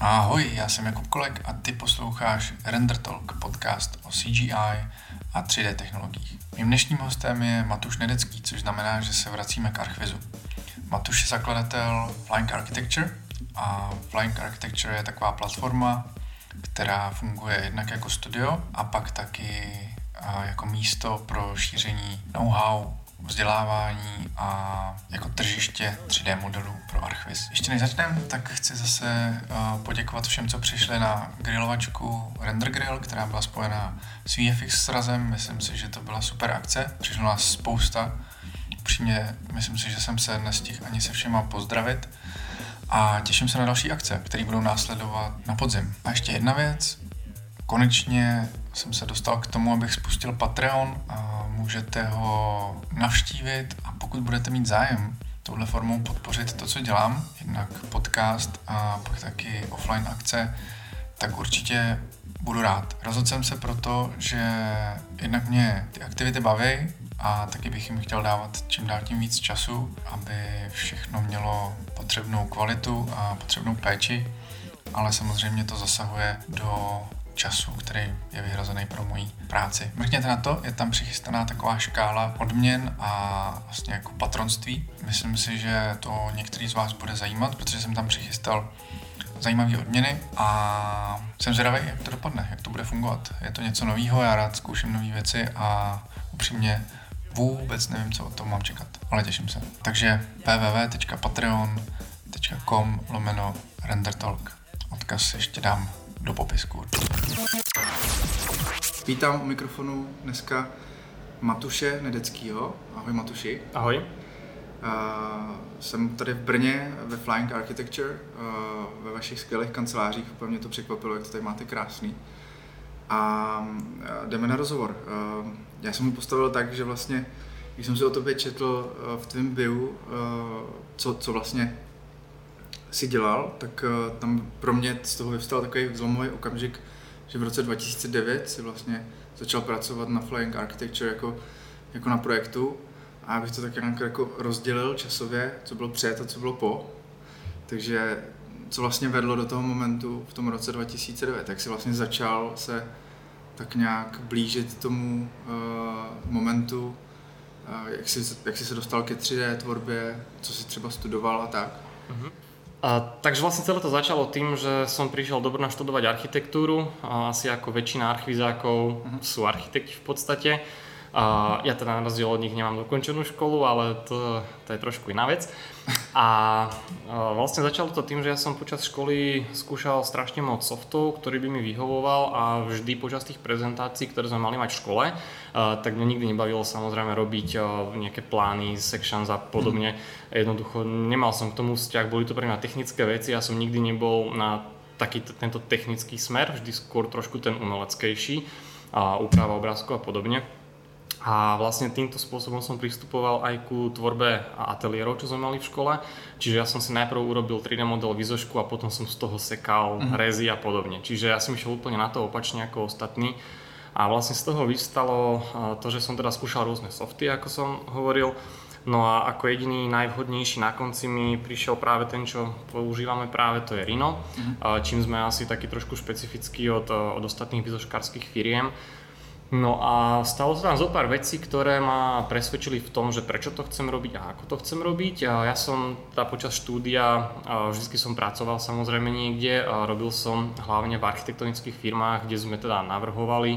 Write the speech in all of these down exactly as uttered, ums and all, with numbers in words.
Ahoj, já jsem Jakub Kolek a ty posloucháš Render Talk, podcast o C G I a tři dé technologiích. Mým dnešním hostem je Matuš Nedecký, což znamená, že se vracíme k Archvizu. Matuš je zakladatel Flying Architecture a Flying Architecture je taková platforma, která funguje jednak jako studio a pak taky jako místo pro šíření know-how, vzdělávání a jako tržiště tři dé modelů pro Archviz. Ještě než začneme, tak chci zase poděkovat všem, co přišli na grilovačku Render Grill, která byla spojená s V F X srazem. Myslím si, že to byla super akce. Přišlo nás spousta. Upřímně, myslím si, že jsem se nestihl ani se všema pozdravit. A těším se na další akce, které budou následovat na podzim. A ještě jedna věc. Konečně jsem se dostal k tomu, abych spustil Patreon a můžete ho navštívit a pokud budete mít zájem touhle formou podpořit to, co dělám, jednak podcast a pak taky offline akce, tak určitě budu rád. Rozhodl jsem se proto, že jednak mě ty aktivity baví a taky bych jim chtěl dávat čím dál tím víc času, aby všechno mělo potřebnou kvalitu a potřebnou péči, ale samozřejmě to zasahuje do času, který je vyhrazený pro moji práci. Mrkněte na to, je tam přichystaná taková škála odměn a vlastně jako patronství. Myslím si, že to některý z vás bude zajímat, protože jsem tam přichystal zajímavé odměny a jsem zvědavý, jak to dopadne, jak to bude fungovat. Je to něco novýho, já rád zkouším nové věci a upřímně vůbec nevím, co od toho mám čekat, ale těším se. Takže w w w tečka patreon tečka com lomeno rendertalk. Odkaz ještě dám do popisku. Vítám u mikrofonu dneska Matuše Nedeckýho. Ahoj Matuši. Ahoj. Uh, jsem tady v Brně ve Flying Architecture, uh, ve vašich skvělých kancelářích. Úplně mě to překvapilo, jak to tady máte krásný. A uh, jdeme na rozhovor. Uh, já jsem ho postavil tak, že vlastně, když jsem si o tobě četl uh, v tvém bio, uh, co, co vlastně si dělal, tak uh, tam pro mě z toho vyvstal takový zlomový okamžik, že v roce dva tisíce devět si vlastně začal pracovat na Flying Architecture jako, jako na projektu a abych to tak nějak jako rozdělil časově, co bylo před a co bylo po. Takže co vlastně vedlo do toho momentu v tom roce dva tisíce devět, tak si vlastně začal se tak nějak blížit tomu uh, momentu, uh, jak, jsi, jak jsi se dostal ke tři dé tvorbě, co jsi třeba studoval a tak. Uh-huh. A, takže vlastne celé to začalo tým, že som prišiel do Brna študovať architektúru, a asi ako väčšina archvizákov uh-huh. sú architekti v podstate. A ja teda na rozdiel od nich nemám dokončenú školu, ale to, to je trošku iná vec. A, a vlastne začalo to tým, že ja som počas školy skúšal strašne moc softov, ktorý by mi vyhovoval a vždy počas tých prezentácií, ktoré sme mali mať v škole, a, tak mňa nikdy nebavilo samozrejme robiť a, nejaké plány, sections a podobne. Jednoducho nemal som k tomu vzťah, boli to pre mňa technické veci, ja som nikdy nebol na taký t- tento technický smer, vždy skôr trošku ten umeleckejší, a úprava obrázkov a podobne. A vlastne týmto spôsobom som pristupoval aj ku tvorbe ateliérov, čo sme mali v škole. Čiže ja som si najprv urobil tri dé model výzošku a potom som z toho sekal uh-huh. rezy a podobne. Čiže ja som išiel úplne na to opačne ako ostatní. A vlastne z toho vystalo to, že som teda skúšal rôzne softy, ako som hovoril. No a ako jediný najvhodnejší na konci mi prišiel práve ten, čo používame práve, to je Rhino. Uh-huh. Čím sme asi taký trošku špecifický od, od ostatných výzoškárskych firiem. No a stalo sa tam zo pár vecí, ktoré ma presvedčili v tom, že prečo to chcem robiť a ako to chcem robiť. Ja som teda počas štúdia, vždy som pracoval samozrejme niekde, robil som hlavne v architektonických firmách, kde sme teda navrhovali.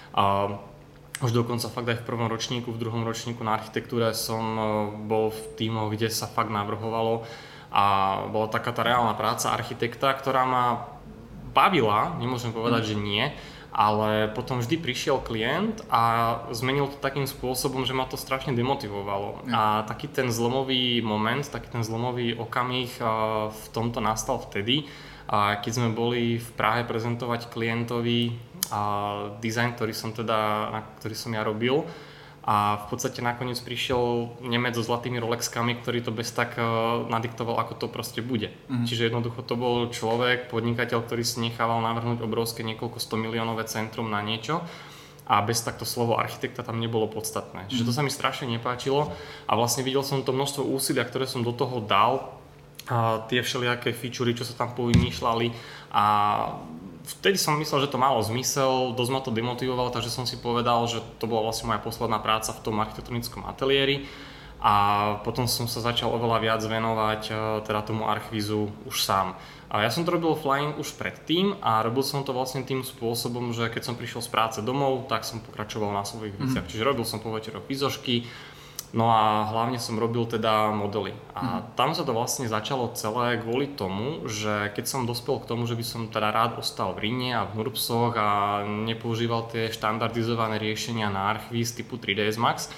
Už dokonca fakt aj v prvom ročníku, v druhom ročníku na architektúre som bol v tímoch, kde sa fakt navrhovalo a bola taká tá reálna práca architekta, ktorá ma bavila, nemôžem povedať, že nie. Ale potom vždy prišiel klient a zmenil to takým spôsobom, že ma to strašne demotivovalo. Ja. A taký ten zlomový moment, taký ten zlomový okamih v tomto nastal vtedy, keď sme boli v Prahe prezentovať klientovi dizajn, ktorý som teda, na ktorý som ja robil. A v podstate nakoniec prišiel Nemec so zlatými Rolexkami, ktorý to bez tak nadiktoval, ako to proste bude. Mm. Čiže jednoducho to bol človek, podnikateľ, ktorý si nechával navrhnúť obrovské niekoľko sto miliónové centrum na niečo a bez takto slovo architekta tam nebolo podstatné. Čiže to sa mi strašne nepáčilo a vlastne videl som to množstvo úsilia, ktoré som do toho dal a tie všelijaké featurey, čo sa tam povymýšľali a vtedy som myslel, že to malo zmysel, dosť ma to demotivovalo, takže som si povedal, že to bola vlastne moja posledná práca v tom architektonickom ateliéri a potom som sa začal oveľa viac venovať teda tomu archvízu už sám. A ja som to robil flying už predtým a robil som to vlastne tým spôsobom, že keď som prišiel z práce domov, tak som pokračoval na svojich veciach. Mm. Čiže robil som po večeroch výzožky, no a hlavne som robil teda modely. A mm. tam sa to vlastne začalo celé kvôli tomu, že keď som dospel k tomu, že by som teda rád ostal v Rine a v Nurbsoch a nepoužíval tie štandardizované riešenia na archvíz typu tri dé es Max,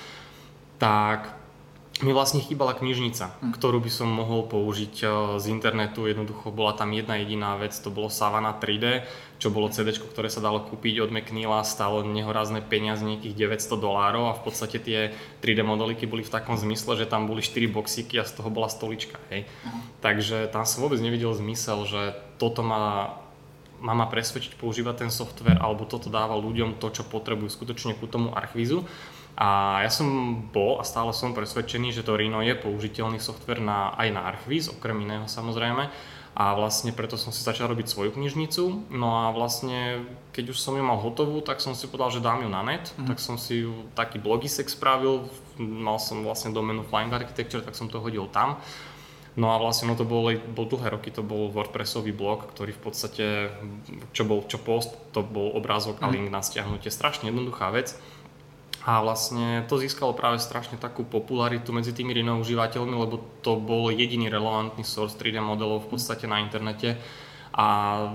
tak mi vlastne chýbala knižnica, mm. ktorú by som mohol použiť z internetu. Jednoducho bola tam jedna jediná vec, to bolo Savana tri dé, čo bolo cédéčko, ktoré sa dalo kúpiť od McNeila, stálo nehorázne peniaze, nejakých deväťsto dolárov a v podstate tie tri dé modeliky boli v takom zmysle, že tam boli štyri boxíky a z toho bola stolička. Hej. Mm. Takže tam som vôbec nevidel zmysel, že toto má, má ma presvedčiť používať ten software alebo toto dáva ľuďom to, čo potrebujú skutočne ku tomu archvízu. A ja som bol a stále som presvedčený, že to Rhino je použiteľný software na, aj na archvíz, okrem iného samozrejme. A vlastne preto som si začal robiť svoju knižnicu. No a vlastne, keď už som ju mal hotovú, tak som si povedal, že dám ju na net. Mm. Tak som si ju taký blogisek spravil, mal som vlastne doménu Flying Architecture, tak som to hodil tam. No a vlastne no to bol, bol dlhé roky, to bol WordPressový blog, ktorý v podstate, čo bol čo post, to bol obrázok mm. a link na stiahnutie. Strašne jednoduchá vec. A vlastne to získalo práve strašne takú popularitu medzi tými Rhino užívateľmi, lebo to bol jediný relevantný source tri dé modelov v podstate na internete a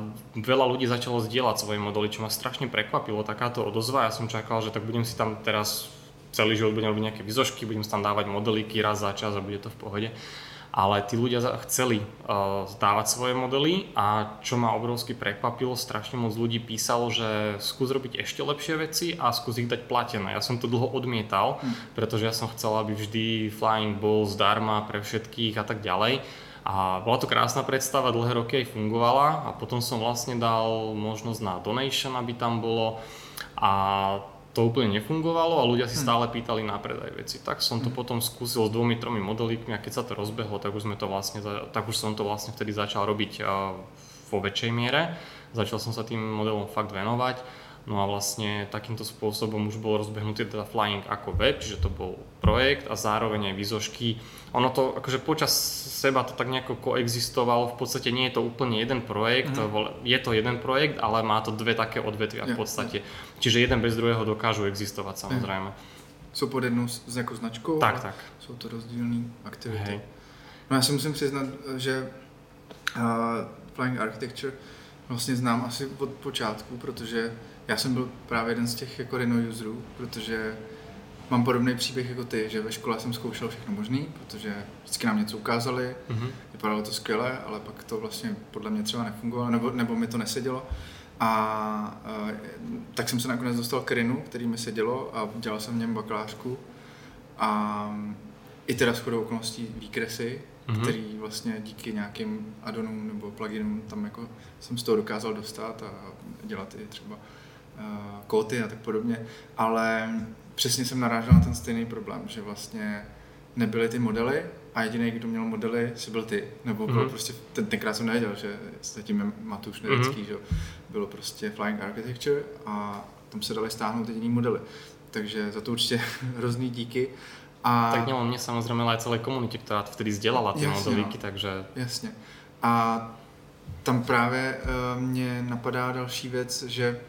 veľa ľudí začalo zdieľať svoje modely, čo ma strašne prekvapilo, takáto odozva. Ja som čakal, že tak budem si tam teraz celý život budem robiť nejaké výzožky, budem si tam dávať modelíky raz za čas a bude to v pohode. Ale tí ľudia chceli uh, dávať svoje modely a čo ma obrovsky prekvapilo, strašne moc ľudí písalo, že skús robiť ešte lepšie veci a skús ich dať platené. Ja som to dlho odmietal, mm. pretože ja som chcel, aby vždy Flying bol zdarma pre všetkých a tak ďalej. A bola to krásna predstava, dlhé roky aj fungovala a potom som vlastne dal možnosť na donation, aby tam bolo a to úplne nefungovalo a ľudia si stále pýtali na predaj veci. Tak som to potom skúsil s dvomi, tromi modelíkmi a keď sa to rozbehlo, tak už sme to vlastne, tak už som to vlastne vtedy začal robiť vo väčšej miere. Začal som sa tým modelom fakt venovať. No a vlastne takýmto spôsobom už bol rozbehnutý teda Flying ako web, čiže to bol projekt a zároveň aj výzožky. Ono to, akože počas seba to tak nejako koexistovalo, v podstate nie je to úplne jeden projekt, mm. je to jeden projekt, ale má to dve také odvetvia v podstate. Yeah. Čiže jeden bez druhého dokážu existovať samozrejme. Jsou pod jednou s jako značkou, tak, tak. Jsou to rozdílné aktivity. Hej. No já si musím přiznat, že uh, Flying Architecture vlastně znám asi od počátku, protože já jsem byl právě jeden z těch jako Rhino userů, protože mám podobný příběh jako ty, že ve škole jsem zkoušel všechno možný, protože vždycky nám něco ukázali, mm-hmm. vypadalo to skvěle, ale pak to vlastně podle mě třeba nefungovalo, nebo, nebo mi to nesedělo. A, a tak jsem se nakonec dostal k Rhinu, který mi sedělo a dělal jsem v něm bakalářku. A i teda shodou okolností výkresy, mm-hmm. který vlastně díky nějakým addonům nebo pluginům tam jako jsem z toho dokázal dostat a dělat i třeba uh, kóty a tak podobně, ale přesně jsem narážel na ten stejný problém, že vlastně nebyly ty modely a jediný, kdo měl modely, si byl ty, nebo bylo mm-hmm. prostě, ten, tenkrát jsem nevěděl, že zatím je Matuš Nedecký, mm-hmm. že bylo prostě Flying Architecture a tam se dali stáhnout jediný modely, takže za to určitě hrozný díky. A tak nielen mne samozrejme, ale aj celej komunite, ktorá vtedy zdieľala tie modelíky, no. takže... Jasně. A tam právě uh, mě napadá další věc, že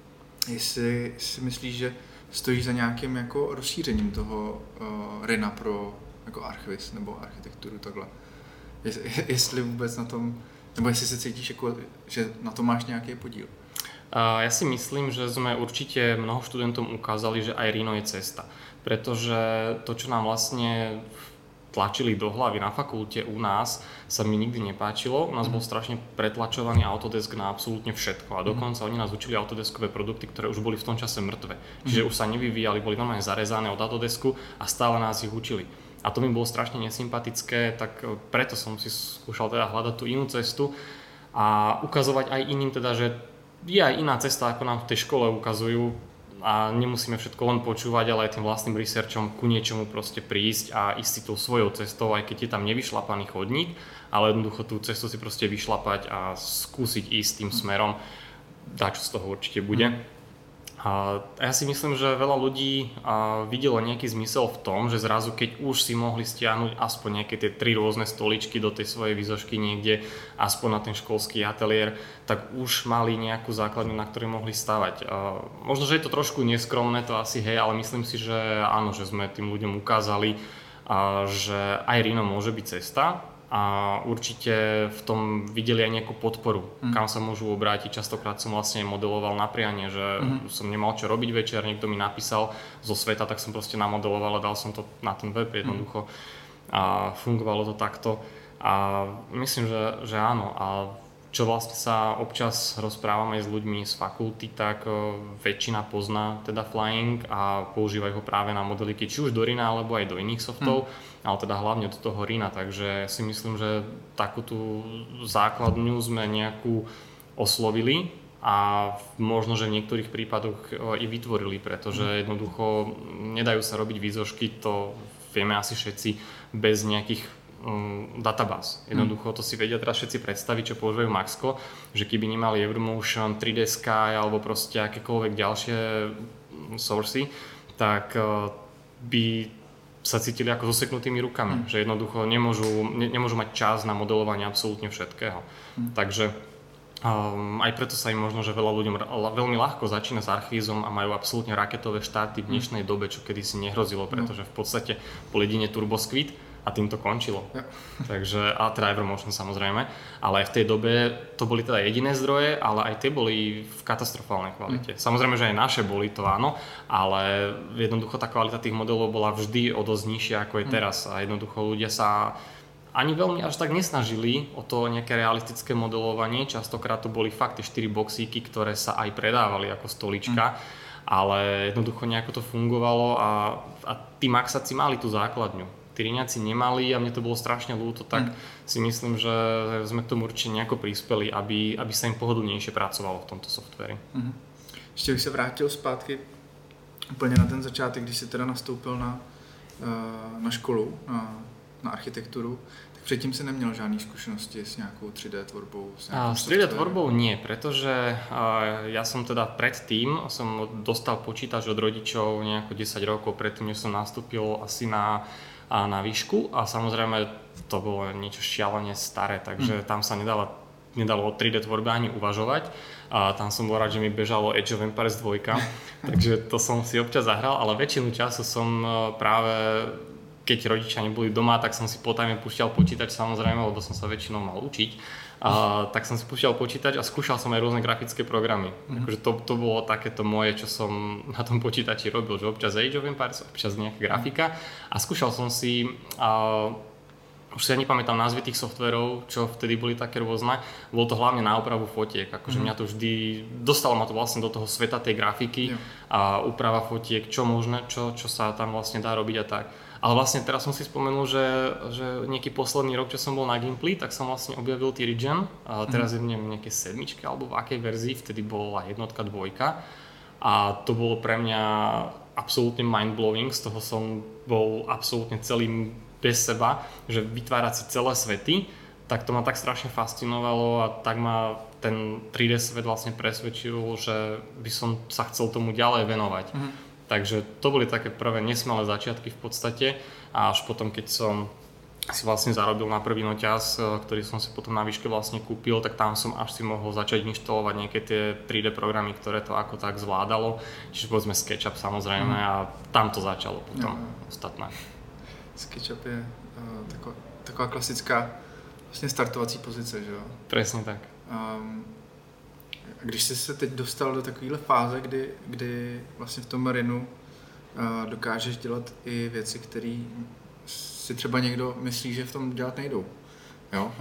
jestli si myslíš, že stojí za nějakým jako rozšířením toho uh, Rhina pro jako archviz nebo architekturu takhle. Jest, jestli vůbec na tom, nebo jestli se cítíš jako, že na tom máš nějaký podíl. Uh, ja si myslím, že sme určite mnoho študentom ukázali, že aj Rhino je cesta. Pretože to, čo nám vlastne tlačili do hlavy na fakulte u nás, sa mi nikdy nepáčilo. U nás bol strašne pretlačovaný Autodesk na absolútne všetko a dokonca oni nás učili Autodeskové produkty, ktoré už boli v tom čase mŕtve. Čiže už sa nevyvíjali, boli normálne zarezané od Autodesku a stále nás ich učili. A to mi bolo strašne nesympatické, tak preto som si skúšal teda hľadať tú inú cestu a ukazovať aj iným teda, že je aj iná cesta, ako nám v tej škole ukazujú. a nemusíme všetko len počúvať, ale aj tým vlastným researchom ku niečomu proste prísť a ísť si tou svojou cestou, aj keď je tam nevyšlapaný chodník, ale jednoducho tú cestu si proste vyšlapať a skúsiť ísť tým smerom, dačo z toho určite bude. Mm. A ja si myslím, že veľa ľudí videlo nejaký zmysel v tom, že zrazu keď už si mohli stiahnuť aspoň nejaké tie tri rôzne stoličky do tej svojej výzošky niekde, aspoň na ten školský ateliér, tak už mali nejakú základňu, na ktorej mohli stavať. Možno, že je to trošku neskromné, to asi hej, ale myslím si, že áno, že sme tým ľuďom ukázali, že aj Rhino môže byť cesta. A určite v tom videli aj nejakú podporu, mm. kam sa môžu obrátiť. Častokrát som vlastne modeloval na prianie, že mm. som nemal čo robiť večer, niekto mi napísal zo sveta, tak som proste namodeloval a dal som to na ten web jednoducho. Mm. A fungovalo to takto. A myslím, že, že áno. A čo vlastne sa občas rozprávame s ľuďmi z fakulty, tak väčšina pozná teda flying a používajú ho práve na modeliky, či už do Rhina alebo aj do iných softov, mm. ale teda hlavne do toho Rhina, takže si myslím, že takú tú základňu sme nejakú oslovili a možno, že v niektorých prípadoch i vytvorili, pretože jednoducho nedajú sa robiť výzožky, to vieme asi všetci bez nejakých databáz. Jednoducho to si vedia teraz všetci predstaviť, čo používajú Maxco, že keby nemali Evermotion, tri dé Sky alebo proste akékoľvek ďalšie sourcy, tak by sa cítili ako zoseknutými rukami, mm. že jednoducho nemôžu, ne, nemôžu mať čas na modelovanie absolútne všetkého. Mm. Takže um, aj preto sa im možno, že veľa ľuďom veľmi ľahko začína s archvízom a majú absolútne raketové štáty v dnešnej mm. dobe, čo kedysi nehrozilo, pretože v podstate bol jedine TurboSquid a tým to končilo. Ja. Takže, a teda Evermotion samozrejme, ale aj v tej dobe to boli teda jediné zdroje, ale aj tie boli v katastrofálnej kvalite. Mm. Samozrejme, že aj naše boli, to áno, ale jednoducho tá kvalita tých modelov bola vždy o dosť nižšia ako je teraz a jednoducho ľudia sa ani veľmi až tak nesnažili o to nejaké realistické modelovanie, častokrát to boli fakt tie štyri boxíky, ktoré sa aj predávali ako stolička, mm. ale jednoducho nejako to fungovalo a, a tí Maxáci mali tú základňu. Tí Rhiniaci nemali a mne to bolo strašne ľúto, tak mm. si myslím, že sme k tomu určite nejako prispeli, aby, aby sa im pohodlnejšie pracovalo v tomto softveri. Mm. Ještě bych se vrátil zpátky úplně na ten začátek, když jsi teda nastoupil na, na školu, na, na architekturu, tak předtím si neměl žádné zkušenosti s nějakou tři dé tvorbou? S, s tri dé tvorbou nie, pretože ja som teda predtým som dostal počítač od rodičov nejako desať rokov predtým, než som nastúpil asi na a na výšku a samozrejme to bolo niečo šialene staré, takže mm. tam sa nedalo, nedalo o tri dé tvorbe ani uvažovať a tam som bol rád, že mi bežalo Age of Empires dva, takže to som si občas zahral, ale väčšinu času som práve, keď rodičia neboli doma, tak som si potajme púšťal počítač samozrejme, lebo som sa väčšinou mal učiť. A, tak som si púšťal počítač a skúšal som aj rôzne grafické programy. Mm. Akože to, to bolo takéto moje, čo som na tom počítači robil, že občas Age of Empires, občas nejaká grafika a skúšal som si, a, už si ja nepamätám názvy tých softverov, čo vtedy boli také rôzne, bolo to hlavne na úpravu fotiek, akože mm. mňa to vždy, dostalo ma to vlastne do toho sveta tej grafiky yeah. a úprava fotiek, čo možné, čo, čo sa tam vlastne dá robiť a tak. Ale vlastne teraz som si spomenul, že, že nejaký posledný rok, čo som bol na Gimply, tak som vlastne objavil T-Regen. A teraz mm. je v nej nejaké sedmičke alebo v akej verzii, vtedy bola jednotka, dvojka. A to bolo pre mňa absolútne mind-blowing, z toho som bol absolútne celý bez seba, že vytvárať si celé svety, tak to ma tak strašne fascinovalo a tak ma ten tri dé svet vlastne presvedčil, že by som sa chcel tomu ďalej venovať. Mm. Takže to boli také prvé nesmelé začiatky v podstate a až potom, keď som si vlastne zarobil na prvý noťaz, ktorý som si potom na výške vlastne kúpil, tak tam som až si mohol začať inštalovať nejaké tie tri dé programy, ktoré to ako tak zvládalo. Čiže povedzme SketchUp samozrejme mm. a tam to začalo potom ja. Ostatné. SketchUp je uh, taková, taková klasická vlastně startovací pozice, že jo? Presne tak. Um, Když jsi se teď dostal do takovéhle fáze, kdy, kdy vlastně v tom Rhinu uh, dokážeš dělat i věci, které si třeba někdo myslí, že v tom dělat nejdou. Jo?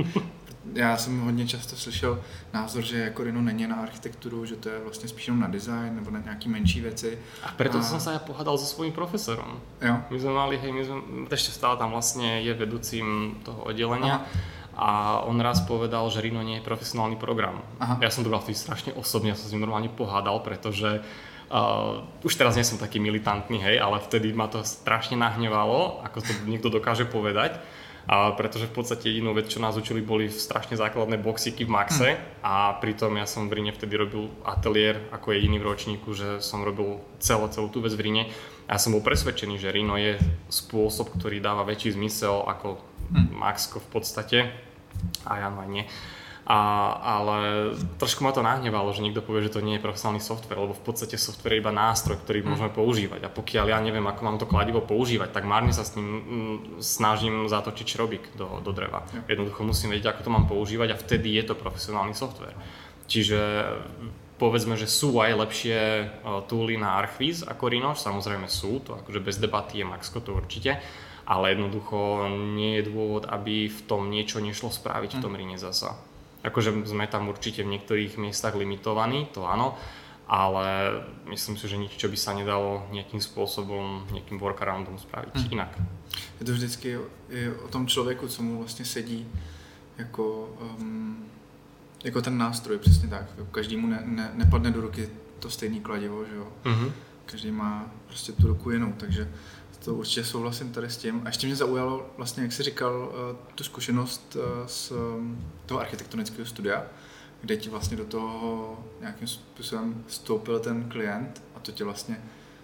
Já jsem hodně často slyšel názor, že jako Rhino není na architekturu, že to je vlastně spíš jenom na design nebo na nějaké menší věci. A preto a... som sa ja pohádal so svojím profesorom. Jo. My sme mali, hej, my sme, ešte stále tam vlastne je vedúcim toho oddelenia. Aha. A on raz povedal, že Rhino nie je profesionálny program. Aha. Ja som to bol vtedy strašne osobne, ja som s ním normálne pohádal, pretože Uh, už teraz nie som taký militantný, hej, ale vtedy ma to strašne nahnevalo, ako to niekto dokáže povedať. A pretože v podstate jedinú vec, čo nás učili, boli strašne základné boxíky v Maxe mm. a pritom ja som v Rine vtedy robil ateliér ako jediný v ročníku, že som robil celú, celú tú vec v Rine a ja som bol presvedčený, že Rino je spôsob, ktorý dáva väčší zmysel ako mm. Maxko v podstate a ja no aj nie. A, ale trošku ma to nahnevalo, že niekto povie, že to nie je profesionálny software, lebo v podstate software je iba nástroj, ktorý mm. môžeme používať. A pokiaľ ja neviem, ako mám to kladivo používať, tak márne sa s ním mm, snažím zatočiť šrobík do, do dreva. Yeah. Jednoducho musím vedieť, ako to mám používať a vtedy je to profesionálny software. Čiže povedzme, že sú aj lepšie uh, tooly na Archviz ako Rhino, samozrejme sú, to akože bez debaty je Maxko, to určite, ale jednoducho nie je dôvod, aby v tom niečo nešlo spraviť mm. v tom Rhine zasa. Akože sme tam určite v niektorých miestach limitovaní, to áno, ale myslím si, že nič, čo by sa nedalo nejakým spôsobom, nejakým workaroundom spraviť hmm. inak. Je to vždycky je o tom člověku, co mu vlastně sedí jako, um, jako ten nástroj, přesně tak. Každému ne, ne, nepadne do ruky to stejné kladivo, že jo. Mm-hmm. Každý má prostě tu ruku jinou, takže to určitě souhlasím tady s tím. A ještě mě zaujalo, vlastně, jak jsi říkal, tu zkušenost z toho architektonického studia, kde ti vlastně do toho nějakým způsobem vstoupil ten klient a to tě vlastně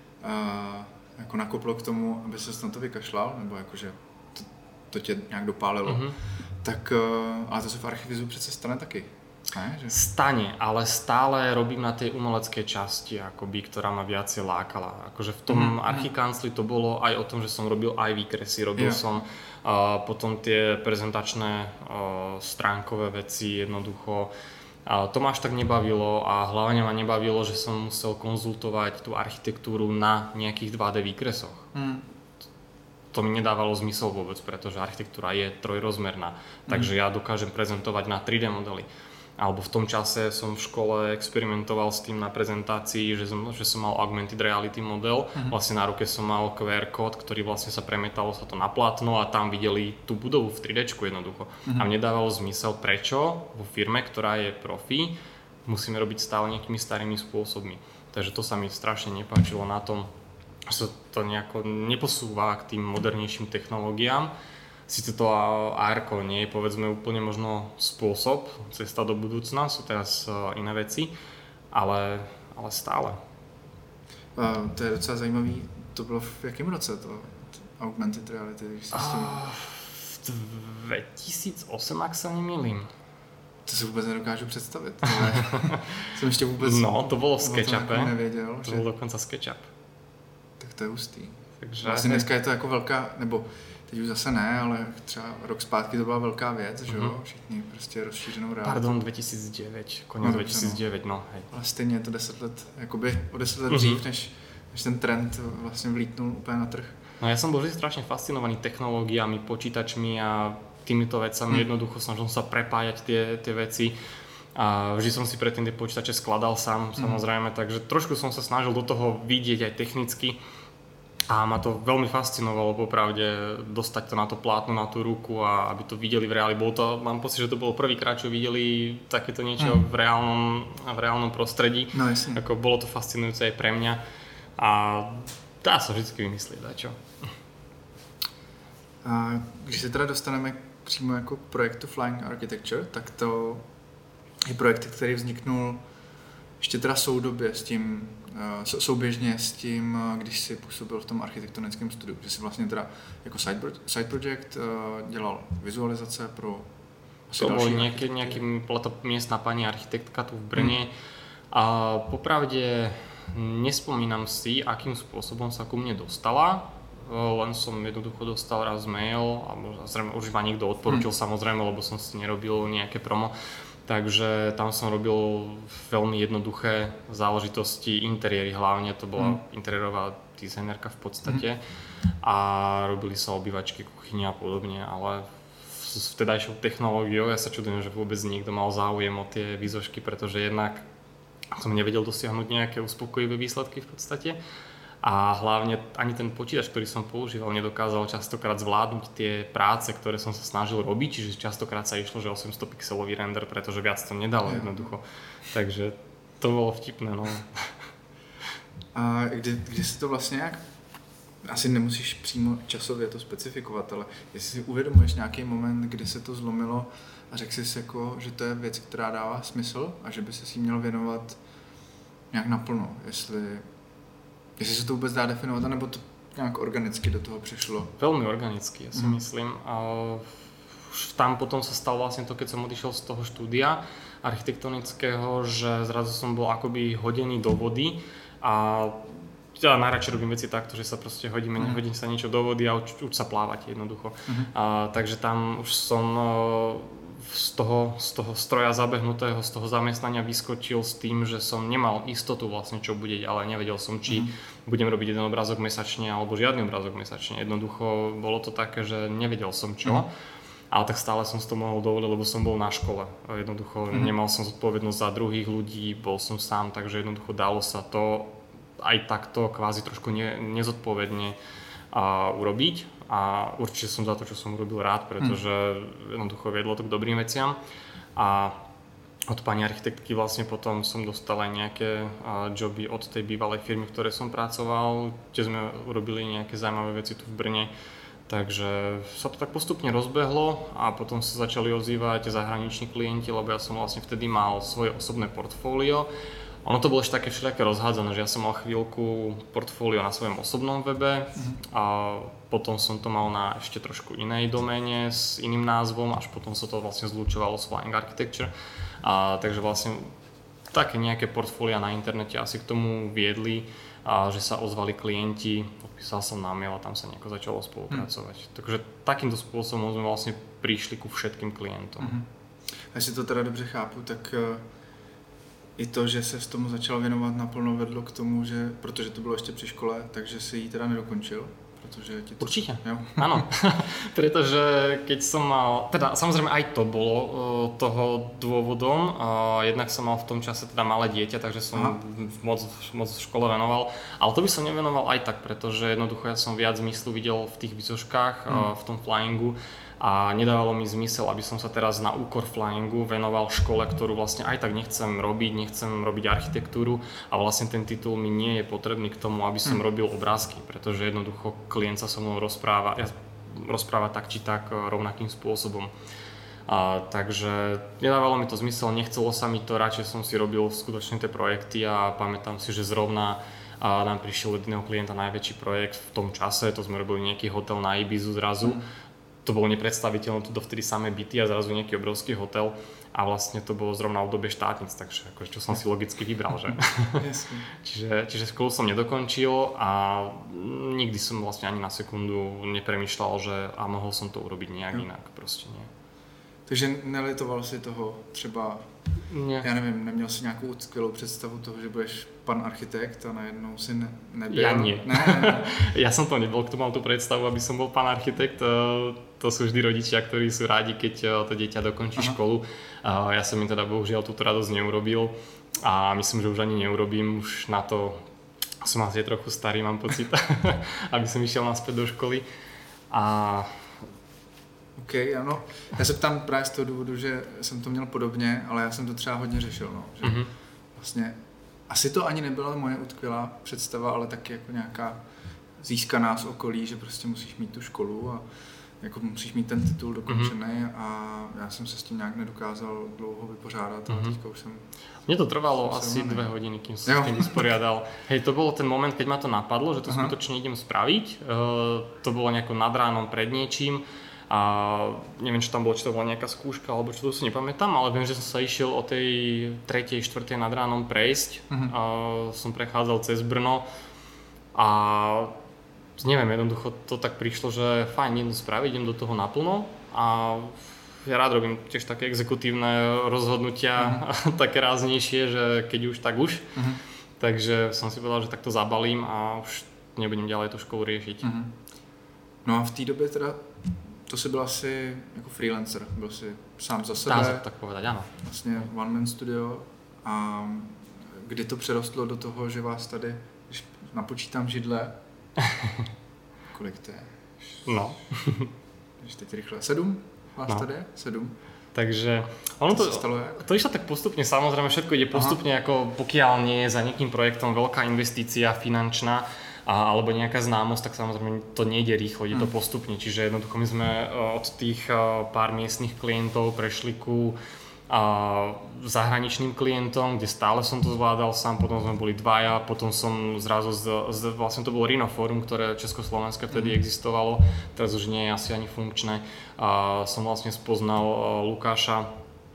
uh, jako nakoplo k tomu, aby ses na to vykašlal, nebo jakože to, to tě nějak dopálilo. Mm-hmm. Tak, uh, ale to se v Archvizu přece stane taky. Ne, že... Stane, ale stále robím na tej umeleckej časti, akoby, ktorá ma viacej lákala. Akože v tom mm, archikancli to bolo aj o tom, že som robil aj výkresy, robil yeah. som uh, potom tie prezentačné uh, stránkové veci, jednoducho. Uh, to ma až tak nebavilo a hlavne ma nebavilo, že som musel konzultovať tú architektúru na nejakých dva dé výkresoch. Mm. To mi nedávalo zmysel vôbec, pretože architektúra je trojrozmerná, mm. takže ja dokážem prezentovať na tri dé modely. Alebo v tom čase som v škole experimentoval s tým na prezentácii, že som, že som mal augmented reality model. Uh-huh. Vlastne na ruke som mal kú er kód, ktorý vlastne sa premietalo sa to na plátno a tam videli tú budovu v tri déčku jednoducho. Uh-huh. A mne dávalo zmysel, prečo vo firme, ktorá je profi, musíme robiť stále nejakými starými spôsobmi. Takže to sa mi strašne nepáčilo na tom, že sa to nejako neposúva k tým modernejším technológiám. Sice to á erko nie je povedzme úplne možno spôsob, cesta do budúcna, sú teraz iné veci, ale, ale stále. Uh, to je docela zajímavý, to bylo v jakém roce to augmented reality? Když uh, v dvetisícosem, ak sa nemýlim. To si vůbec nedokážu představit, ale jsem ještě vůbec... No, to bylo v SketchUpe, nevěděl, to že... byl dokonca SketchUp. Tak to je hustý. Takže... Vlastně dneska je to jako velká, nebo teď už zase ne, ale třeba rok zpátky to byla velká věc, že jo, mm-hmm. všichni prostě rozšířenou realitu. Pardon, dvetisícdeväť, koniec no, dvetisícdeväť, no. Hej. Ale stejně je to deset let, jakoby o deset let mm-hmm. dřív, než, než ten trend vlastně vlítnul úplně na trh. No ja som bol vždy strašne fascinovaný technológiami, počítačmi a týmito vecami, mm. jednoducho snažil sa prepájať tie, tie veci. A vždy som si predtým tie počítače skladal sám, mm. samozrejme, takže trošku som sa snažil do toho vidieť aj technicky. A ma to veľmi fascinovalo popravde dostať to na to plátno, na tú ruku a aby to videli v reáli. Bolo to, mám pocit, že to bolo prvýkrát, čo videli takéto niečo mm. v, reálnom, v reálnom prostredí. No, ako bolo to fascinujúce aj pre mňa a dá sa vždycky vymyslieť, dačo. A když se teda dostaneme přímo jako k projektu Flying Architecture, tak to je projekt, který vzniknul ještě teda soudobě s tím, souběžně s tím, když si působil v tom architektonickém studiu, že si vlastně teda jako side, side project dělal vizualizace pro asi to další bol nejaký, nejaký, bola to miestna pani architektka tu v Brne hmm. a popravde nespomínam si, akým spôsobom sa ku mne dostala, len som jednoducho dostal raz mail a zrejme už ma niekto odporučil hmm. samozrejme, lebo som si nerobil nejaké promo. Takže tam som robil veľmi jednoduché záležitosti, interiéry hlavne, to bola mm. interiérová dizajnerka v podstate mm. a robili sa obývačky, kuchyne a podobne, ale s vtedajšou technológiou ja sa čudujem, že vôbec niekto mal záujem o tie výzožky, pretože jednak som nevedel dosiahnuť nejaké uspokojivé výsledky v podstate a hlavne ani ten počítač, ktorý som používal, nedokázal častokrát zvládnuť tie práce, ktoré som sa snažil robiť, čiže častokrát sa išlo, že osemsto pixelový render, pretože viac to nedalo jednoducho. Takže to bolo vtipné, no. A kdy, kdy se to vlastně jak, asi nemusíš přímo časově to specifikovat, ale jestli si uvědomuješ nějaký moment, kdy se to zlomilo a řekl jsi jako, že to je věc, která dává smysl a že by se si měl věnovat nějak naplno, jestli, jestli se to vůbec dá definovat, anebo to nějak organicky do toho přišlo? Veľmi organicky, ja si mm. myslím. A už tam potom sa stalo vlastne to, keď som odišiel z toho štúdia architektonického, že zrazu som bol akoby hodený do vody a ja najradšej robím veci takto, že sa proste hodíme, mm. hodím sa niečo do vody a uč, uč sa plávať jednoducho. Mm. A, takže tam už som z toho, z toho stroja zabehnutého, z toho zamestnania vyskočil s tým, že som nemal istotu vlastne čo bude, ale nevedel som, či mm. budem robiť jeden obrázok mesačne alebo žiadny obrázok mesačne. Jednoducho bolo to také, že nevedel som čo. Mm. Ale tak stále som si to mohol dovoliť, lebo som bol na škole. Jednoducho mm. nemal som zodpovednosť za druhých ľudí, bol som sám, takže jednoducho dalo sa to aj takto kvázi trošku ne, nezodpovedne a, urobiť. A určite som za to, čo som urobil rád, pretože mm. jednoducho viedlo to k dobrým veciam. A od pani architektky vlastne potom som dostal aj nejaké a, joby od tej bývalej firmy, v ktorej som pracoval, kde sme urobili nejaké zaujímavé veci tu v Brne. Takže sa to tak postupne rozbehlo a potom sa začali ozývať zahraniční klienti, lebo ja som vlastne vtedy mal svoje osobné portfólio. Ono to bolo ešte také všelijaké rozhádzané, že ja som mal chvíľku portfólio na svojom osobnom webe mm-hmm. a potom som to mal na ešte trošku inej doméne s iným názvom, až potom sa to vlastne zlučovalo s Flying Architecture. A, takže vlastne také nejaké portfólia na internete asi k tomu viedli, a že sa ozvali klienti, odpísal som na mail a tam sa nejako začalo spolupracovať. Hmm. Takže takýmto spôsobom sme vlastne prišli ku všetkým klientom. Hmm. A jestli to teda dobře chápu, tak uh, i to, že se s tomu začal věnovat naplno, vedlo k tomu, že, protože to bylo ještě při škole, takže si ji teda nedokončil? Protože ti to... Určite, jo? Áno, pretože keď som mal, teda samozrejme aj to bolo uh, toho dôvodom, uh, jednak som mal v tom čase teda malé dieťa, takže som moc, moc v škole venoval, ale to by som nevenoval aj tak, pretože jednoducho ja som viac zmyslu videl v tých výsoškách, uh, mm. v tom flyingu a nedávalo mi zmysel, aby som sa teraz na úkor flyingu venoval škole, ktorú vlastne aj tak nechcem robiť, nechcem robiť architektúru a vlastne ten titul mi nie je potrebný k tomu, aby som mm. robil obrázky, pretože jednoducho klient sa so mnou rozpráva, ja, rozpráva tak či tak rovnakým spôsobom. A, takže nedávalo mi to zmysel, nechcelo sa mi to, radšej som si robil skutočne tie projekty a pamätám si, že zrovna a nám prišiel od jedného klienta najväčší projekt v tom čase, to sme robili nejaký hotel na Ibizu zrazu. Mm. To bolo nepredstaviteľné, tu dovtedy samé byty a zrazu nejaký obrovský hotel a vlastne to bolo zrovna v dobe štátnic, takže akože, čo som si logicky vybral, že? čiže, čiže školu som nedokončil a nikdy som vlastne ani na sekundu nepremýšľal, že a mohol som to urobiť nejak inak, proste nie. Takže nelitoval si toho třeba, nie. Já nevím, neměl si nějakou skvělou představu toho, že budeš pan architekt a najednou si ne, nebyl? Ja nie. Ne, ne, ne. Ja som to nebol, kto mal tú predstavu, aby som bol pán architekt. To sú vždy rodičia, ktorí sú rádi, keď to dieťa dokončí Aha. školu. Ja som im teda bohužiaľ túto radosť neurobil a myslím, že už ani neurobím. Už na to som asi trochu starý, mám pocit, aby som išiel naspäť do školy. A OK, ano. Já se ptám právě z toho důvodu, že jsem to měl podobně, ale já jsem to třeba hodně řešil, no. Že mm-hmm. vlastně asi to ani nebyla moje utkvělá představa, ale taky jako nějaká získaná z okolí, že prostě musíš mít tu školu a jako musíš mít ten titul dokončený mm-hmm. a já jsem se s tím nějak nedokázal dlouho vypořádat, ale mm-hmm. teďka už jsem... Mně to trvalo asi dve hodiny, kým som s tým vysporiadal. Hej, to bolo ten moment, keď ma to napadlo, že to Aha. skutočne idem spraviť. Uh, to bolo nejako nad ránom pred niečím. A neviem, čo tam bolo, či to bola nejaká skúška, alebo čo to si nepamätám, ale viem, že som sa išiel o tej tretej, štvrtej nad ránom prejsť. Uh-huh. A som prechádzal cez Brno a neviem, jednoducho to tak prišlo, že fajn, idem spraviť, idem do toho naplno a ja rád robím tiež také exekutívne rozhodnutia, uh-huh. také ráznejšie, že keď už, tak už. Uh-huh. Takže som si povedal, že takto zabalím a už nebudem ďalej tú školu riešiť. Uh-huh. No a v té době teda to jsi byl asi jako freelancer, byl jsi sám za sebe. Dá se tak povedať, áno. Vlastně one man studio a kdy to přerostlo do toho, že vás tady, když napočítám židle, kolik to je? No. Když teď rychle, sedm vás no. tady je? Sedm. Takže ono to, to, to išlo tak postupne, samozrejme všetko ide postupne, Aha. ako pokiaľ nie je za nejakým projektom veľká investícia finančná a, alebo nejaká známosť, tak samozrejme to nejde rýchlo, ide to postupne. Čiže jednoducho my sme od tých pár miestnych klientov prešli ku a zahraničným klientom, kde stále som to zvládal sám, potom sme boli dvaja, potom som zrazu, z, z, vlastne to bolo Rhinoforum, ktoré Československé vtedy mm. existovalo, teraz už nie je asi ani funkčné. A som vlastne spoznal Lukáša,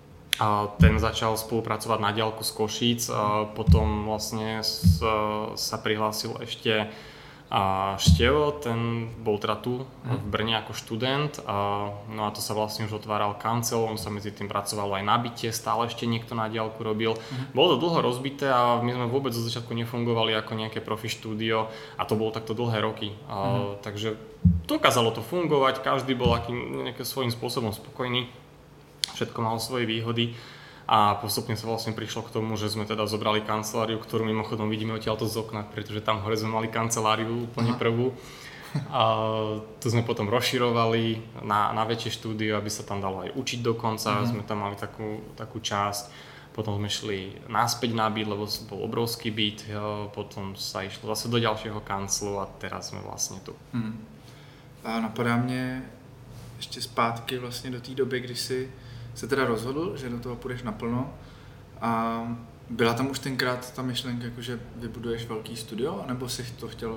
a ten začal spolupracovať na diaľku z Košíc, a potom vlastne s, sa prihlásil ešte a Števo, ten bol teda tu v Brne ako študent, a, no a to sa vlastne už otváral kancel, on sa medzi tým pracoval aj na byte, stále ešte niekto na diaľku robil. Uh-huh. Bolo to dlho rozbité a my sme vôbec zo začiatku nefungovali ako nejaké profi štúdio a to bolo takto dlhé roky. A, uh-huh. Takže dokázalo to fungovať, každý bol akým, nejakým svojím spôsobom spokojný, všetko malo svoje výhody. A postupne sa vlastne prišlo k tomu, že sme teda zobrali kanceláriu, ktorú mimochodom vidíme odtiaľto z okna, pretože tam hore sme mali kanceláriu úplne prvú. A tu sme potom rozširovali na, na väčšie štúdio, aby sa tam dalo aj učiť dokonca. Mm-hmm. Sme tam mali takú, takú časť. Potom sme šli naspäť na byt, lebo bol obrovský byt. Potom sa išlo zase do ďalšieho kanclu a teraz sme vlastne tu. Mm. A napadá mě ještě zpátky vlastně do té doby, kdy si se teda rozhodl, že do toho půjdeš naplno a byla tam už tenkrát ta myšlenka, jako že vybuduješ velký studio, nebo si to chtěl,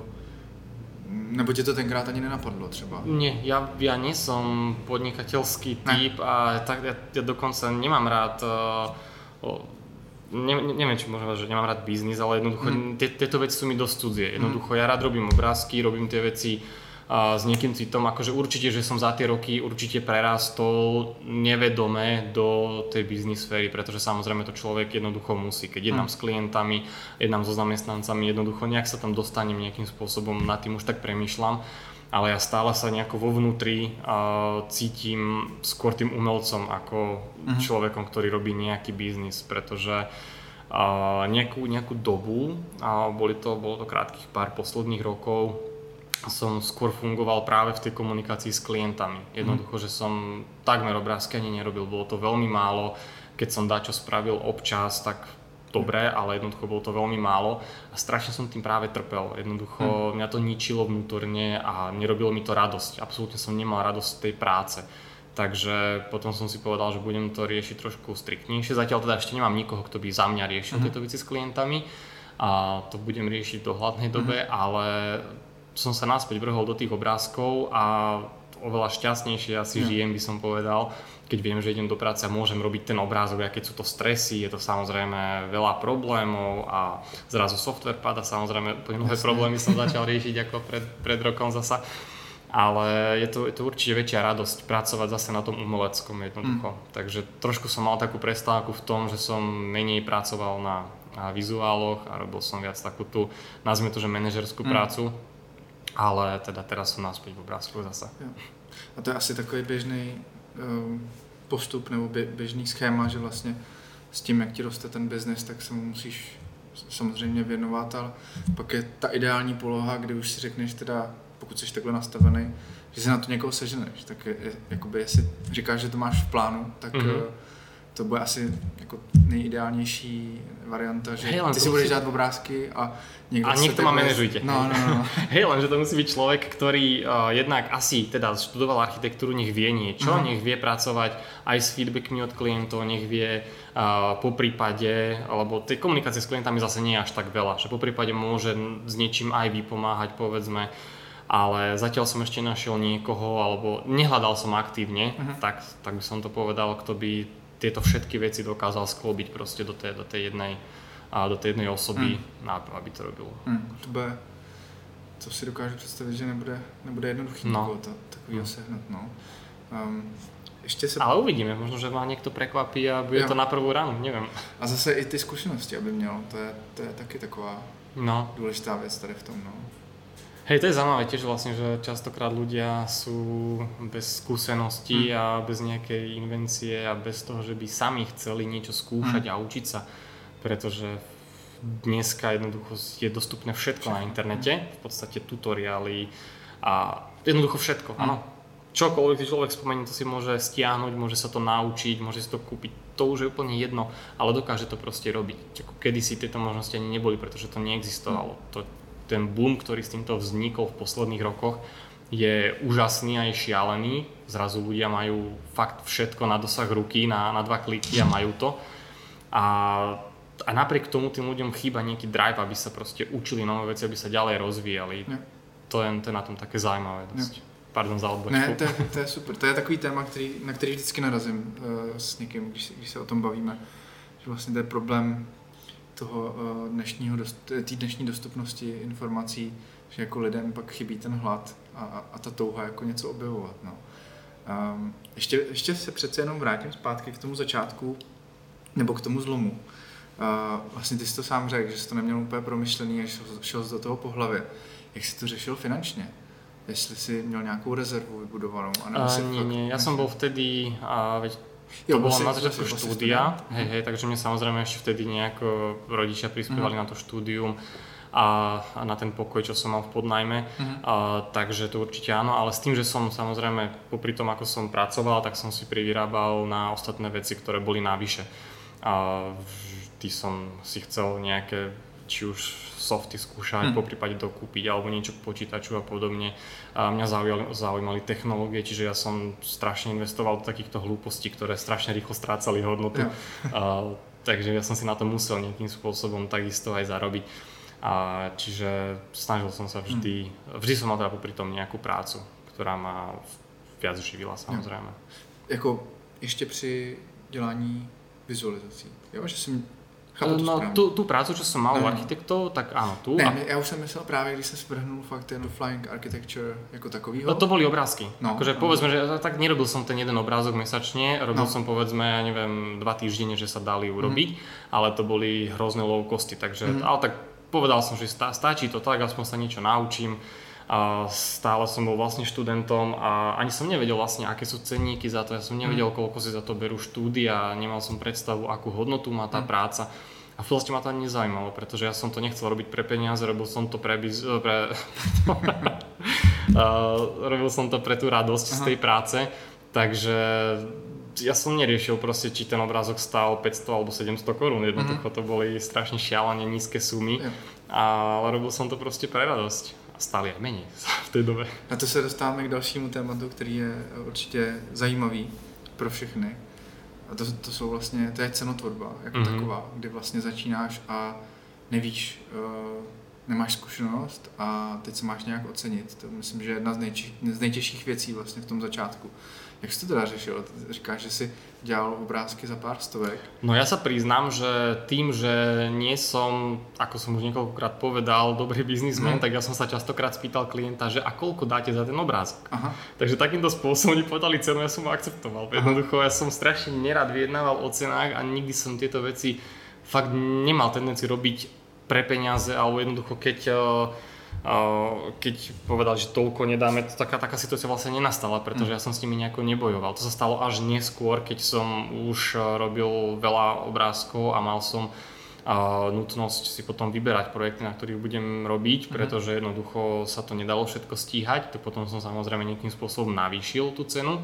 nebo tě to tenkrát ani nenapadlo třeba? Nie, ja, ja nie som podnikateľský typ a tak ja, ja dokonca nemám rád, uh, ne, neviem či môžem povedať, že nemám rád biznis, ale jednoducho mm. tieto veci sú mi dosť cudzie. Jednoducho ja rád robím obrázky, robím tie veci a s niekým citom, akože určite, že som za tie roky určite prerastol nevedome do tej biznis sféry, pretože samozrejme to človek jednoducho musí, keď jednám mm. s klientami, jednám so zamestnancami, jednoducho nejak sa tam dostanem nejakým spôsobom, nad tým už tak premýšľam, ale ja stále sa nejako vo vnútri uh, cítim skôr tým umelcom ako mm. človekom, ktorý robí nejaký biznis, pretože uh, nejakú, nejakú dobu, uh, boli to, bolo to krátkych pár posledných rokov, som skôr fungoval práve v tej komunikácii s klientami. Jednoducho, že som takmer obrázky ani nerobil, bolo to veľmi málo. Keď som dačo spravil občas, tak dobre, ale jednoducho bolo to veľmi málo a strašne som tým práve trpel. Jednoducho hmm. mňa to ničilo vnútorne a nerobilo mi to radosť. Absolútne som nemal radosť z tej práce. Takže potom som si povedal, že budem to riešiť trošku striktnejšie. Zatiaľ teda ešte nemám nikoho, kto by za mňa riešil hmm. tieto veci s klientami a to budem riešiť v dohľadnej dobe, hmm. ale som sa naspäť vrhol do tých obrázkov a oveľa šťastnejšie asi mm. žijem, by som povedal, keď viem, že idem do práce a môžem robiť ten obrázok, a keď sú to stresy, je to samozrejme veľa problémov a zrazu software pada, samozrejme úplne nové problémy som začal riešiť ako pred, pred rokom zasa. Ale je to, je to určite väčšia radosť pracovať zase na tom umeleckom jednoducho. Mm. Takže trošku som mal takú prestávku v tom, že som menej pracoval na, na vizuáloch a robil som viac takú tú, nazvime to, že manažerskú mm. prácu. Ale teda teraz som naspäť v obrázku zase. A to je asi takový běžný um, postup nebo běžný schéma, že vlastně s tím, jak ti roste ten biznes, tak se mu musíš samozřejmě věnovat, ale pak je ta ideální poloha, kdy už si řekneš teda, pokud jsi takhle nastavený, že si na to někoho seženeš, tak je, je, jakoby jestli říkáš, že to máš v plánu, tak mm-hmm. to bude asi jako nejideálnější varianta, že hey, ty si budeš dát obrázky a niekto, a niekto ma manažujte. No, no, no. Hej, lenže to musí byť človek, ktorý uh, jednak asi teda študoval architektúru, nech vie niečo, uh-huh. nech vie pracovať aj s feedbackmi od klientov, nech vie uh, po prípade, alebo tej komunikácie s klientami zase nie je až tak veľa, že po prípade môže s niečím aj vypomáhať, povedzme, ale zatiaľ som ešte našiel niekoho, alebo nehľadal som aktívne, uh-huh. tak, tak by som to povedal, kto by tieto všetky veci dokázal sklobiť proste do tej, do tej jednej a do té jedné osoby, hmm. aby to robilo. Hmm. To bude, co si dokážu představit, že nebude, nebude jednoduchý no. to, takovýho no. sehnat. No. Um, ještě se... Ale uvidíme, možno, že ma niekto prekvapí a bude jo. to na prvú ránu, neviem. A zase i ty zkušenosti, aby měl, to je, to je taky taková no. důležitá věc tady v tom. No. Hej, to je zaujímavé tiež vlastne, že častokrát ľudia sú bez skúseností hmm. a bez nejakej invencie a bez toho, že by sami chceli niečo skúšať hmm. a učiť sa. Pretože dneska jednoducho je dostupné všetko na internete, v podstate tutoriály a jednoducho všetko, áno. čokoľvek si človek spomenie, to si môže stiahnuť, môže sa to naučiť, môže si to kúpiť, to už je úplne jedno, ale dokáže to proste robiť. Kedysi tieto možnosti ani neboli, pretože to neexistovalo. To, ten boom, ktorý s týmto vznikol v posledných rokoch, je úžasný a je šialený. Zrazu ľudia majú fakt všetko na dosah ruky, na, na dva kliky a majú to. A, a napriek tomu tým ľuďom chýba nejaký drive, aby sa proste učili nové veci, aby sa ďalej rozvíjali. Ja. To, je, to je na tom také zaujímavé dosť. Ja. Pardon za odbočku. Ne, to je, to je super. To je takový téma, který, na který vždycky narazím uh, s někým, když, když se o tom bavíme. Že vlastně to je problém toho uh, dnešního, té dnešní dostupnosti informací, že jako lidem pak chybí ten hlad a, a ta touha jako něco objevovat. No. Um, ještě, ještě se přece jenom vrátím zpátky k tomu začátku, nebo k tomu zlomu. Uh, vlastně ty jsi to sám řekl, že jsi to neměl úplně promyšlený a šel, šel jsi do toho po hlavě. Jak jsi to řešil finančně? Jestli si měl nějakou rezervu vybudovanou? Uh, nie, nie, ja som bol vtedy, a veď to jo, bolo na začiatku štúdia, hej, hej, takže mne samozrejme ešte vtedy nejako rodičia prispievali mm. na to štúdium a, a na ten pokoj, čo som mal v podnajme, mm. a, takže to určite áno, ale s tým, že som samozrejme popri tom, ako som pracoval, tak som si privyrábal na ostatné veci, ktoré boli navyše. A vždy som si chcel nejaké, či už softy skúšať, hmm. poprípade dokúpiť alebo niečo k počítaču a podobne. A mňa zaujali, zaujímali technológie, čiže ja som strašne investoval do takýchto hlúpostí, ktoré strašne rýchlo strácali hodnotu. Ja. A, takže ja som si na to musel nejakým spôsobom takisto aj zarobiť. A, čiže snažil som sa vždy, hmm. vždy som mal teda popri tom nejakú prácu, ktorá ma viac živila samozrejme. Ja. Jako ešte pri dělání vizualizací, jo, že som No, tú, tú prácu, čo som mal u architektov, tak áno, tu. Ne, a... ja už som myslel práve, když sa sprhnul fakt ten Flying Architecture ako takovýho. No, to boli obrázky. No, akože no. povedzme, že tak nerobil som ten jeden obrázok mesačne, robil no. som povedzme, ja neviem, dva týždene, že sa dali urobiť, mm. ale to boli hrozné low costy, takže, mm. ale tak povedal som, že stá, stačí to tak, aspoň sa niečo naučím. A stále som bol vlastne študentom a ani som nevedel vlastne, aké sú cenníky za to, ja som nevedel, koľko si za to berú štúdia, nemal som predstavu, akú hodnotu má tá práca a v podstate ma to ani nezaujímalo, pretože ja som to nechcel robiť pre peniaze, robil som to pre, biz... pre... robil som to pre tú radosť Aha. z tej práce, takže ja som neriešil proste, či ten obrázok stál päťsto alebo sedemsto korún, jednoducho to boli strašne šialene nízke sumy, ale robil som to proste pre radosť. A stále aj menej v tej dobe. A to se dostáváme k dalšímu tématu, který je určitě zajímavý pro všechny. A to, to jsou vlastně, to je cenotvorba jako mm-hmm. taková, kdy vlastně začínáš a nevíš, uh, nemáš zkušenost a teď se máš nějak ocenit. To myslím, že je jedna z, nejči, z nejtěžších věcí vlastně v tom začátku. Jak jsi to teda řešil? Říkáš, že si dělal obrázky za pár stovek? No ja sa priznám, že tým, že nie som, ako som už niekoľkokrát povedal, dobrý biznismen, mm. tak ja som sa častokrát spýtal klienta, že a koľko dáte za ten obrázok? Aha. Takže takýmto spôsobom oni povedali cenu, ja som ho akceptoval. Aha. Jednoducho ja som strašne nerad vyjednával o cenách a nikdy som tieto veci fakt nemal tendenciu robiť pre peniaze, alebo jednoducho keď keď povedal, že toľko nedáme, to taká, taká situácia vlastne nenastala, pretože ja som s nimi nejako nebojoval. To sa stalo až neskôr, keď som už robil veľa obrázkov a mal som uh, nutnosť si potom vyberať projekty, na ktorých budem robiť, pretože jednoducho sa to nedalo všetko stíhať, tak potom som samozrejme nejakým spôsobom navýšil tú cenu.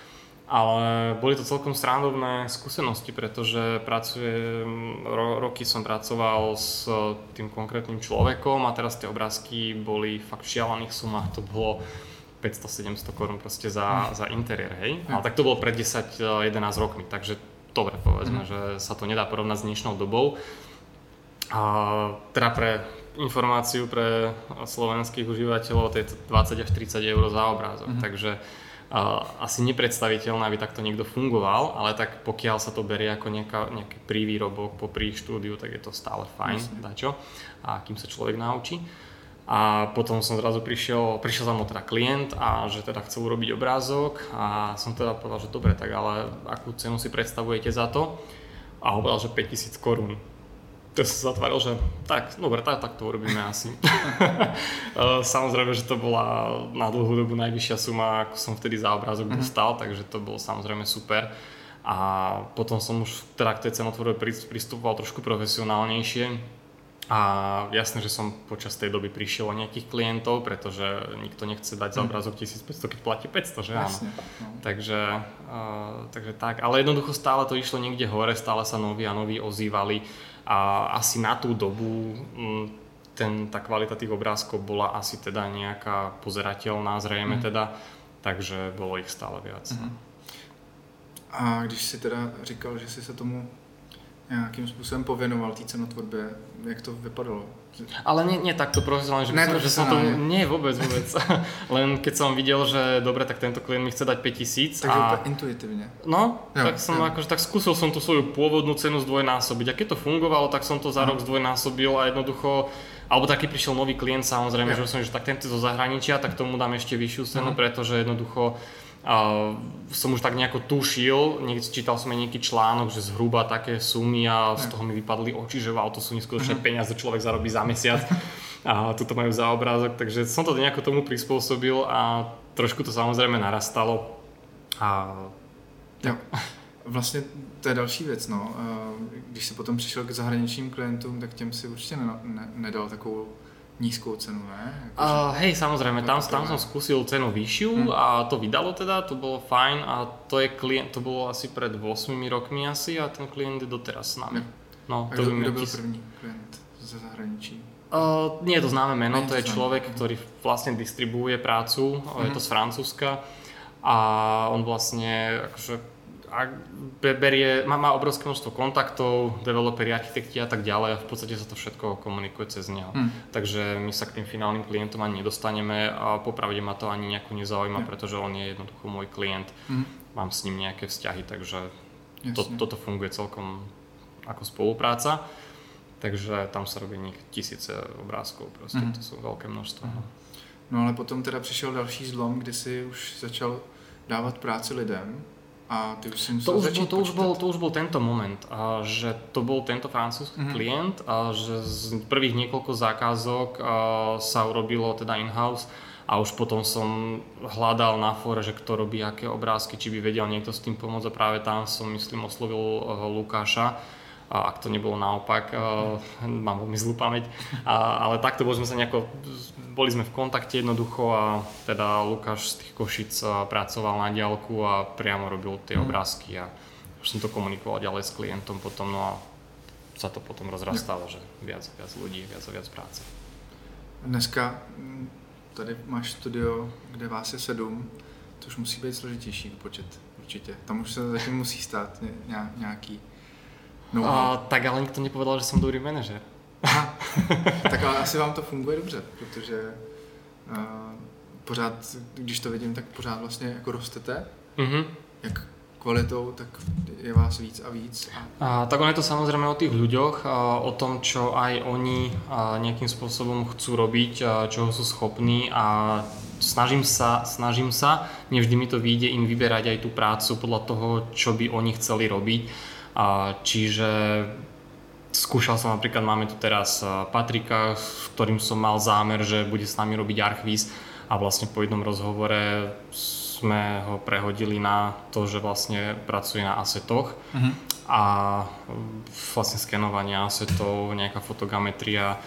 Ale boli to celkom srandovné skúsenosti, pretože pracujem, ro, roky som pracoval s tým konkrétnym človekom a teraz tie obrázky boli fakt v šialených sumách, to bolo päťsto sedemsto korún proste za, za interiér, hej? Ale tak to bolo pred desať jedenásť rokmi, takže dobre povedzme, mm. že sa to nedá porovnať s dnešnou dobou. A teda pre informáciu pre slovenských užívateľov to je dvadsať až tridsať eur za obrázok, mm. takže Uh, asi nepredstaviteľné, aby takto niekto fungoval, ale tak pokiaľ sa to berie ako nejaká, nejaký prívýrobok popri štúdiu, tak je to stále fajn, dačo, a kým sa človek naučí. A potom som zrazu prišiel, prišiel za mnou teda klient a že teda chcel urobiť obrázok a som teda povedal, že dobre, tak ale akú cenu si predstavujete za to? A on povedal, že päťtisíc korún. To som zatváril, že tak, dobre, tak, tak to urobíme asi. Samozrejme, že to bola na dlhú dobu najvyššia suma, ako som vtedy za obrázok dostal, takže to bolo samozrejme super. A potom som už teda k tej cenotvorbe pristupoval trošku profesionálnejšie A jasné, že som počas tej doby prišiel o nejakých klientov, pretože nikto nechce dať za obrázok tisícpäťsto, keď platí päťsto, že áno. Jasne, no. Takže, uh, takže tak, ale jednoducho stále to išlo niekde hore, stále sa noví a noví ozývali a asi na tú dobu m, ten, tá kvalita tých obrázkov bola asi teda nejaká pozerateľná, zrejme mm. teda, takže bolo ich stále viac. Mm. A když si teda říkal, že si se tomu nějakým způsobem pověnoval té cenotvorbě, jak to vypadalo? Ale nie, nie takto profesionálne, že, ne, že som to... Nie, vôbec, vôbec. Len keď som videl, že dobre, tak tento klient mi chce dať päťtisíc. Takže a... úplne intuitívne. No, jo, tak som jo. akože tak skúsil som tú svoju pôvodnú cenu zdvojnásobiť. A keď to fungovalo, tak som to za no. rok zdvojnásobil a jednoducho... Alebo taký prišiel nový klient, samozrejme, jo. že som, že tak tento zo zahraničia, tak tomu dám ešte vyššiu cenu, uh-huh. pretože jednoducho Uh, som už tak nejako tušil, niekde čítal som aj nejaký článok, že zhruba také sumy a z toho mi vypadli oči, že wow, to sú neskutočné uh-huh. peniaze, človek zarobí za mesiac a tuto majú za obrázok, takže som to nejako tomu prispôsobil a trošku to samozrejme narastalo. A... Jo. Vlastně to je další věc, no. Když si potom přišel k zahraničním klientům, tak těm si určitě ne, ne, nedal takovou nízkou cenu, ne? Jako, uh, hej, samozrejme, tam, tam som skúsil cenu vyššiu hmm. a to vydalo teda, to bolo fajn a to je klient, to bolo asi pred ôsmimi rokmi asi a ten klient je doteraz s nami. No, a kdo, kdo byl tis... první klient ze zahraničí? Uh, nie je to známe meno, nie to je známe. Človek, ktorý vlastne distribuuje prácu, hmm. je to z Francúzska a on vlastne akože a berie, má, má obrovské množstvo kontaktov, developeri, architekti a tak ďalej a v podstate sa to všetko komunikuje cez neho. Hmm. Takže my sa k tým finálnym klientom ani nedostaneme a popravde ma to ani nejako nezaujíma, hmm. pretože on je jednoducho môj klient. Hmm. Mám s ním nejaké vzťahy, takže to, toto funguje celkom ako spolupráca. Takže tam sa robí tisíce obrázkov, proste hmm. to sú veľké množstvo. Hmm. No ale potom teda přišel další zlom, kdy si už začal dávat práci lidem. A ty už si musel to, už začít bol, to, už bol, to už bol tento moment, a že to bol tento francúzsky mm-hmm. klient a že z prvých niekoľko zákazok a, sa urobilo teda in-house a už potom som hľadal na fóre, že kto robí aké obrázky, či by vedel niekto s tým pomôcť a práve tam som myslím oslovil uh, Lukáša. A ak to nebolo naopak, uh, mám veľmi zlú pamäť, a, ale takto boli sme sa nejako, boli sme v kontakte jednoducho a teda Lukáš z tých Košic pracoval na diaľku a priamo robil tie obrázky a už som to komunikoval ďalej s klientom potom, no a sa to potom rozrastalo, že viac a viac ľudí, viac a viac práce. Dneska tady máš studio, kde vás je sedm, to už musí být složitější počet, určite. Tam už sa zatím musí stát nějaký. No. A, tak ale nikto nepovedal, že som dobrý manažer. Aha. Tak ale asi vám to funguje dobře, protože uh, pořád, když to vidím, tak pořád vlastně jako rostete. Mm-hmm. Jak kvalitou, tak je vás víc a víc. A... A, tak on je to samozrejme o tých ľuďoch, a, o tom, čo aj oni a, nejakým spôsobom chcú robiť, a, čoho sú schopní a snažím sa, snažím sa, nevždy mi to vyjde im vyberať aj tú prácu podľa toho, čo by oni chceli robiť. A čiže skúšal som napríklad, máme tu teraz Patrika, s ktorým som mal zámer, že bude s nami robiť Archviz a vlastne po jednom rozhovore sme ho prehodili na to, že vlastne pracuje na asetoch uh-huh. a vlastne skenovanie asetov, nejaká fotogrametria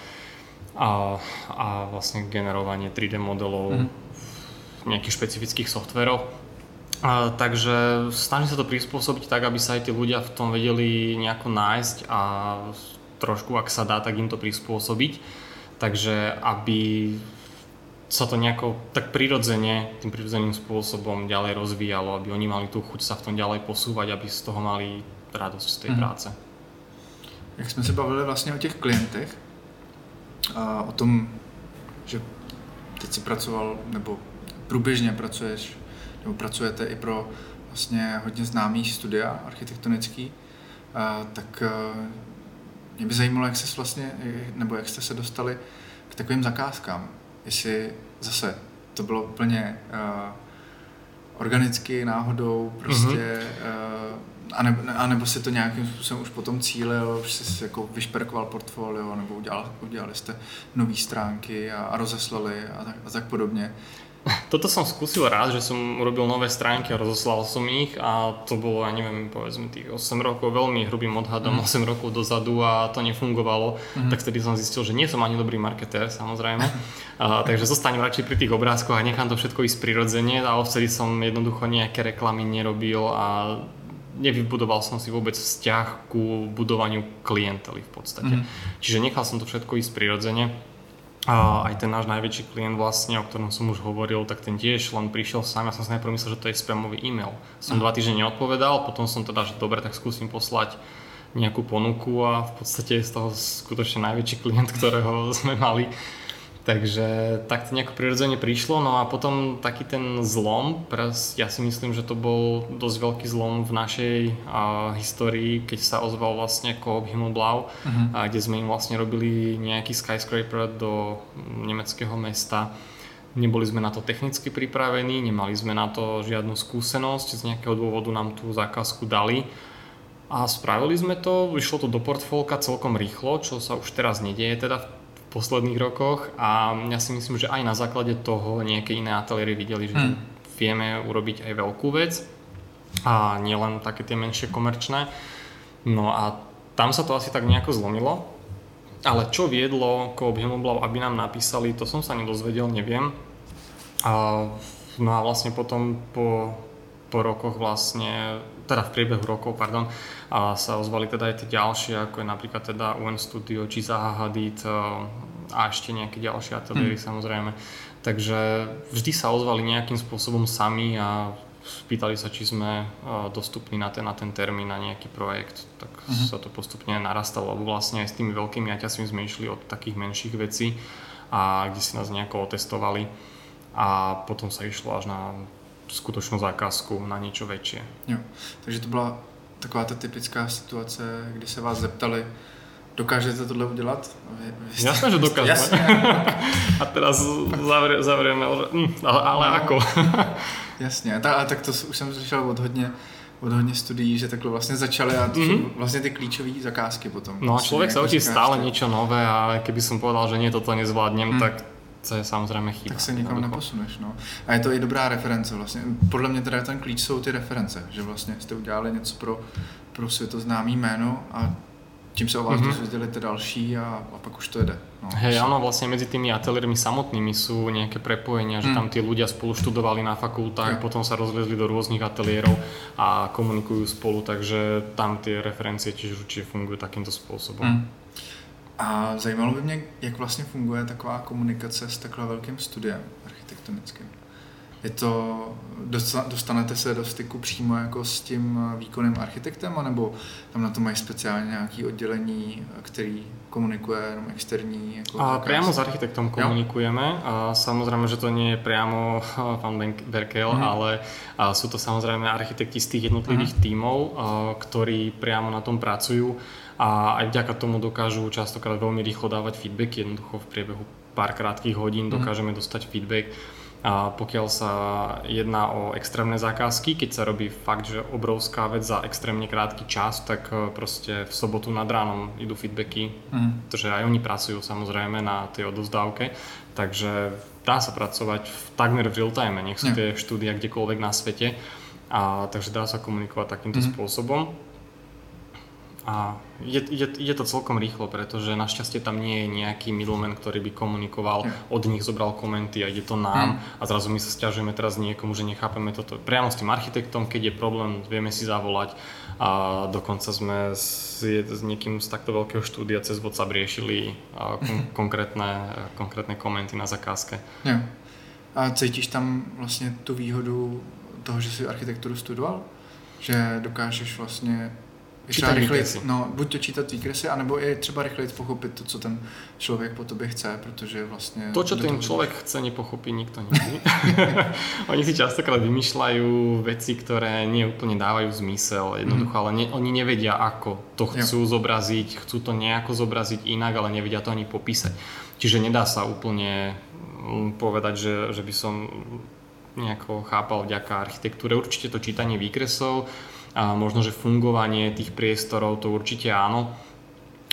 a, a vlastne generovanie tri dé modelov uh-huh. v nejakých špecifických softveroch. A, takže snažím sa to prispôsobiť tak, aby sa aj tí ľudia v tom vedeli nejako nájsť a trošku, ak sa dá, tak im to prispôsobiť. Takže aby sa to nejako tak prirodzene, tým prirodzeným spôsobom ďalej rozvíjalo, aby oni mali tú chuť sa v tom ďalej posúvať, aby z toho mali radosť z tej mm. práce. Jak jsme se bavili vlastně o těch klientech a o tom, že teď si pracoval, nebo průběžně pracuješ nebo pracujete i pro vlastně hodně známý studia architektonický, a, tak a, mě by zajímalo, jak se vlastně, nebo jak jste se dostali k takovým zakázkám. Jestli zase to bylo úplně uh, organicky, náhodou, prostě, mm-hmm. uh, anebo, anebo si to nějakým způsobem už potom cílil, už jsi jako vyšperkoval portfolio, nebo udělal, udělali jste nové stránky a, a rozeslali a tak, a tak podobně. Toto som skúsil raz, že som urobil nové stránky a rozoslal som ich a to bolo, ja neviem, povedzme tých osem rokov, veľmi hrubým odhadom, mm. osem rokov dozadu a to nefungovalo, mm. tak vtedy som zistil, že nie som ani dobrý marketér, samozrejme. a, takže zostanem radšej pri tých obrázkoch a nechám to všetko ísť prirodzene a vtedy som jednoducho nejaké reklamy nerobil a nevybudoval som si vôbec vzťah ku budovaniu klientely v podstate. Mm. Čiže nechal som to všetko ísť prirodzene. A aj ten náš najväčší klient vlastne, o ktorom som už hovoril, tak ten tiež len prišiel sám. Ja som si najprv myslel, že to je spamový e-mail. Som mm. dva týždne neodpovedal, potom som teda, že dobre, tak skúsim poslať nejakú ponuku a v podstate je z toho skutočne najväčší klient, ktorého sme mali. Takže tak to nejako prirodzene prišlo, no a potom taký ten zlom, ja si myslím, že to bol dosť veľký zlom v našej uh, histórii, keď sa ozval vlastne Coop Himmelblau, uh-huh. a kde sme im vlastne robili nejaký skyscraper do nemeckého mesta. Neboli sme na to technicky pripravení, nemali sme na to žiadnu skúsenosť, z nejakého dôvodu nám tú zákazku dali. A spravili sme to, vyšlo to do portfólka celkom rýchlo, čo sa už teraz nedieje teda v posledných rokoch a ja si myslím, že aj na základe toho nejaké iné ateliéry videli, že mm. vieme urobiť aj veľkú vec a nielen také tie menšie komerčné. No a tam sa to asi tak nejako zlomilo, ale čo viedlo Coop Himmelblau, aby nám napísali, to som sa nedozvedel, neviem. A, no a vlastne potom po, po rokoch vlastne, teda v priebehu rokov, pardon, a sa ozvali teda aj tie ďalšie, ako je napríklad teda U N Studio, či Zaha Hadid a ešte nejaké ďalšie ateliéry mm. samozrejme. Takže vždy sa ozvali nejakým spôsobom sami a spýtali sa, či sme dostupní na ten, na ten termín, na nejaký projekt. Tak mm. sa to postupne narastalo, lebo vlastne aj s tými veľkými aťasmi sme išli od takých menších vecí a kde si nás nejako otestovali a potom sa išlo až na skutočnú zákazku, na niečo väčšie. Jo, takže to bola taková ta typická situace, kdy se vás zeptali, dokážete tohle udělat? Vy, vy jste... Jasné, že dokážeme. Jasne. A teraz zavrie, zavrieme, ale, ale no. Ako? Jasně, a, ta, a tak to už jsem slyšel od hodně, od hodně studií, že takhle vlastně začaly a to mm-hmm. jsou vlastně ty klíčové zakázky potom. No a človek sa učí stále niečo nové a keby som povedal, že nie, toto nezvládnem, mm. tak to je samozřejmě chyba. Tak se nikam neposuneš, no. A je to i dobrá reference vlastně. Podle mě teda ten klíč jsou ty reference, že vlastně jste udělali něco pro, pro světoznámý jméno a tím se o vás mm-hmm. dozvěděli ty další a, a pak už to jede. No, Hej, áno, vlastne medzi tými ateliérmi samotnými sú nejaké prepojenia, že mm. tam tí ľudia spolu študovali na fakultách, ja. Potom sa rozvezli do rôznych ateliérov a komunikujú spolu, takže tam tie referencie tiež určite fungujú takýmto spôsobom. Mm. A zajímalo by mě, jak vlastně funguje taková komunikace s takhle velkým studiem architektonickým. Je to, dostanete se do styku přímo jako s tím výkonným architektem, anebo tam na to mají speciálně nějaké oddělení, který komunikuje jenom externí? Jako a priamo s architektom komunikujeme jo? A samozrejme, že to nie je priamo pán Berkel, mm. ale sú to samozrejme architekti z tých jednotlivých mm. tímov, ktorí priamo na tom pracujú a aj vďaka tomu dokážu častokrát veľmi rýchlo dávať feedback, jednoducho v priebehu pár krátkých hodín dokážeme mm. dostať feedback. A pokiaľ sa jedná o extrémne zákazky, keď sa robí fakt, že obrovská vec za extrémne krátky čas, tak proste v sobotu nad ránom idú feedbacky, mm. pretože aj oni pracujú samozrejme na tej odovzdávke, takže dá sa pracovať v, takmer v real time, nech sú tie štúdia kdekoľvek na svete, a takže dá sa komunikovať takýmto mm. spôsobom. A je, je, je to celkom rýchlo, pretože našťastie tam nie je nejaký middleman, ktorý by komunikoval, mm. od nich zobral komenty a ide to nám mm. a zrazu my sa sťažujeme teraz niekomu, že nechápeme toto. Priamo s tým architektom, keď je problém, vieme si zavolať a dokonca sme s, s niekým z takto veľkého štúdia cez WhatsApp riešili kon, konkrétne, konkrétne komenty na zakázke. Jo. A cítíš tam vlastně tu výhodu toho, že si architekturu studoval? Že dokážeš vlastně čítať výkresy. No, buď to čítať výkresy, anebo je třeba rychleji pochopit to, co ten člověk po tobě chce, protože vlastně... To, čo ten človek chce, nepochopí nikto nikdy. Oni si častokrát vymýšľajú veci, ktoré nie úplne dávajú zmysel, jednoducho, mm. ale ne, oni nevedia, ako to chcú jo. zobraziť, chcú to nejako zobraziť inak, ale nevedia to ani popísať. Čiže nedá sa úplne povedať, že, že by som nejako chápal vďaka architektúre. Určite to čítanie výkresov, a možno, že fungovanie tých priestorov, to určite áno.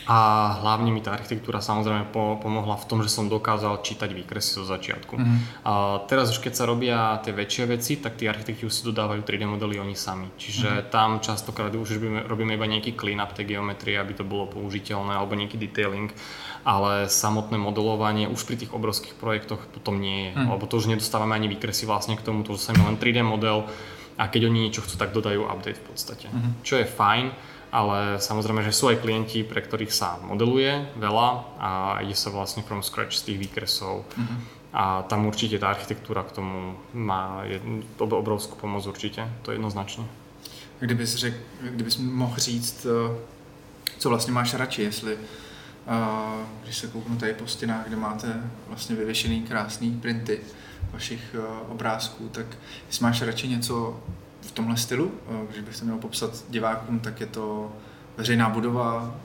A hlavne mi tá architektúra samozrejme po, pomohla v tom, že som dokázal čítať výkresy zo začiatku. Mm-hmm. A teraz už keď sa robia tie väčšie veci, tak tí architekti už si dodávajú tri dé modely oni sami. Čiže mm-hmm. tam častokrát už robíme, robíme iba nejaký clean-up tej geometrie, aby to bolo použiteľné, alebo nejaký detailing. Ale samotné modelovanie už pri tých obrovských projektoch potom nie je. Mm. Lebo to už nedostávame ani výkresy vlastne k tomu, to už sa len tri dé model a keď oni niečo chcú, tak dodajú update v podstate. Mm. Čo je fajn. Ale samozrejme, že sú aj klienti, pre ktorých sa modeluje veľa a ide sa vlastne from scratch z tých výkresov. Mm-hmm. A tam určite tá architektúra k tomu má obrovskú pomoc určite, to je jednoznačně. Kdybys řek, kdybys mohl říct, co vlastně máš radši, jestli když se kouknu tady po stěnách, kde máte vlastně vyvěšený krásný printy vašich obrázků, tak jestli máš radši něco v tomhle stylu, když bych to měl popsat divákům, tak je to veřejná budova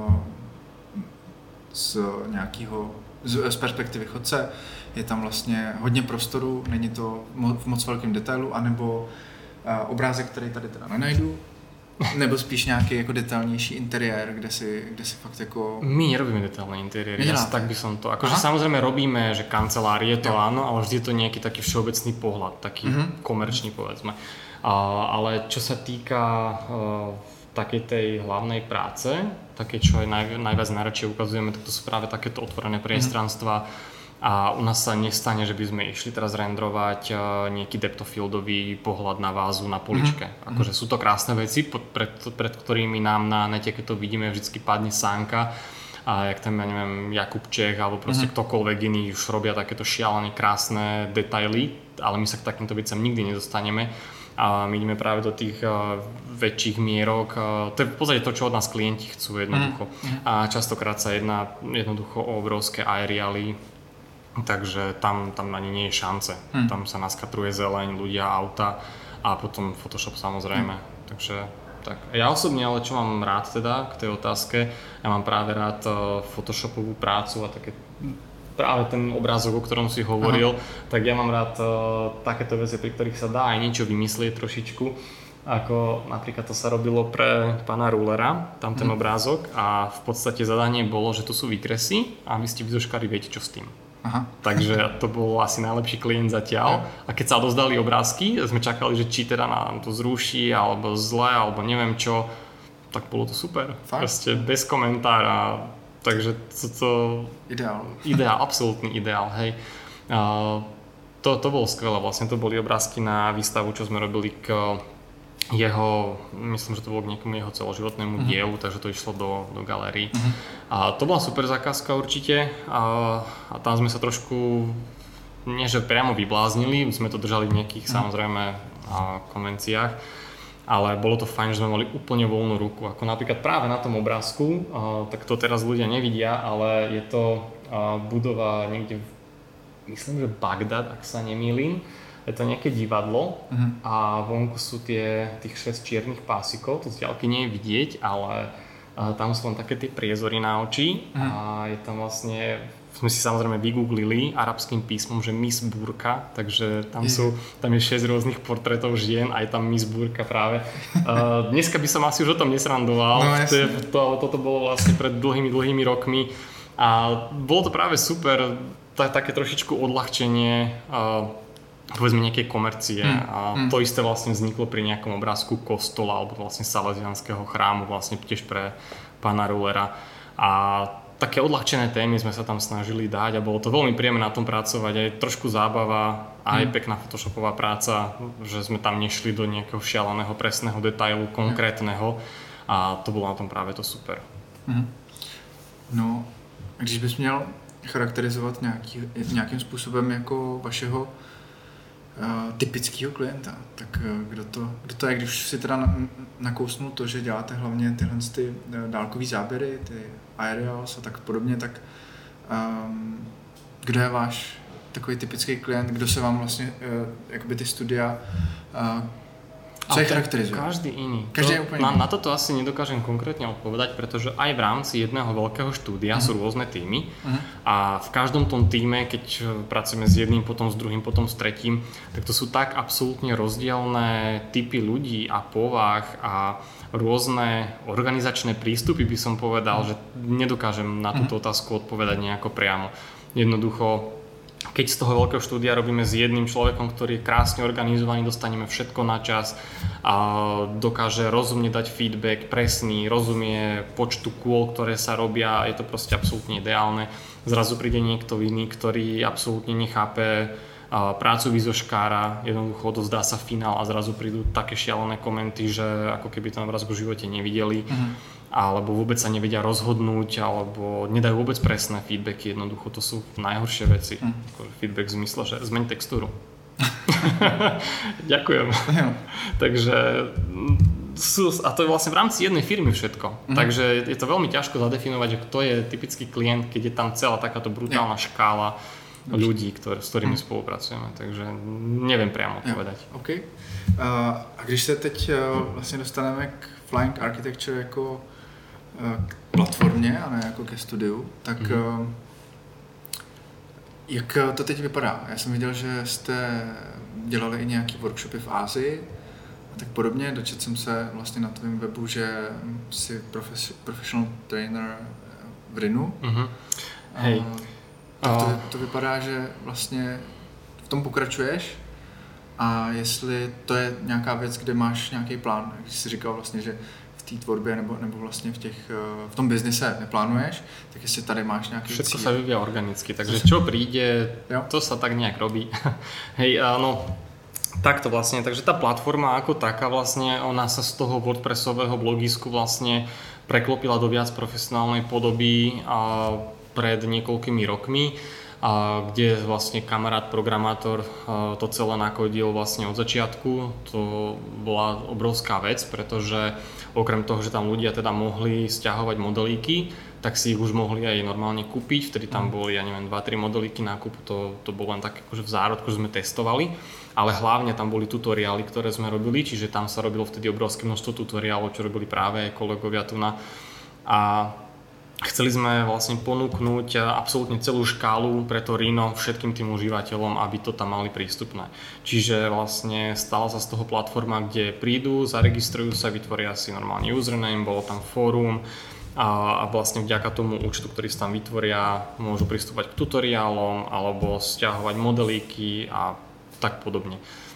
z nějakého, z perspektivy chodce, je tam vlastně hodně prostoru, není to v moc velkém detailu, anebo obrázek, který tady teda nenajdu, nebo spíš nějaký jako detailnější interiér, kde si, kde si fakt jako... My nerobíme detailné interiéry, ja tak by som to... Akože samozrejme robíme, že kancelár je to, jo. Áno, ale vždy je to nejaký taký všeobecný pohľad, taký mm-hmm. komerčný povedzme. A, ale čo sa týka uh, takej tej hlavnej práce, také čo aj naj, najviac najradšej ukazujeme, tak to sú práve takéto otvorené priestranstva. Mm-hmm. A u nás sa nestane, že by sme išli teraz rendrovať nejaký depthofieldový pohľad na vázu na poličke. Mm-hmm. Akože sú to krásne veci, pred, pred ktorými nám na nete, keď to vidíme, vždycky padne sánka. A jak tam, ja neviem, Jakub Čech alebo proste mm-hmm. ktokoľvek iný už robia takéto šialené krásne detaily, ale my sa k takýmto veciam nikdy nedostaneme. A my ideme práve do tých uh, väčších mierok. Uh, to je v podstate to, čo od nás klienti chcú jednoducho. Mm-hmm. A častokrát sa jedná jednoducho o obrovské areály. Takže tam, tam ani nie je šance. Hmm. Tam sa naskatruje zeleň, ľudia, auta a potom Photoshop samozrejme. Hmm. Takže tak. Ja osobne, ale čo mám rád teda k tej otázke, ja mám práve rád uh, Photoshopovú prácu a také práve ten obrázok, o ktorom si hovoril, aha. tak ja mám rád uh, takéto veci, pri ktorých sa dá aj niečo vymyslieť trošičku. Ako napríklad to sa robilo pre pána Rulera, tam ten hmm. obrázok a v podstate zadanie bolo, že tu sú výkresy a vy ste vyzoškali, viete čo s tým. Aha. Takže to bol asi najlepší klient zatiaľ. A keď sa odozdali obrázky, sme čakali, že či teda nám to zruší, alebo zle, alebo neviem čo, tak bolo to super. Fakt? Proste bez komentára. Takže to... to ideál. Ideál, absolútny ideál, hej. Uh, to, to bolo skvelé, vlastne to boli obrázky na výstavu, čo sme robili k jeho, myslím, že to bolo k nejakému jeho celoživotnému uh-huh. dielu, takže to išlo do, do galérií. Uh-huh. A to bola super zákazka určite a, a tam sme sa trošku, nie že priamo vybláznili, sme to držali v nejakých uh-huh. samozrejme a, konvenciách, ale bolo to fajn, že sme mali úplne voľnú ruku. Ako napríklad práve na tom obrázku, a, tak to teraz ľudia nevidia, ale je to a, budova niekde, myslím, že Bagdad, ak sa nemýlim. Je to nejaké divadlo uh-huh. a vonku sú tie, tých šesť čiernych pásikov, to z diaľky nie je vidieť, ale uh, tam sú len také tie priezory na oči uh-huh. a je tam vlastne, sme si samozrejme vygooglili arabským písmom, že Miss Burka, takže tam sú, tam je šesť rôznych portrétov žien a je tam Miss Burka práve. Uh, dneska by som asi už o tom nesrandoval, no, to, to, toto bolo vlastne pred dlhými, dlhými rokmi a bolo to práve super, t- také trošičku odľahčenie uh, povedzme nejakej komercie mm, a mm. to isté vlastne vzniklo pri nejakom obrázku kostola alebo vlastne salesianského chrámu vlastne tiež pre pána Rulera a také odľahčené témy sme sa tam snažili dať a bolo to veľmi príjemné na tom pracovať, aj trošku zábava, aj mm. pekná photoshopová práca, že sme tam nešli do nejakého šialeného presného detailu konkrétneho a to bolo na tom práve to super. Mm. No, když bys měl charakterizovat nějaký, nějakým způsobem jako vašeho Uh, typického klienta, tak uh, kdo, to, kdo to je, když si teda na, nakousnul to, že děláte hlavně tyhle ty uh, dálkový záběry, ty aerials a tak podobně, tak um, kdo je váš takový typický klient, kdo se vám vlastně uh, jakoby ty studia uh, Co je charakterizuje? Každý iný. Každý to, na, na toto asi nedokážem konkrétne odpovedať, pretože aj v rámci jedného veľkého štúdia uh-huh. sú rôzne týmy uh-huh. a v každom tom týme, keď pracujeme s jedným, potom s druhým, potom s tretím, tak to sú tak absolútne rozdielne typy ľudí a povah a rôzne organizačné prístupy, by som povedal, uh-huh. že nedokážem na túto otázku odpovedať nejako priamo. Jednoducho, keď z toho veľkého štúdia robíme s jedným človekom, ktorý je krásne organizovaný, dostaneme všetko na čas a dokáže rozumne dať feedback, presný, rozumie počtu kôl, ktoré sa robia, je to proste absolútne ideálne. Zrazu príde niekto iný, ktorý absolútne nechápe prácu výzoškára, jednoducho odozdá sa finál a zrazu prídu také šialené komenty, že ako keby ten obraz v živote nevideli. Mm-hmm. alebo vôbec sa nevedia rozhodnúť, alebo nedajú vôbec presné feedbacky, jednoducho to sú najhoršie veci. Mm. Feedback v zmysle, že zmeň textúru. Ďakujem. Takže sú, a to je vlastne v rámci jednej firmy všetko. Mm. Takže je to veľmi ťažko zadefinovať, že kto je typický klient, keď je tam celá takáto brutálna yeah. škála ľudí, ktoré, s ktorými mm. spolupracujeme. Takže neviem priamo povedať. Yeah. Okay. Uh, a když se teď uh, vlastně dostaneme k Flying Architecture jako k platformě a ne jako ke studiu, tak mm-hmm. jak to teď vypadá? Já jsem viděl, že jste dělali i nějaký workshopy v Ázii a tak podobně. Dočetl jsem se vlastně na tvém webu, že jsi profes- professional trainer v Rinu. Mm-hmm. Hej. Tak to, to vypadá, že vlastně v tom pokračuješ a jestli to je nějaká věc, kde máš nějaký plán, jak jsi říkal vlastně, že v té tvorbě nebo, nebo vlastně v, těch, v tom biznise neplánuješ, tak jestli tady máš nějaký Všetko cíl. sa vyvíja organicky, takže čo príde, jo. to sa tak nejak robí. Hej, áno, takto vlastne, takže tá platforma ako taká vlastne, ona sa z toho WordPressového blogisku vlastne preklopila do viac profesionálnej podoby a pred niekoľkými rokmi, a kde vlastne kamarát programátor to celé nakodil vlastne od začiatku. To bola obrovská vec, pretože okrem toho, že tam ľudia teda mohli sťahovať modelíky, tak si ich už mohli aj normálne kúpiť. Vtedy tam boli, ja neviem, dva tri modelíky na kúp, to, to bolo len tak akože v zárodku, že sme testovali. Ale hlavne tam boli tutoriály, ktoré sme robili, čiže tam sa robilo vtedy obrovské množstvo tutoriálov, čo robili práve kolegovia tu na. A chceli sme vlastne ponúknuť absolútne celú škálu pre to Rhino všetkým tým užívateľom, aby to tam mali prístupné. Čiže vlastne stala sa z toho platforma, kde prídu, zaregistrujú sa, vytvoria si normálne username, bolo tam fórum a, a vlastne vďaka tomu účtu, ktorý si tam vytvoria, môžu pristúpať k tutoriálom alebo stiahovať modelíky a tak podobne.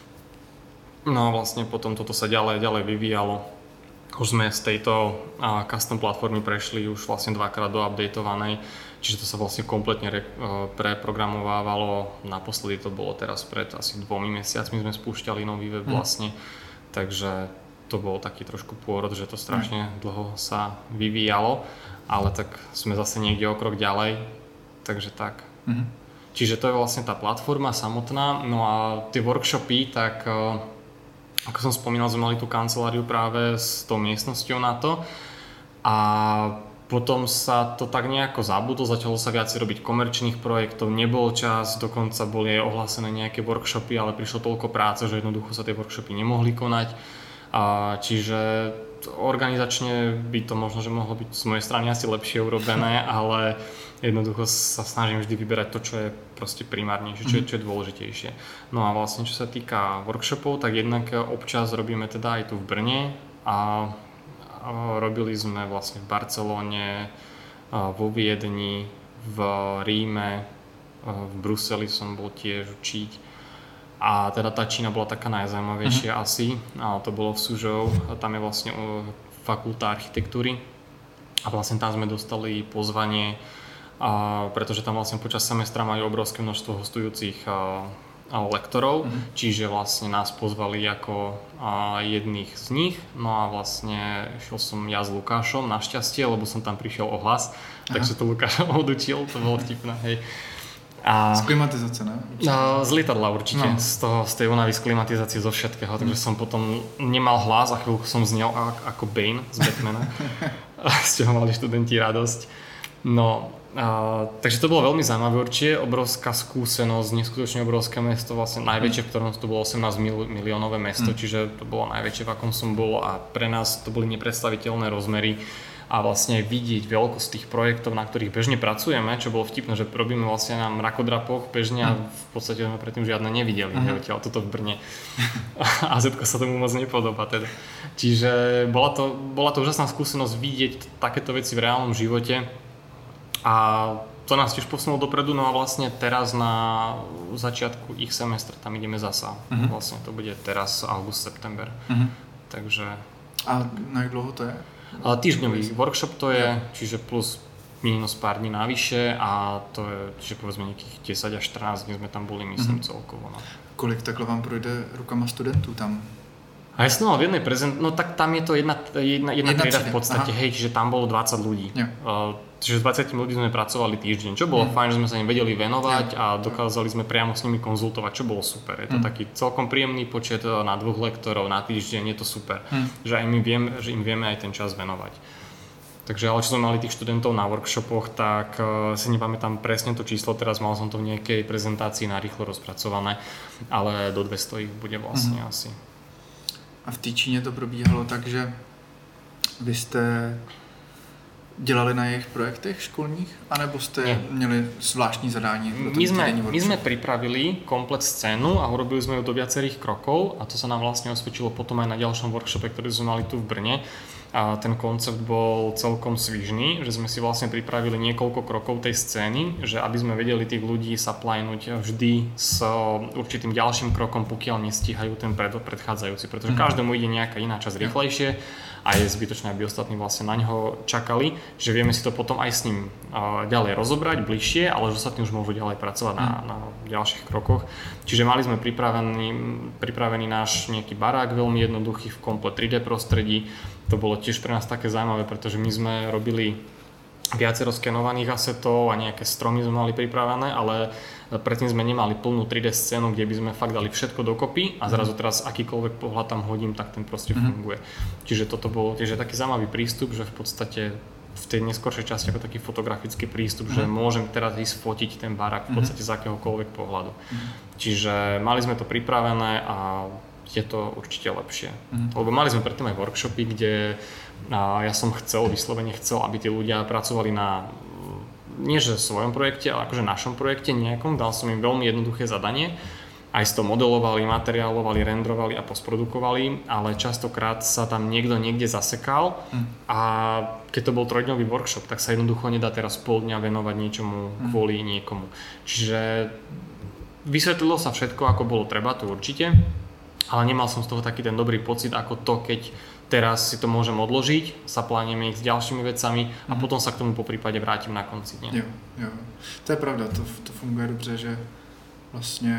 No a vlastne potom toto sa ďalej, ďalej vyvíjalo. Už sme z tejto uh, custom platformy prešli už vlastne dvakrát do updateovanej, čiže to sa vlastne kompletne re, uh, preprogramovávalo. Naposledy to bolo teraz pred asi dvomi mesiacmi sme spúšťali nový web vlastne, mm. takže to bol taký trošku pôrod, že to strašne mm. dlho sa vyvíjalo, ale tak sme zase niekde o krok ďalej, takže tak. Mm. Čiže to je vlastne tá platforma samotná, no a tie workshopy, tak uh, ako som spomínal, sme mali tú kanceláriu práve s tou miestnosťou na to a potom sa to tak nejako zabudlo, začalo sa viac robiť komerčných projektov, nebol čas, dokonca boli aj ohlásené nejaké workshopy, ale prišlo toľko práce, že jednoducho sa tie workshopy nemohli konať. A čiže organizačne by to možno, že mohlo byť z mojej strany asi lepšie urobené, ale jednoducho sa snažím vždy vyberať to, čo je proste primárnejšie, čo je, čo je dôležitejšie. No a vlastne čo sa týka workshopov, tak jednak občas robíme teda aj tu v Brne a robili sme vlastne v Barcelone, vo Viedni, v Ríme, v Bruseli som bol tiež učiť. A teda tá Čína bola taká najzaujímavejšia uh-huh. asi, a to bolo v Suzhou, tam je vlastne fakulta architektúry a vlastne tam sme dostali pozvanie, a pretože tam vlastne počas semestra majú obrovské množstvo hostujúcich a, a lektorov, uh-huh. čiže vlastne nás pozvali ako a, jedných z nich, no a vlastne šiel som ja s Lukášom, našťastie, lebo som tam prišiel o hlas, uh-huh. takže to Lukáš odučil, to bolo vtipné, hej. A, z klimatizace, ne? No, z lietadla určite, no. z, toho, z tej únavy, z klimatizácie, zo všetkého, mm. takže som potom nemal hlas a chvíľku som znel ako Bane z Batmana. Z čoho mali študenti radosť. No, a, takže to bolo veľmi zaujímavé určite, obrovská skúsenosť, neskutočne obrovské mesto, vlastne najväčšie, v ktorom to bolo osemnásť miliónové mesto, mm. čiže to bolo najväčšie, v akom som bol a pre nás to boli nepredstaviteľné rozmery a vlastne vidieť veľkosť tých projektov, na ktorých bežne pracujeme, čo bolo vtipné, že robíme vlastne na mrakodrapoch bežne a v podstate sme predtým žiadne nevideli, mm. odtiaľ toto v Brne. A Zetko sa tomu moc nepodobá teda. Čiže bola to, bola to úžasná skúsenosť vidieť takéto veci v reálnom živote. A to nás tiež posunulo dopredu, no a vlastne teraz na začiatku ich semestra tam ideme zasa. Uh-huh. Vlastne to bude teraz august, september. Uh-huh. Takže... A na jak dlouho to je? Týždňový workshop to je, čiže plus minus pár dní navyše a to je, čiže povedzme nejakých desať až štrnásť dní sme tam boli, myslím, uh-huh. celkovo. No. Kolik takhle vám projde rukama studentů tam? A ja som mal v jednej prezent, no tak tam je to jedna, jedna, jedna, jedna trieda v podstate, aha. hej, čiže tam bolo dvadsať ľudí. Uh, čiže s dvadsiatimi ľuďmi sme pracovali týždeň, čo bolo mm. fajn, že sme sa im vedeli venovať ja. a dokázali sme priamo s nimi konzultovať, čo bolo super. Je to mm. taký celkom príjemný počet na dvoch lektorov na týždeň, je to super, mm. že, aj my viem, že im vieme aj ten čas venovať. Takže ale čo sme mali tých študentov na workshopoch, tak uh, si nepamätám presne to číslo, teraz mal som to v nejakej prezentácii narýchlo rozpracované, ale do dvesto ich bude vlastne mm. asi. A v té Číně to probíhalo tak, že vy jste dělali na jejich projektech školních, anebo jste Nie. měli zvláštní zadání? My sme, my sme pripravili komplet scénu a urobili sme ju do viacerých krokov a to sa nám vlastne osvedčilo potom aj na ďalšom workshope, ktorý sme mali tu v Brne. A ten koncept bol celkom svižný, že sme si vlastne pripravili niekoľko krokov tej scény, že aby sme vedeli tých ľudí supplynuť vždy s určitým ďalším krokom, pokiaľ nestíhajú ten pred, predchádzajúci, pretože mm. každému ide nejaká iná časť rýchlejšie a je zbytočné, aby ostatní vlastne na ňoho čakali, že vieme si to potom aj s ním uh, ďalej rozobrať bližšie, ale že ostatní už môžu ďalej pracovať mm. na, na ďalších krokoch. Čiže mali sme pripravený, pripravený náš nejaký barák, veľmi jednoduchý v komplet tri dé prostredí. To bolo tiež pre nás také zaujímavé, pretože my sme robili viacero skenovaných asetov a nejaké stromy sme mali pripravené, ale predtým sme nemali plnú tri dé scénu, kde by sme fakt dali všetko dokopy a zrazu teraz akýkoľvek pohľad tam hodím, tak ten proste mm-hmm. funguje. Čiže toto bol tiež taký zaujímavý prístup, že v podstate v tej neskoršej časti ako taký fotografický prístup, mm-hmm. že môžem teraz ísť fotiť ten barák v podstate mm-hmm. z akéhokoľvek pohľadu. Mm-hmm. Čiže mali sme to pripravené a je to určite lepšie. Mm. Lebo mali sme predtým aj workshopy, kde a ja som chcel, vyslovene chcel, aby tí ľudia pracovali na nie že svojom projekte, ale akože našom projekte nejakom. Dal som im veľmi jednoduché zadanie. Aj si to modelovali, materiálovali, rendrovali a postprodukovali, ale častokrát sa tam niekto niekde zasekal mm. a keď to bol trojdňový workshop, tak sa jednoducho nedá teraz pol dňa venovať niečomu mm. kvôli niekomu. Čiže vysvetlilo sa všetko, ako bolo treba, to určite. Ale nemal som z toho taký ten dobrý pocit, ako to, keď teraz si to môžem odložiť, zaplánime ich s ďalšími vecami a mm. potom sa k tomu po prípade vrátim na konci dňa. Jo, jo. To je pravda, to, to funguje dobře, že vlastně,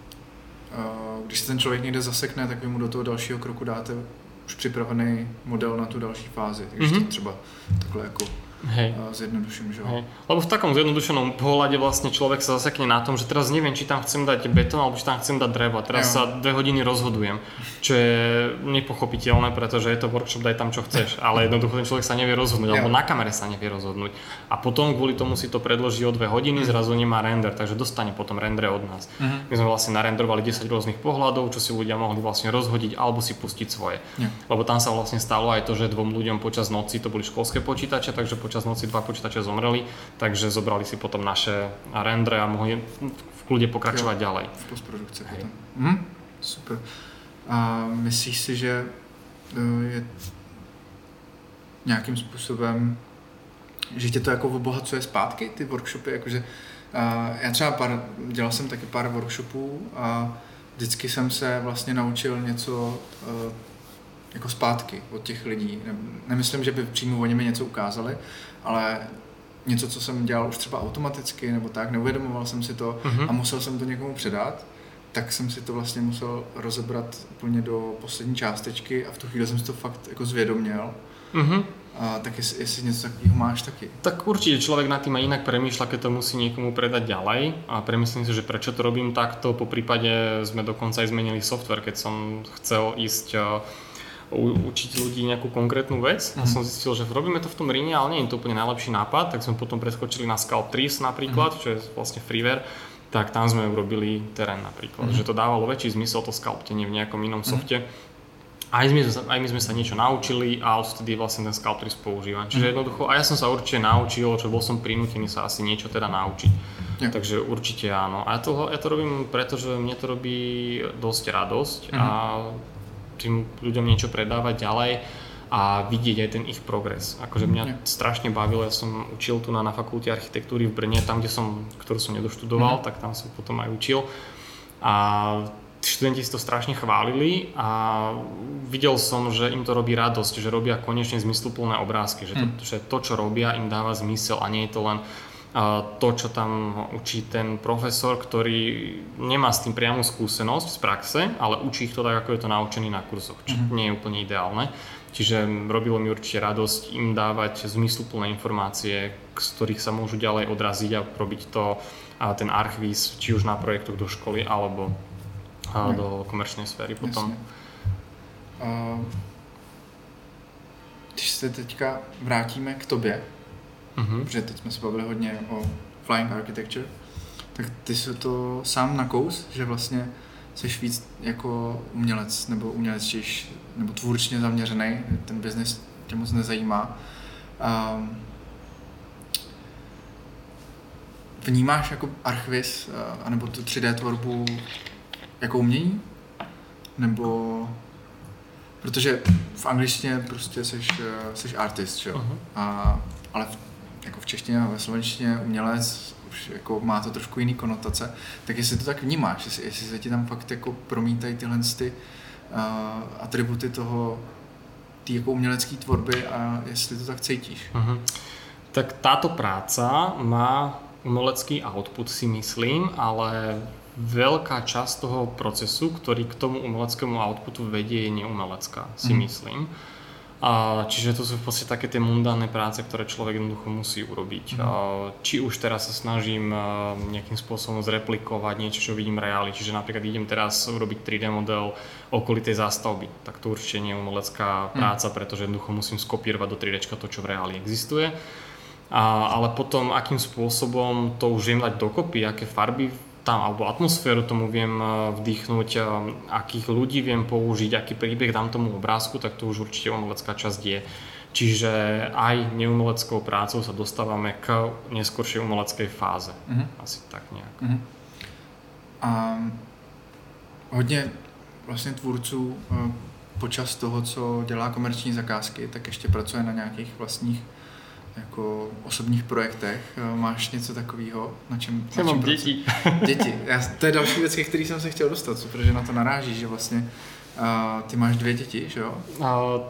uh, když se ten člověk někde zasekne, tak vy mu do toho dalšího kroku dáte už připravený model na tu další fázi, takže mm-hmm. to třeba takhle jako Hej. zjednoduším, že? Hej. Lebo v takom zjednodušenom pohľade vlastne človek sa zasekne na tom, že teraz neviem, či tam chcem dať betón alebo či tam chcem dať drevo. Teraz jo. sa dve hodiny rozhodujem, čo je nepochopiteľné, pretože je to workshop, daj tam čo chceš, ale jednoducho ten človek sa nevie rozhodnúť, jo. alebo na kamere sa nevie rozhodnúť. A potom kvôli tomu si to predloží o dve hodiny, mm. zrazu nemá render, takže dostane potom rendre od nás. Mm. My sme vlastne narendrovali desať rôznych pohľadov, čo si ľudia mohli vlastne rozhodiť alebo si pustiť svoje. Jo. Lebo tam sa vlastne stalo aj to, že dvom ľuďom počas noci, to boli školské počítače, takže počas noci dva počítače zomreli, takže zobrali si potom naše rendre a mohli v kľude pokračovať jo, ďalej. V postprodukci potom. Mhm, super. A myslíš si, že je nějakým způsobem, že tě to jako obohacuje zpátky, ty workshopy, jakože já třeba pár, dělal jsem taky pár workshopů a vždycky jsem se vlastně naučil něco jako zpátky od těch lidí. Nemyslím, že by přímo oni mi něco ukázali, ale něco, co jsem dělal už třeba automaticky nebo tak, neuvědomoval jsem si to mm-hmm. a musel jsem to někomu předat, tak jsem si to vlastně musel rozebrat úplně do poslední částečky a v tu chvíli jsem si to fakt jako zvědoměl. Mm-hmm. A tak jestli, jestli něco takového máš taky. Tak určite človek nad tým aj inak premýšľa, keď to musí niekomu predať ďalej a premyslím si, že prečo to robím takto, po prípade sme dokonca aj zmenili software, keď som chcel ísť učiť ľudí nejakú konkrétnu vec mm-hmm. a som zistil, že robíme to v tom Ríne, ale nie je to úplne najlepší nápad, tak sme potom preskočili na Sculptris napríklad, mm-hmm. čo je vlastne freeware, tak tam sme urobili terén napríklad, mm-hmm. že to dávalo väčší zmysel to sculptenie v nejakom inom mm-hmm. softe. Aj my, aj my sme sa niečo naučili a odtedy vlastne ten Sculptris používam. Čiže jednoducho, a ja som sa určite naučil, čo bol som prinútený sa asi niečo teda naučiť. Ja. Takže určite áno. A ja to, ja to robím, pretože mne to robí dosť radosť mm-hmm. a tým ľuďom niečo predávať ďalej a vidieť aj ten ich progres. Akože mňa ja. strašne bavilo, ja som učil tu na, na fakulte architektúry v Brne, tam, kde som, ktorú som nedoštudoval, mm-hmm. tak tam som potom aj učil. A študenti si to strašne chválili a videl som, že im to robí radosť, že robia konečne zmysluplné obrázky, že to, mm. že to, čo robia, im dáva zmysel a nie je to len uh, to, čo tam učí ten profesor, ktorý nemá s tým priamu skúsenosť z praxe, ale učí ich to tak, ako je to naučený na kurzoch, čo mm. nie je úplne ideálne. Čiže robilo mi určite radosť im dávať zmysluplné informácie, z ktorých sa môžu ďalej odraziť a robiť to, uh, ten archvíz, či už na projektoch do školy, alebo a do komerčnej sféry potom. Uh, když se teďka vrátíme k tobě, uh-huh. protože teď jsme se bavili hodně o Flying Architecture, tak ty jsi to sám nakous, že vlastně jsi víc jako umělec nebo umělečtější nebo tvůrčně zaměřený, ten biznis tě moc nezajímá. Uh, vnímáš jako archviz uh, anebo tu tři dé tvorbu jako umění? Nebo... Protože v angličtině prostě jsi, jsi artist, jo? Uh-huh. A, ale v, jako v češtině a ve slovenštině umělec už jako má to trošku jiný konotace. Tak jestli to tak vnímáš, jestli, jestli se ti tam fakt jako promítají tyhle ty, uh, atributy toho, té jako umělecké tvorby a jestli to tak cítíš. Uh-huh. Tak táto práca má umelecký output, si myslím, ale veľká časť toho procesu, ktorý k tomu umeleckému outputu vedie, je neumelecká, si mm. myslím. A, čiže to sú v podstate také tie mundánne práce, ktoré človek jednoducho musí urobiť. Mm. A, či už teraz sa snažím a, nejakým spôsobom zreplikovať niečo, čo vidím v reáli. Čiže napríklad idem teraz urobiť tri dé model okolitej zástavby. Tak to určite nie je umelecká práca, mm. pretože jednoducho musím skopírovať do tri déčka to, čo v reáli existuje. A, ale potom, akým spôsobom to už viem dať dokopy, aké farby tam, alebo atmosféru tomu viem vdýchnuť, akých ľudí viem použiť, aký príbeh dám tomu obrázku, tak to už určite umelecká časť je. Čiže aj neumeleckou prácou sa dostávame k neskoršej umeleckej fáze. Mm-hmm. Asi tak nejak. Mm-hmm. A hodně vlastně tvůrců počas toho, co dělá komerční zakázky, tak ještě pracuje na nějakých vlastních jako osobních projektech. Máš něco takového, na čem... Já mám děti. Děti. Já, to je další věc, ke který jsem se chtěl dostat, protože na to naráží, že vlastně uh, ty máš dvě děti, že jo? Uh,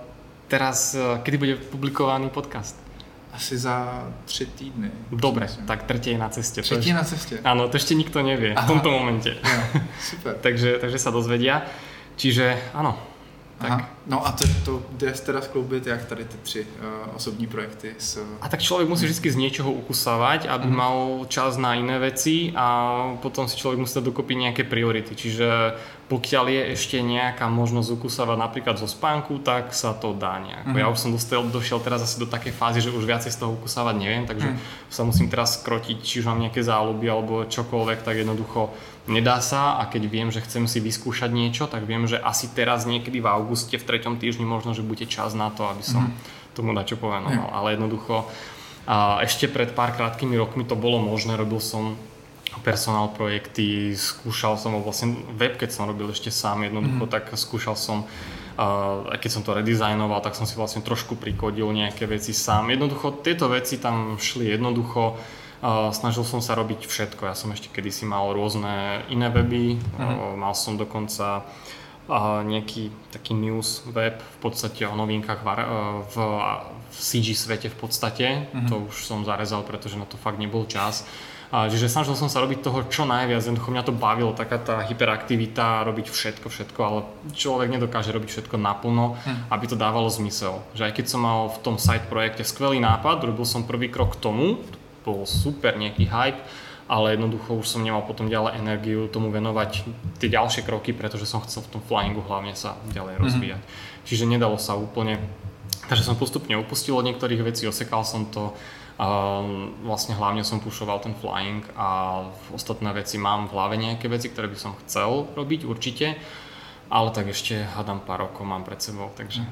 teraz, uh, kedy bude publikovaný podcast? Asi za tři týdny. Dobre, tak tretie je na ceste. Třetí je na ceste? Áno, to ešte nikto nevie. Aha. V tomto momente. Ja, super. takže, takže sa dozvedia. Čiže áno. Tak. Aha. No a to, to jde teda skloubit, jak tady ty tři uh, osobní projekty s... A tak človek musí vždy z niečoho ukusávať, aby uh-huh. mal čas na iné veci a potom si človek musí dať dokopy nejaké priority. Čiže pokiaľ je ešte nejaká možnosť ukusávať napríklad zo spánku, tak sa to dá nejako. Uh-huh. Ja už som dostal, došiel teraz asi do takej fázy, že už viacej z toho ukusávať neviem, takže uh-huh. sa musím teraz skrotiť, či už mám nejaké záľuby alebo čokoľvek, tak jednoducho nedá sa a keď viem, že chcem si vyskúšať niečo, tak viem, že asi teraz niekedy v auguste, v treťom týždni možno, že bude čas na to, aby som mm. tomu dačo povenoval. Mm. Ale jednoducho a ešte pred pár krátkými rokmi to bolo možné, robil som personál projekty, skúšal som vlastne web, keď som robil ešte sám jednoducho, mm. tak skúšal som aj keď som to redizajnoval, tak som si vlastne trošku prikodil nejaké veci sám. Jednoducho tieto veci tam šli jednoducho. Uh, snažil som sa robiť všetko. Ja som ešte kedysi mal rôzne iné weby, uh-huh. uh, mal som dokonca uh, nejaký taký news web v podstate o novinkách var, uh, v, v cé gé svete v podstate. Uh-huh. To už som zarezal, pretože na to fakt nebol čas. Uh, čiže snažil som sa robiť toho čo najviac. Jednoducho mňa to bavilo, taká tá hyperaktivita, robiť všetko, všetko, ale človek nedokáže robiť všetko naplno, uh-huh. aby to dávalo zmysel. Že aj keď som mal v tom side projekte skvelý nápad, robil som prvý krok k tomu, bol super nejaký hype, ale jednoducho už som nemal potom ďalej energiu tomu venovať tie ďalšie kroky, pretože som chcel v tom flyingu hlavne sa ďalej rozvíjať. Mm-hmm. čiže nedalo sa úplne. Takže som postupne upustil od niektorých vecí, osekal som to. Um, vlastne hlavne som pushoval ten flying a ostatné veci mám v hlave nejaké veci, ktoré by som chcel robiť určite, ale tak ešte hádam pár rokov mám pred sebou, takže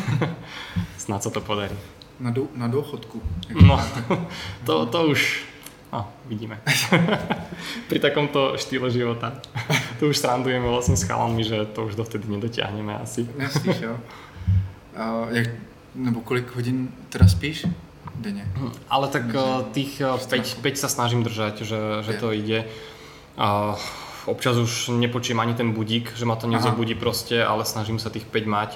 snad sa to podarí. Na, do, na dôchodku. No, to, to už no, vidíme. Pri takomto štýle života. Tu už srandujeme vlastne s chalanmi, že to už dovtedy nedotiahneme asi. Nespíš, jo? A jak, nebo kolik hodín teda spíš? Denne. Ale tak uh, tých uh, päť, päť sa snažím držať, že, že to ide. Uh, občas už nepočujem ani ten budík, že ma to nezobudí proste, ale snažím sa tých päť mať.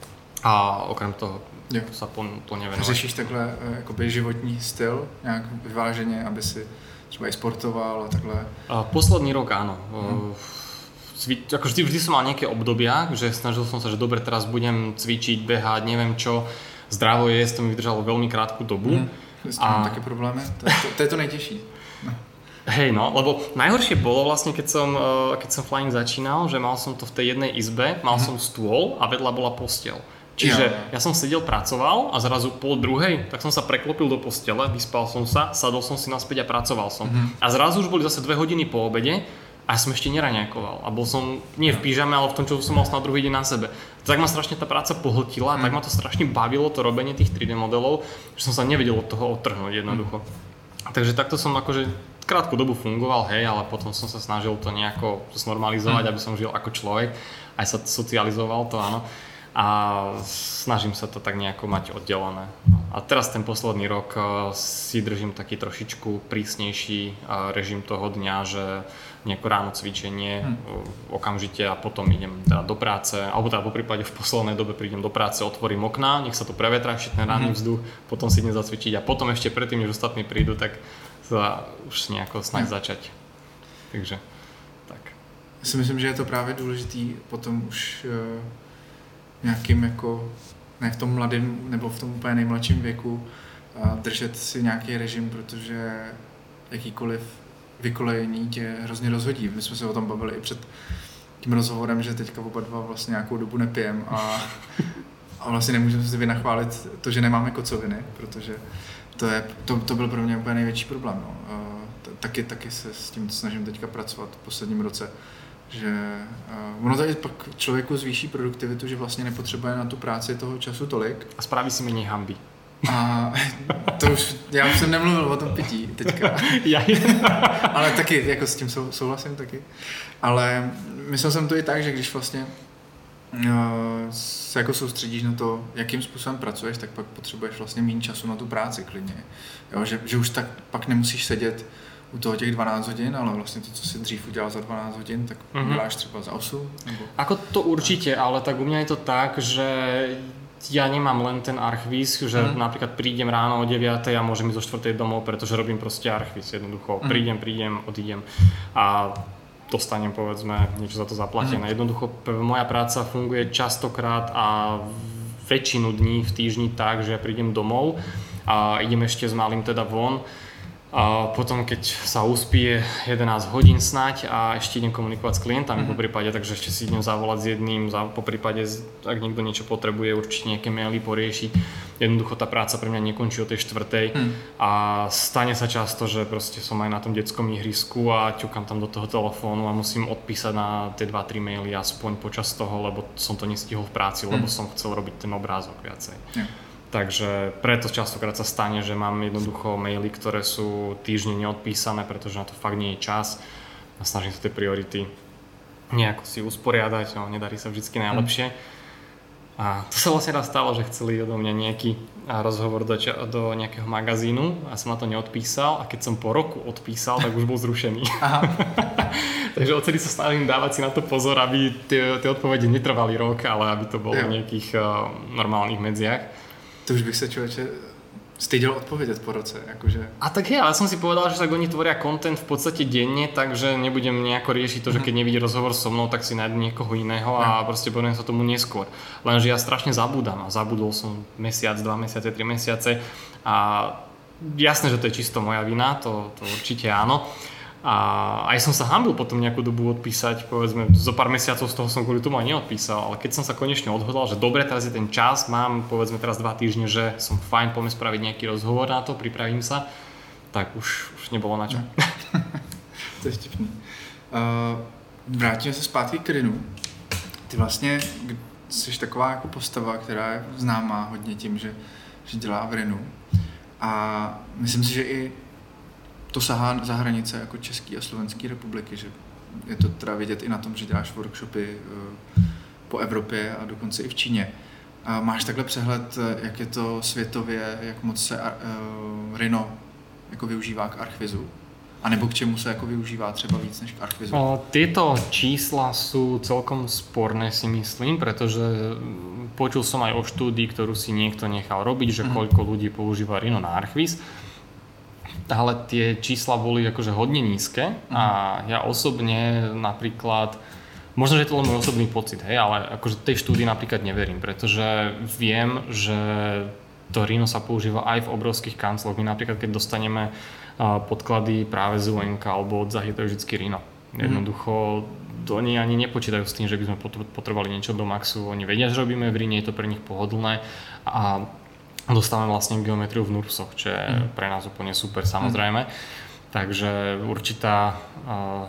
A okrem toho jo. sa plne venovať. Řešíš takhle jakoby životní styl, nějak vyváženě, aby si třeba i sportoval a takhle? Uh, posledný rok áno. Hmm. Uh, ako vždy, vždy som mal nejaké obdobia, že snažil som sa, že dobre, teraz budem cvičiť, behať, neviem čo. Zdravo jesť, to mi vydržalo veľmi krátku dobu. Mm, s tím a... také problémy, to, to, to je to nejtěžší. No. Hej no, lebo najhoršie bolo vlastne, keď som, keď som flying začínal, že mal som to v tej jednej izbe, mal mm. som stôl a vedľa bola posteľ. Čiže ja, ja som sedel, pracoval a zrazu pol druhej, tak som sa preklopil do postele, vyspal som sa, sadol som si naspäť a pracoval som. Mm. A zrazu už boli zase dve hodiny po obede a ja som ešte neraňajkoval a bol som nie v pyžame, ale v tom, čo som mal na druhý deň na sebe. Tak ma strašne tá práca pohltila, mm. tak ma to strašne bavilo, to robenie tých tri dé modelov, že som sa nevedel od toho odtrhnúť jednoducho. Mm. Takže takto som akože krátku dobu fungoval, hej, ale potom som sa snažil to nejako znormalizovať, mm. aby som žil ako človek, aj sa socializoval to, áno. A snažím sa to tak nejako mať oddelené. A teraz ten posledný rok si držím taký trošičku prísnejší režim toho dňa, že nejako ráno cvičenie hmm. okamžite a potom idem teda do práce, alebo teda po prípade v poslednej dobe prídem do práce, otvorím okná, nech sa to prevetrá, ešte ten ranný vzduch, potom si idem zacvičiť a potom ešte predtým, než ostatní prídu, tak sa už nejako snaž hmm. začať. Takže tak. Já si myslím, že je to právě důležitý potom už nějakým jako, ne v tom mladém nebo v tom úplně nejmladším věku držet si nějaký režim, protože jakýkoliv vykolejení tě hrozně rozhodí. My jsme se o tom bavili i před tím rozhovorem, že teďka oba dva vlastně nějakou dobu nepijem a, a vlastně nemůžeme si vynachválit to, že nemáme kocoviny, protože to, je, to, to byl pro mě úplně největší problém. No. Taky, taky se s tím snažím teďka pracovat v posledním roce, že uh, ono tady pak člověku zvýší produktivitu, že vlastně nepotřebuje na tu práci toho času tolik. A spraví si méně hanby. A to už, já už jsem nemluvil o tom pití teďka. Ale taky, jako s tím sou, souhlasím taky. Ale myslel jsem to i tak, že když vlastně uh, se jako soustředíš na to, jakým způsobem pracuješ, tak pak potřebuješ vlastně méně času na tu práci klidně. Jo, že, že už tak pak nemusíš sedět u toho těch dvanásť hodín, ale vlastně to, co si dřív udělal za dvanásť hodín, tak mm-hmm. děláš třeba za osm? Nebo... Ako to určite, ale tak u mňa je to tak, že ja nemám len ten archvíz, že mm. napríklad prídem ráno o deviatej a môžem ísť o štvrtej domov, pretože robím proste archvíz jednoducho. Mm. Prídem, prídem, odídem a dostanem povedzme niečo za to zaplatené. Mm. Jednoducho moja práca funguje častokrát a väčšinu dní v týždni tak, že ja prídem domov a idem ešte s malým teda von. A potom, keď sa uspí jedenásť hodín snať a ešte idem komunikovať s klientami mm-hmm. po prípade, takže ešte si idem zavolať s jedným, za, po prípade, ak niekto niečo potrebuje, určite nejaké maily poriešiť. Jednoducho tá práca pre mňa nekončí o tej štvrtej mm. a stane sa často, že proste som aj na tom detskom ihrisku a ťukam tam do toho telefónu a musím odpísať na tie dva tri maily aspoň počas toho, lebo som to nestihol v práci, mm. lebo som chcel robiť ten obrázok viacej. Yeah. Takže preto častokrát sa stane, že mám jednoducho maily, ktoré sú týždne neodpísané, pretože na to fakt nie je čas a snažím sa tie priority nejako si usporiadať, no nedarí sa vždycky najlepšie. A to sa vlastne raz stalo, že chceli odo mňa nejaký rozhovor do, do nejakého magazínu a som na to neodpísal a keď som po roku odpísal, tak už bol zrušený. Aha. Takže odtedy sa snažím dávať si na to pozor, aby tie, tie odpovede netrvali rok, ale aby to bolo v nejakých uh, normálnych medziach. To už bych sa človeče styděl odpovedať po roce, akože... A tak je, ale som si povedal, že tak oni tvoria content v podstate denne, takže nebudem nejako riešiť to, že keď nevidí rozhovor so mnou, tak si nájdu niekoho iného a proste poviem sa tomu neskôr. Lenže ja strašne zabúdam a zabudol som mesiac, dva mesiace, tri mesiace a jasné, že to je čisto moja vina, to, to určite áno. A aj som sa hanbil potom nejakú dobu odpísať, povedzme, zo pár mesiacov z toho som kvôli tomu aj neodpísal, ale keď som sa konečne odhodlal, že dobre, teraz je ten čas, mám povedzme teraz dva týždne, že som fajn, poďme spraviť nejaký rozhovor na to, pripravím sa, tak už, už nebolo na čo. To je vtipný. Uh, vrátíme se zpátky k Rinu. Ty vlastně jsi taková jako postava, která je známá hodně tím, že, že dělá v Rinu. A myslím si, že i to sahá za hranice jako České a Slovenské republiky, že je to teda vidět i na tom, že děláš workshopy po Evropě a dokonce i v Číně. A máš takhle přehled, jak je to světově, jak moc se uh, Rhino jako využívá k Archvizu? A nebo k čemu sa ako využíva třeba víc než k Archvizu? O, tieto čísla sú celkom sporné, si myslím, pretože počul som aj o štúdii, ktorú si niekto nechal robiť, že koľko ľudí používa Rhino na Archviz. Ale tie čísla boli akože hodne nízke a ja osobne napríklad, možno, že je to len môj osobný pocit, hej, ale akože tej štúdii napríklad neverím, pretože viem, že to Rhino sa používa aj v obrovských kancloch. My napríklad, keď dostaneme podklady práve z ú en ká alebo od Zahy, to je vždycky Rhino. Jednoducho oni ani nepočítajú s tým, že by sme potrebovali niečo do Maxu. Oni vedia, že robíme v Rhine, je to pre nich pohodlné a dostávame vlastne geometriu v NURBSoch, čo je mm. pre nás úplne super, samozrejme. Mm. Takže určitá uh,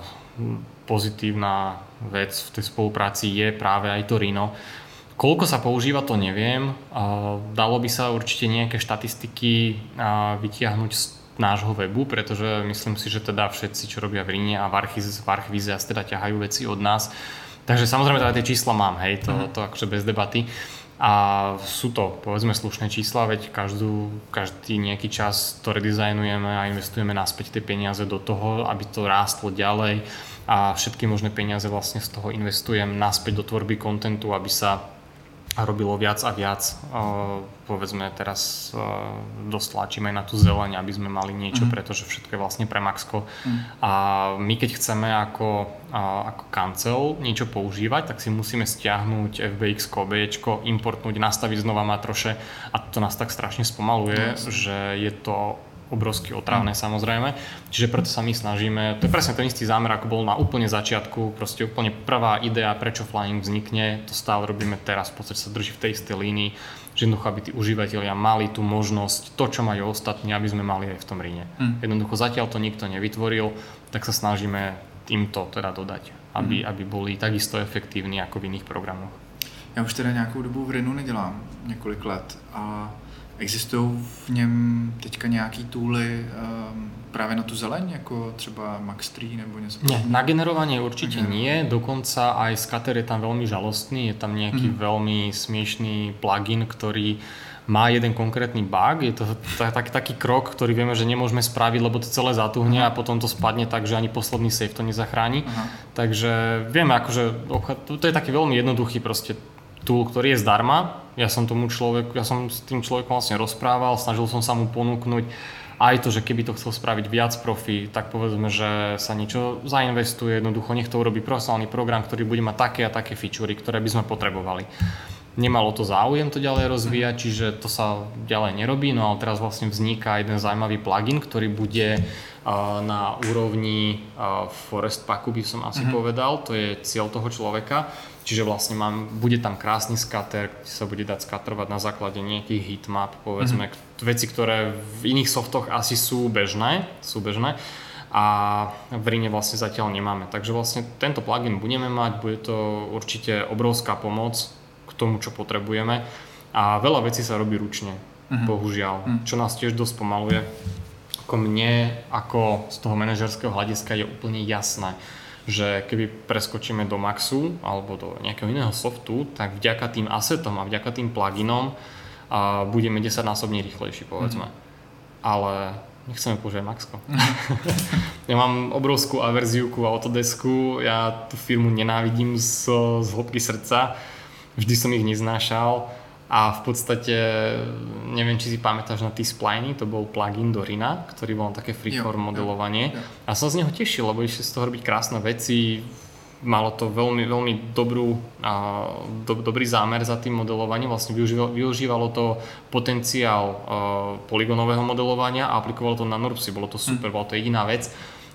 pozitívna vec v tej spolupráci je práve aj to Rhino. Koľko sa používa, to neviem. Uh, dalo by sa určite nejaké štatistiky uh, vytiahnuť z nášho webu, pretože myslím si, že teda všetci, čo robia v Rhine a v Archvize, v Archvize asi teda ťahajú veci od nás. Takže samozrejme teda tie čísla mám, hej, to, mm. to akože bez debaty. A sú to, povedzme, slušné čísla, veď každú, každý nejaký čas to redizajnujeme a investujeme naspäť tie peniaze do toho, aby to rástlo ďalej a všetky možné peniaze vlastne z toho investujem naspäť do tvorby kontentu, aby sa robilo viac a viac. Povedzme, teraz dosť tlačíme aj na tú zeleň, aby sme mali niečo, mm. pretože všetko je vlastne pre Maxko. Mm. A my keď chceme ako, ako kancel niečo používať, tak si musíme stiahnuť ef bé iks, ó bé éčko, importnúť, nastaviť znova matroše a to nás tak strašne spomaluje, yes. že je to obrovsky otravné, mm. samozrejme. Čiže preto sa my snažíme, to je presne ten istý zámer, ako bol na úplne začiatku, proste úplne prvá idea, prečo Flying vznikne, to stále robíme teraz, v podstate sa drží v tej istej línii, že jednoducho, aby tí užívateľia mali tú možnosť, to, čo majú ostatní, aby sme mali aj v tom Rhine. Mm. Jednoducho zatiaľ to nikto nevytvoril, tak sa snažíme týmto teda dodať, aby, mm. aby boli takisto efektívni ako v iných programoch. Ja už teda nějakou dobu v Rhinu nedělám, několik let a existují v něm teďka nějaký tooly um, právě na tu zeleň, jako třeba Max tri nebo něco? Nie, na generovanie určite nie, dokonca aj Scatter je tam veľmi žalostný, je tam nejaký mm. veľmi smiešný plugin, ktorý má jeden konkrétny bug, je to tak, taký krok, ktorý vieme, že nemôžeme spraviť, lebo to celé zatuhne a potom to spadne tak, že ani posledný save to nezachráni. Aha. Takže vieme, akože to je taký veľmi jednoduchý proste tool, ktorý je zdarma. Ja som tomu človeku, ja som s tým človekom vlastne rozprával, snažil som sa mu ponúknuť aj to, že keby to chcel spraviť viac profi, tak povedzme, že sa niečo zainvestuje, jednoducho nech to urobí profesionálny program, ktorý bude mať také a také featurey, ktoré by sme potrebovali. Nemalo to záujem to ďalej rozvíjať, čiže to sa ďalej nerobí, no ale teraz vlastne vzniká jeden zaujímavý plugin, ktorý bude uh, na úrovni uh, Forest Packu, by som asi mm-hmm. povedal, to je cieľ toho človeka. Čiže vlastne mám, bude tam krásny scatter, kde sa bude dať scatterovať na základe nejakých heatmap, povedzme, mm-hmm. veci, ktoré v iných softoch asi sú bežné, sú bežné a v Rhine vlastne zatiaľ nemáme. Takže vlastne tento plugin budeme mať, bude to určite obrovská pomoc k tomu, čo potrebujeme a veľa vecí sa robí ručne, mm-hmm. bohužiaľ, mm-hmm. čo nás tiež dosť pomaluje. Ako mne, ako z toho manažerského hľadiska je úplne jasné, že keby preskočíme do Maxu alebo do nejakého iného softu, tak vďaka tým assetom a vďaka tým pluginom a budeme desaťnásobne rýchlejší, povedzme. Mm. Ale nechceme používať Maxko. Mm. Ja mám obrovskú averziu ku Autodesku, ja tú firmu nenávidím z, z hĺbky srdca, vždy som ich neznášal a v podstate, neviem, či si pamätáš na T-Spliny, to bol plugin do Rhina, ktorý bol také freeform modelovanie. Jo, jo. A som z neho tešil, lebo išli z toho robiť krásne veci, malo to veľmi, veľmi dobrú, a, do, dobrý zámer za tým modelovaním, vlastne využívalo, využívalo to potenciál a, polygonového modelovania a aplikovalo to na NURBSy, bolo to super, hm. bola to jediná vec.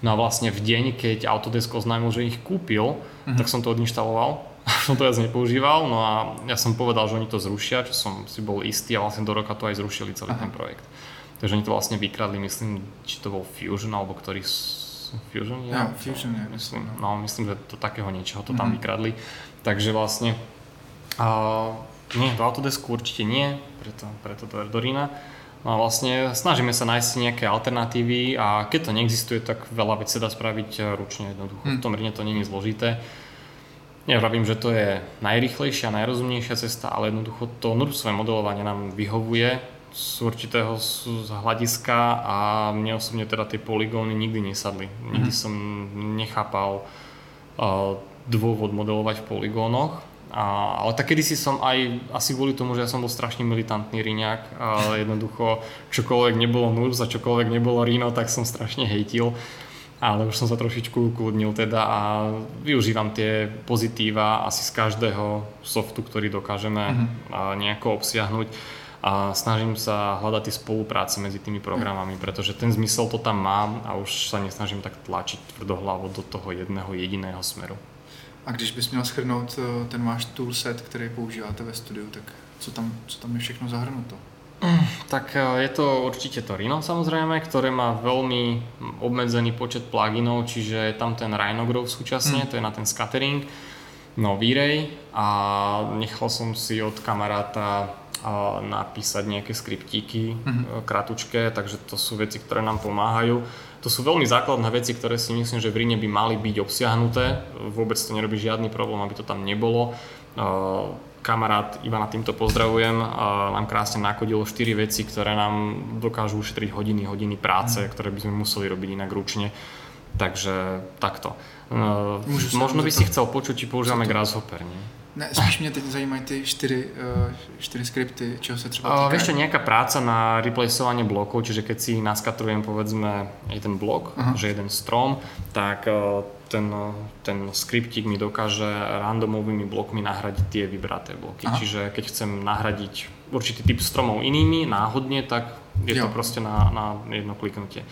No a vlastne v deň, keď Autodesk oznámil, že ich kúpil, mm-hmm. tak som to odinštaloval. som to viac nepoužíval, no a ja som povedal, že oni to zrušia, čo som si bol istý a vlastne do roka to aj zrušili celý Aha. ten projekt. Takže oni to vlastne vykradli, myslím, či to bol Fusion, alebo ktorý... Fusion? Ja, ja Fusion, ja myslím. No, myslím, že to takého niečoho to tam mm-hmm. vykradli. Takže vlastne... Uh, nie, do Autodesku určite nie, preto, preto do Erdorina. No a vlastne snažíme sa nájsť nejaké alternatívy a keď to neexistuje, tak veľa vecí sa dá spraviť ručne jednoducho. Hmm. V tom Rine to nie je zložité. Nevravím, že to je najrýchlejšia, najrozumnejšia cesta, ale jednoducho to NURBSové modelovanie nám vyhovuje z určitého z hľadiska a mne osobne teda tie poligóny nikdy nesadli. Nikdy hmm. som nechápal uh, dôvod modelovať v poligónoch. A, ale tak kedysi som aj, asi kvôli tomu, že ja som bol strašne militantný Riňák a jednoducho čokoľvek nebolo NURBS a čokoľvek nebolo Rhino, tak som strašne hejtil. Ale už som sa trošičku ukludnil teda a využívam tie pozitíva asi z každého softu, ktorý dokážeme uh-huh. nejako obsiahnuť a snažím sa hľadať tie spolupráce medzi tými programami, pretože ten zmysel to tam mám a už sa nesnažím tak tlačiť tvrdohlavo do toho jedného jediného smeru. A když bys měl shrnout ten váš toolset, který používáte ve studiu, tak co tam, co tam je všechno zahrnuto? Tak je to určite to Rhino samozrejme, ktoré má veľmi obmedzený počet pluginov, čiže je tam ten Rhinograph súčasne, mm. to je na ten scattering, no V-Ray a nechal som si od kamaráta napísať nejaké skriptíky mm. kratučké, takže to sú veci, ktoré nám pomáhajú. To sú veľmi základné veci, ktoré si myslím, že v Rhine by mali byť obsiahnuté. Vôbec to nerobí žiadny problém, aby to tam nebolo. Kamarát Ivana, týmto pozdravujem, nám krásne nakodil štyri veci, ktoré nám dokážu ušetriť hodiny, hodiny práce, mm. ktoré by sme museli robiť inak ručne. Takže takto. Môžu Možno by si chcel počuť, či používame Grasshopper, nie? Ne, spíš mě teď zajímají ty čtyři, čtyři skripty, čeho se třeba týkají. Vieš čo, nejaká práca na replaceovanie blokov, čiže keď si naskatrujem povedzme jeden blok, uh-huh. že jeden strom, tak ten, ten skriptík mi dokáže randomovými blokmi nahradiť tie vybraté bloky. Uh-huh. Čiže keď chcem nahradiť určitý typ stromov inými náhodne, tak je jo. to proste na, na jedno kliknutie.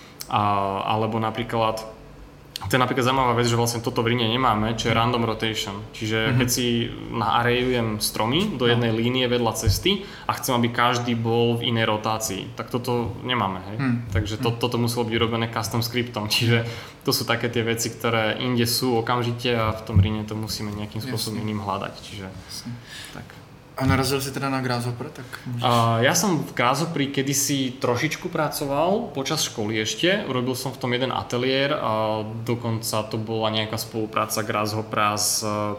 A, alebo napríklad to je napríklad zaujímavá vec, že vlastne toto v Rhine nemáme, čo je random rotation. Čiže mm-hmm. keď si naarrayujem stromy do jednej no. línie vedľa cesty a chcem, aby každý bol v inej rotácii, tak toto nemáme, hej. Mm. Takže to, toto muselo byť urobené custom scriptom. Čiže to sú také tie veci, ktoré inde sú okamžite a v tom Rhine to musíme nejakým spôsobom iným hľadať. Čiže tak. A narazil si teda na Grasshopper? Tak môžeš... uh, ja som v Grasshopperi kedysi trošičku pracoval počas školy ešte. Urobil som v tom jeden ateliér a dokonca to bola nejaká spolupráca Grasshoppera s,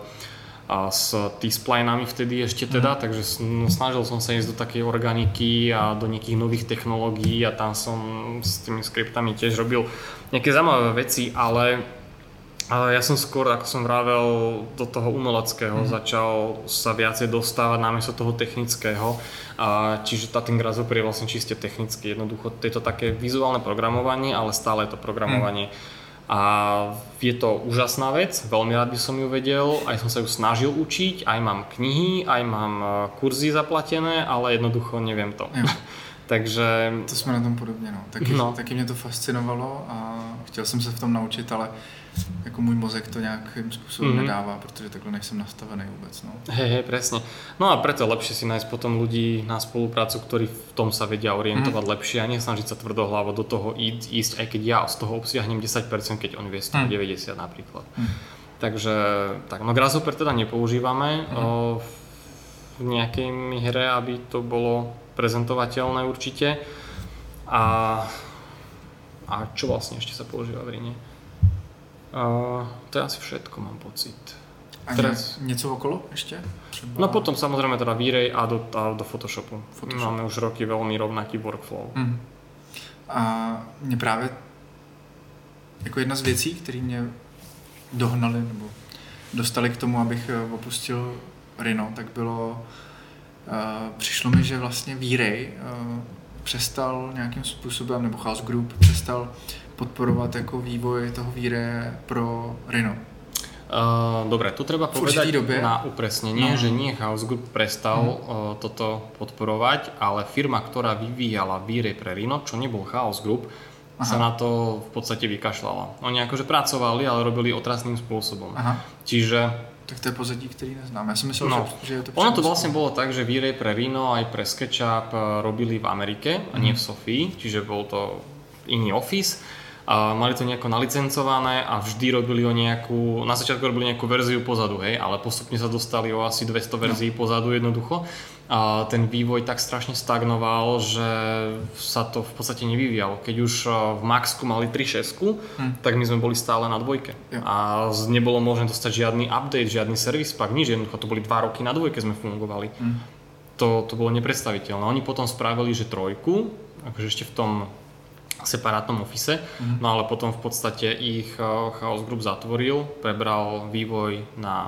a s T-splinami vtedy ešte teda, mm. takže no, snažil som sa ísť do takej organiky a do nejakých nových technológií a tam som s tými skriptami tiež robil nejaké zaujímavé veci, ale Ale ja som skôr, ako som vravel, do toho umeleckého mm. začal sa viacej dostávať namiesto toho technického. A čiže tá ten Grasshopper je vlastne čiste technicky. Jednoducho je to také vizuálne programovanie, ale stále je to programovanie. Mm. A je to úžasná vec, veľmi rád by som ju vedel, aj som sa ju snažil učiť, aj mám knihy, aj mám kurzy zaplatené, ale jednoducho neviem to. Mm. Takže... To jsme na tom podobně, no. Taky, no. taky mě to fascinovalo a chtěl jsem se v tom naučit, ale jako můj mozek to nějakým způsobem mm-hmm. nedává, protože takhle nejsem nastavený vůbec, no. Hej, hej, presne. No a preto je lepšie si nájsť potom ľudí na spoluprácu, ktorí v tom sa vedia orientovať mm. lepšie a nesnažiť sa tvrdohlavo do toho ísť, ísť, aj keď ja z toho obsiahnem desať percent, keď on vie z toho mm. deväťdesiat napríklad. Mm. Takže, tak, no Grasshopper teda nepoužívame mm. o, v nejakej hre, aby to bolo prezentovateľné určite. A, a čo vlastne ešte sa používa v Rhine? Uh, to je asi všetko, mám pocit. A Teraz... něco okolo ešte? Třeba... No potom samozrejme teda V-Ray a do, a do Photoshopu. Photoshop. Máme už roky veľmi rovnaký workflow. Mm. A mě právě jako jedna z věcí, které mě dohnali nebo dostali k tomu, abych opustil Rhino, tak bylo Uh, přišlo mi, že vlastně V-Ray uh, přestal nějakým způsobem, nebo Chaos Group přestal podporovat jako vývoj toho V-Ray pro Rhino. Uh, dobre, tu treba povedať na upresnenie, no. že nie Chaos Group prestal mm. uh, toto podporovať, ale firma, ktorá vyvíjala V-Ray pre Rhino, čo nebol Chaos Group, Aha. sa na to v podstate vykašľala. Oni akože pracovali, ale robili otrasným spôsobom. Aha. Čiže... Tak to je pozadí, ktorý neznám. Ja som myslel, no, že, že je to... Ono to vlastne bolo tak, že výrej pre Rhino aj pre SketchUp robili v Amerike a nie v Sofii, čiže bol to iný office. A mali to nejako nalicencované a vždy robili o nejakú, na začiatku robili nejakú verziu pozadu, hej, ale postupne sa dostali o asi dvesto verzií no. pozadu jednoducho. A ten vývoj tak strašne stagnoval, že sa to v podstate nevyvíjalo. Keď už v Maxku mali tri šesť, hm. tak my sme boli stále na dvojke. Jo. A nebolo možné dostať žiadny update, žiadny service pack, nič, jednoducho to boli dva roky na dvojke sme fungovali. Hm. To, to bolo nepredstaviteľné. Oni potom spravili, že trojku, akože ešte v tom separátnom office, mm-hmm. no ale potom v podstate ich Chaos Group zatvoril, prebral vývoj na,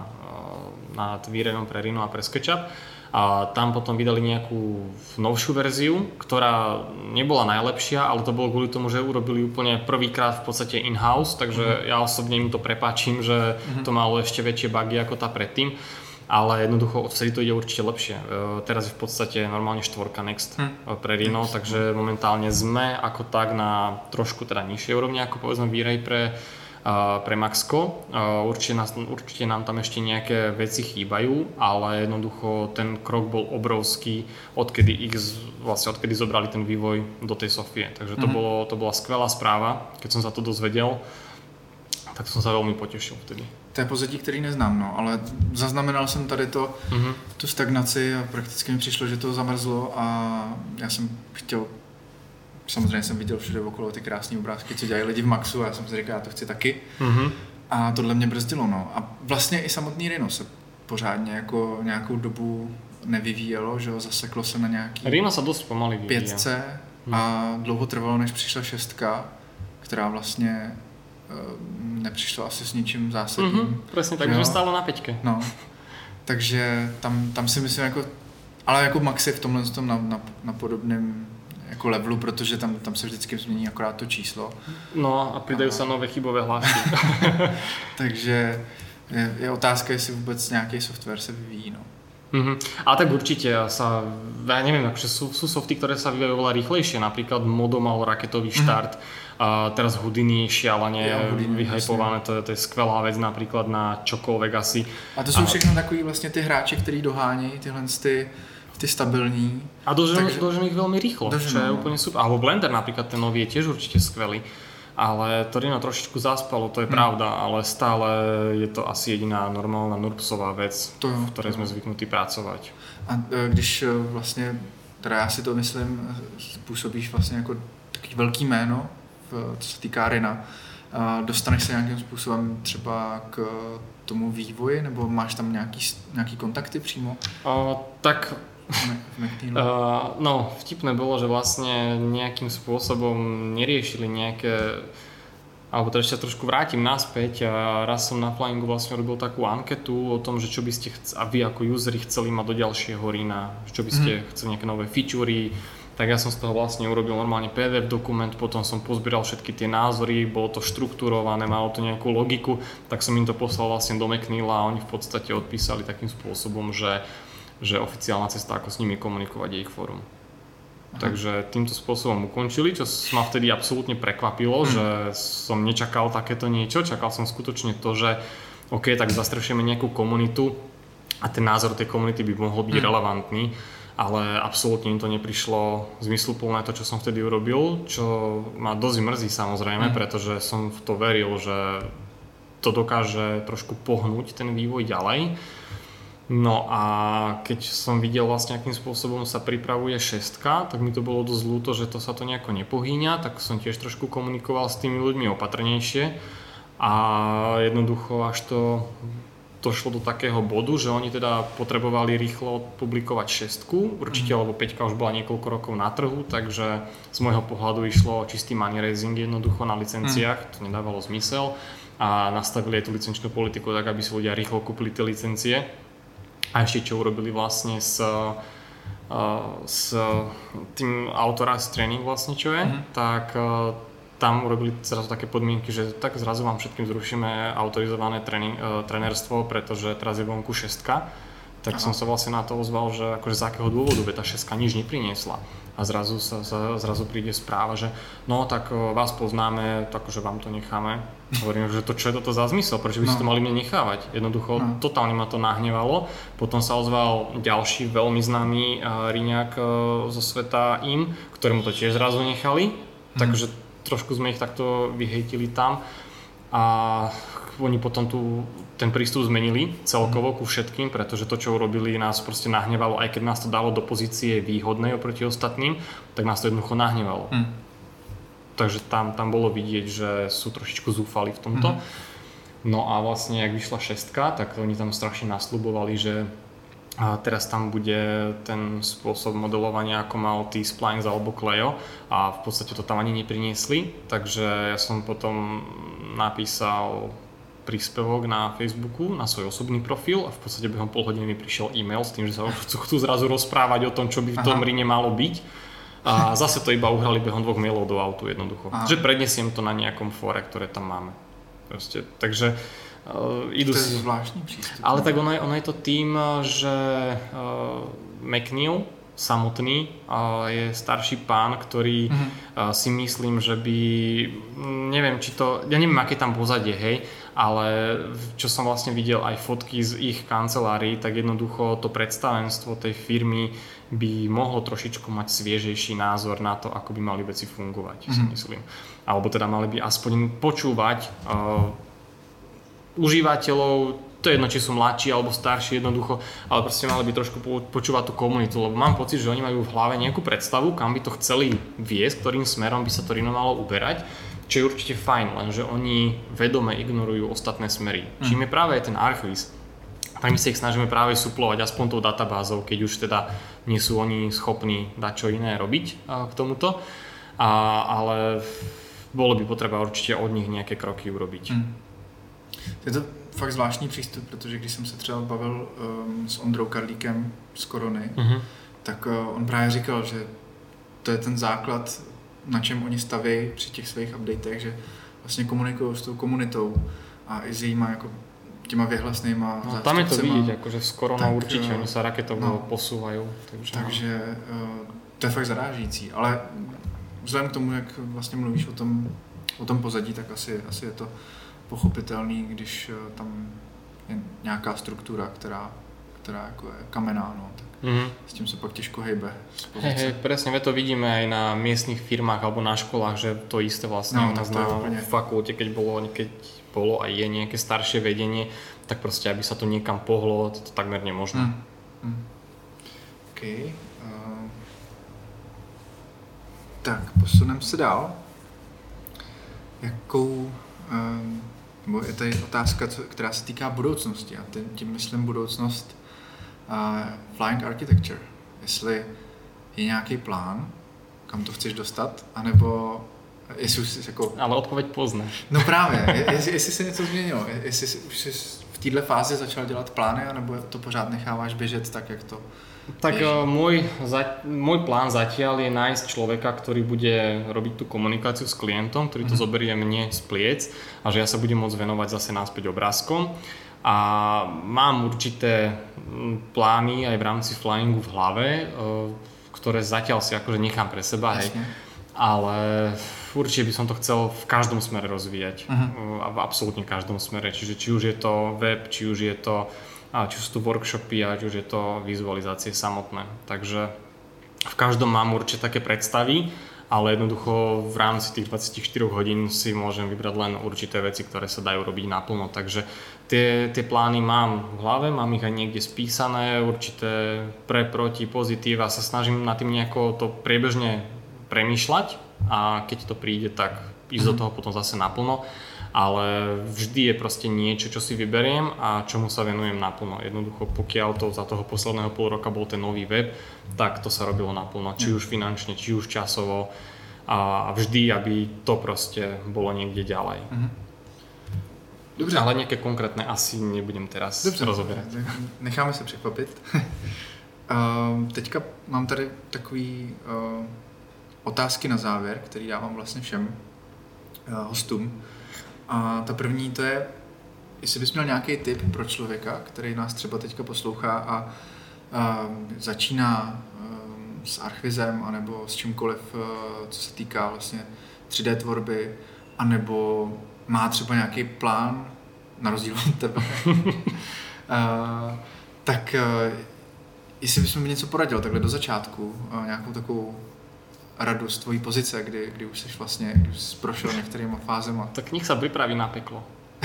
na výrejom pre Rhino a pre SketchUp a tam potom vydali nejakú novšiu verziu, ktorá nebola najlepšia, ale to bolo kvôli tomu, že urobili úplne prvýkrát v podstate in-house, takže mm-hmm. ja osobne im to prepáčim, že mm-hmm. to malo ešte väčšie bugy ako tá predtým. Ale jednoducho vtedy to ide určite lepšie. Teraz je v podstate normálne štvorka Next hm. pre Rhino, takže momentálne sme ako tak na trošku teda nižšej úrovni ako povedzme výrej pre, uh, pre Maxko. Uh, určite, nás, určite nám tam ešte nejaké veci chýbajú, ale jednoducho ten krok bol obrovský, odkedy ich vlastne odkedy zobrali ten vývoj do tej Sofie. Takže to, hm. bolo, to bola skvelá správa, keď som sa to dozvedel. Tak som sa veľmi potešil vtedy. To je pozadí, který neznám, no, ale zaznamenal jsem tady to, mm-hmm. tu stagnaci a prakticky mi přišlo, že to zamrzlo a já jsem chtěl, samozřejmě jsem viděl všude okolo ty krásné obrázky, co dělají lidi v Maxu a já jsem si říkal, já to chci taky. Mm-hmm. A tohle mě brzdilo, no. A vlastně i samotný Rhino se pořádně jako nějakou dobu nevyvíjelo, že jo, zaseklo se na nějaký Rhino se dost pomaly vyvíjelo. Pětce a dlouho trvalo, než přišla šestka, která vlastně nepřišlo asi s ničím zásadním. Mm-hmm, presne tak, že stálo na peťke. No, takže tam, tam si myslím jako, ale jako Max je v tomhle tom na, na, na podobném jako levelu, protože tam, tam se vždycky změní akorát to číslo. No a pridajú sa nové chybové hlášky. Takže je, je otázka, jestli vůbec nějaký software se vyvíjí, no. Mm-hmm. A tak určite sa, ja neviem, akože sú, sú softy, ktoré sa vyvíjajú oveľa rýchlejšie, napríklad Modo mal raketový štart, mm-hmm. a teraz Houdini šialene ja, vyhypované, to, to je skvelá vec napríklad na čokoľvek asi. A to sú a... všechno takový vlastne tí hráči, ktorí doháňají tyhle ty, ty stabilní. A doženú takže... ich veľmi rýchlo, doženú, čo je no. úplne super. Alebo Blender napríklad, ten nový je tiež určite skvelý. Ale to Rhino trošičku zaspalo, to je hmm. pravda, ale stále je to asi jediná normálna NURBSová vec, to, v ktorej to. sme zvyknutí pracovať. A když vlastně, teda já si to myslím, působíš vlastně jako takový velký jméno, co se týká Rhina, dostaneš se nějakým způsobem třeba k tomu vývoji, nebo máš tam nějaký, nějaký kontakty přímo? Uh, tak... Uh, no, vtipné bolo, že vlastne nejakým spôsobom neriešili nejaké, alebo teda ešte trošku vrátim naspäť a raz som na Flyingu vlastne robil takú anketu o tom, že čo by ste chc- a vy ako useri chceli mať do ďalšieho Rhina, čo by ste mm. chceli nejaké nové featurey, tak ja som z toho vlastne urobil normálne pé dé ef dokument, potom som pozbieral všetky tie názory, bolo to štruktúrované, malo to nejakú logiku, tak som im to poslal vlastne do Macnila a oni v podstate odpísali takým spôsobom, že že oficiálna cesta, ako s nimi komunikovať, je ich fórum. Aha. Takže týmto spôsobom ukončili, čo ma vtedy absolútne prekvapilo, hm. že som nečakal takéto niečo, čakal som skutočne to, že OK, tak zastrešujeme nejakú komunitu a ten názor tej komunity by mohol byť hm. relevantný, ale absolútne im to neprišlo zmysluplné to, čo som vtedy urobil, čo ma dosť mrzí samozrejme, hm. pretože som v to veril, že to dokáže trošku pohnúť ten vývoj ďalej. No a keď som videl vlastne, akým spôsobom sa pripravuje šestka, tak mi to bolo dosť ľúto, že to sa to nejako nepohýňa, tak som tiež trošku komunikoval s tými ľuďmi opatrnejšie a jednoducho až to došlo do takého bodu, že oni teda potrebovali rýchlo publikovať šestku, určite, lebo peťka už bola niekoľko rokov na trhu, takže z môjho pohľadu išlo čistý money raising jednoducho na licenciách, to nedávalo zmysel a nastavili aj tú licenčnú politiku tak, aby si ľudia rýchlo kúpili tie licencie. A ešte čo urobili vlastne s, s tým Authorized Training vlastne čo je, mm-hmm. tak tam urobili zrazu také podmienky, že tak zrazu vám všetkým zrušíme autorizované tréning, trénerstvo, pretože teraz je vonku šestka. Tak Aha. som sa vlastne na to ozval, že akože z akého dôvodu Beta šesť nič nepriniesla. A zrazu, sa, sa, zrazu príde správa, že no tak vás poznáme, takže vám to necháme. Hovorím, že to čo je toto za zmysel, prečo by ste no. to mali mne nechávať? Jednoducho, no. totálne ma to nahnevalo. Potom sa ozval ďalší veľmi známy uh, Riňák uh, zo sveta im, ktorému to tiež zrazu nechali. Mm. Takže trošku sme ich takto vyhejtili tam. A oni potom tu ten prístup zmenili celkovo ku všetkým, pretože to, čo urobili, nás proste nahnevalo, aj keď nás to dalo do pozície výhodnej oproti ostatným, tak nás to jednoducho nahnevalo. Mm. Takže tam, tam bolo vidieť, že sú trošičku zúfali v tomto. Mm. No a vlastne, jak vyšla šestka, tak oni tam strašne nasľubovali, že a teraz tam bude ten spôsob modelovania, ako mal T-Splines alebo Clio, a v podstate to tam ani nepriniesli, takže ja som potom napísal príspevok na Facebooku, na svoj osobný profil, a v podstate behom pol hodiny mi prišiel e-mail s tým, že sa chcú zrazu rozprávať o tom, čo by v tom Rine malo byť. A zase to iba uhrali behom dvoch mailov do autu jednoducho. Aha. Že prednesiem to na nejakom fóre, ktoré tam máme. Proste, takže Uh, idú to je zvláštny prístup. Ale tak ono je, ono je to tým, že uh, McNeil samotný uh, je starší pán, ktorý uh-huh. uh, si myslím, že by, neviem či to, ja neviem aké tam pozadie, hej, ale čo som vlastne videl aj fotky z ich kancelárií, tak jednoducho to predstavenstvo tej firmy by mohlo trošičku mať sviežejší názor na to, ako by mali veci fungovať, uh-huh. si myslím. Alebo teda mali by aspoň počúvať uh, užívateľov, to je jedno, či sú mladší alebo starší jednoducho, ale proste mali by trošku počúvať tú komunitu, lebo mám pocit, že oni majú v hlave nejakú predstavu, kam by to chceli viesť, ktorým smerom by sa to Rino malo uberať, čo je určite fajn, lenže oni vedome ignorujú ostatné smery. Mm. Čím je práve aj ten Archviz, tak my sa ich snažíme práve suplovať aspoň tou databázou, keď už teda nie sú oni schopní dať čo iné robiť k tomuto, a, ale bolo by potreba určite od nich nejaké kroky urobiť. Mm. Je to fakt zvláštní přístup, protože když jsem se třeba bavil um, s Ondrou Karlíkem z Korony, mm-hmm. tak uh, on právě říkal, že to je ten základ, na čem oni staví při těch svých updatech, že vlastně komunikují s tou komunitou a i s jejíma jako těma vyhlasnýma no, zástupcema. Tam je to vidět, jakože s Koronou určitě, oni se raketovo no, posouvají. Takže, takže uh, to je fakt zarážící, ale vzhledem k tomu, jak vlastně mluvíš o tom, o tom pozadí, tak asi, asi je to pochopitelný, když tam je nějaká struktura, která, která jako je kamenná, no, tak mm-hmm. s tím se pak těžko hejbe. Hej, hej, presne, my to vidíme aj na miestnych firmách alebo na školách, že to isté vlastne no, u nás na úplne fakulte, keď bolo, keď bolo a je nejaké staršie vedenie, tak proste, aby sa to niekam pohlo, to, to takmer nemožné. Mm. Mm. OK. Uh, tak, posunem se dál. Jakou uh, Bo je tady otázka, která se týká budoucnosti, a tím myslím budoucnost uh, Flying Architecture. Jestli je nějaký plán, kam to chceš dostat, anebo jestli už jsi jako... Ale odpověď poznáš. No právě, jestli, jestli se něco změnilo, jestli jsi, už jsi v této fázi začal dělat plány, anebo to pořád necháváš běžet tak, jak to... Tak môj, môj plán zatiaľ je nájsť človeka, ktorý bude robiť tú komunikáciu s klientom, ktorý to mm. zoberie mne z pliec a že ja sa budem môcť venovať zase náspäť obrázkom. A mám určité plány aj v rámci flyingu v hlave, ktoré zatiaľ si akože nechám pre seba, hej. Ale určite by som to chcel v každom smere rozvíjať. Uh-huh. A v absolútne každom smere. Čiže či už je to web, či už je to či sú to workshopy, a či už je to vizualizácie samotné. Takže v každom mám určite také predstavy, ale jednoducho v rámci tých dvadsaťštyri hodín si môžem vybrať len určité veci, ktoré sa dajú robiť naplno. Takže tie, tie plány mám v hlave, mám ich aj niekde spísané, určité pre, proti, pozitív, a sa snažím na tým nejako to priebežne premýšľať, a keď to príde, tak ísť mm. do toho potom zase naplno. Ale vždy je proste niečo, čo si vyberiem a čomu sa venujem naplno. Jednoducho, pokiaľ to za toho posledného pol roka bol ten nový web, tak to sa robilo naplno. Či už finančne, či už časovo, a vždy, aby to proste bolo niekde ďalej. Dobře. Ale nejaké konkrétne asi nebudem teraz Dobře. rozoberať. Necháme se překvapit. uh, teďka mám tady takový uh, otázky na závěr, který dávám vlastně všem uh, hostům. A ta první to je, jestli bys měl nějaký tip pro člověka, který nás třeba teďka poslouchá a, a začíná um, s Archvizem anebo s čímkoliv, uh, co se týká vlastně tři dé tvorby, anebo má třeba nějaký plán, na rozdíl od tebe, uh, tak uh, jestli bys mi něco poradil takhle do začátku, uh, nějakou takovou radu z tvojí pozice, kdy, kdy už jsi vlastně už jsi prošel některýma fázema. Tak nech sa pripraví na peklo.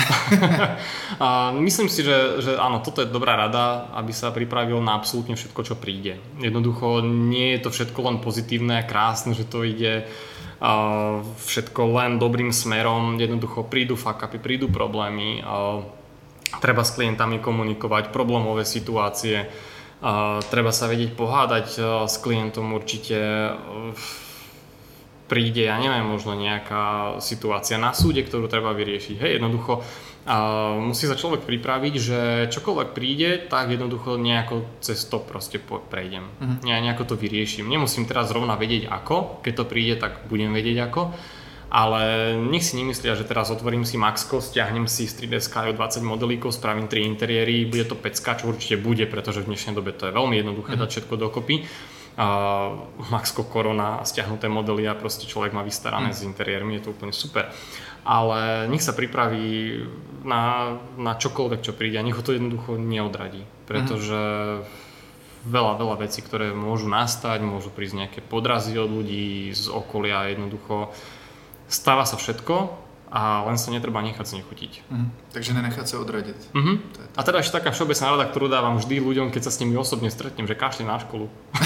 A myslím si, že, že áno, toto je dobrá rada, aby sa pripravil na absolútne všetko, čo príde. Jednoducho nie je to všetko len pozitívne a krásne, že to ide uh, všetko len dobrým smerom. Jednoducho prídu fuck-upy, prídu problémy, uh, treba s klientami komunikovať, problémové situácie, uh, treba sa vedieť pohádať uh, s klientom určite. Uh, príde, ja neviem, možno nejaká situácia na súde, ktorú treba vyriešiť. Hej, jednoducho uh, musí sa človek pripraviť, že čokoľvek príde, tak jednoducho nejako cez to proste prejdem. Uh-huh. Ja nejako to vyrieším. Nemusím teraz zrovna vedieť ako, keď to príde, tak budem vedieť ako, ale nech si nemyslia, že teraz otvorím si Maxko, stiahnem si z tri dé Sky dvadsať modelíkov, spravím tri interiéry, bude to pecka, čo určite bude, pretože v dnešnej dobe to je veľmi jednoduché uh-huh. dať všetko dokopy. Uh, Maxko Korona a stiahnuté modely a proste človek má vystarané mm. s interiérmi, je to úplne super. Ale nech sa pripraví na, na čokoľvek, čo príde a nech ho to jednoducho neodradí, pretože mm. veľa, veľa vecí, ktoré môžu nastať, môžu prísť nejaké podrazy od ľudí z okolia, jednoducho stáva sa všetko a len sa netreba nechať znechutiť. Mm. Takže nenechať sa odradiť. Mm-hmm. A teda ešte taká všeobecná rada, ktorú dávam vždy ľuďom, keď sa s nimi osobne stretnem, že kašli na školu.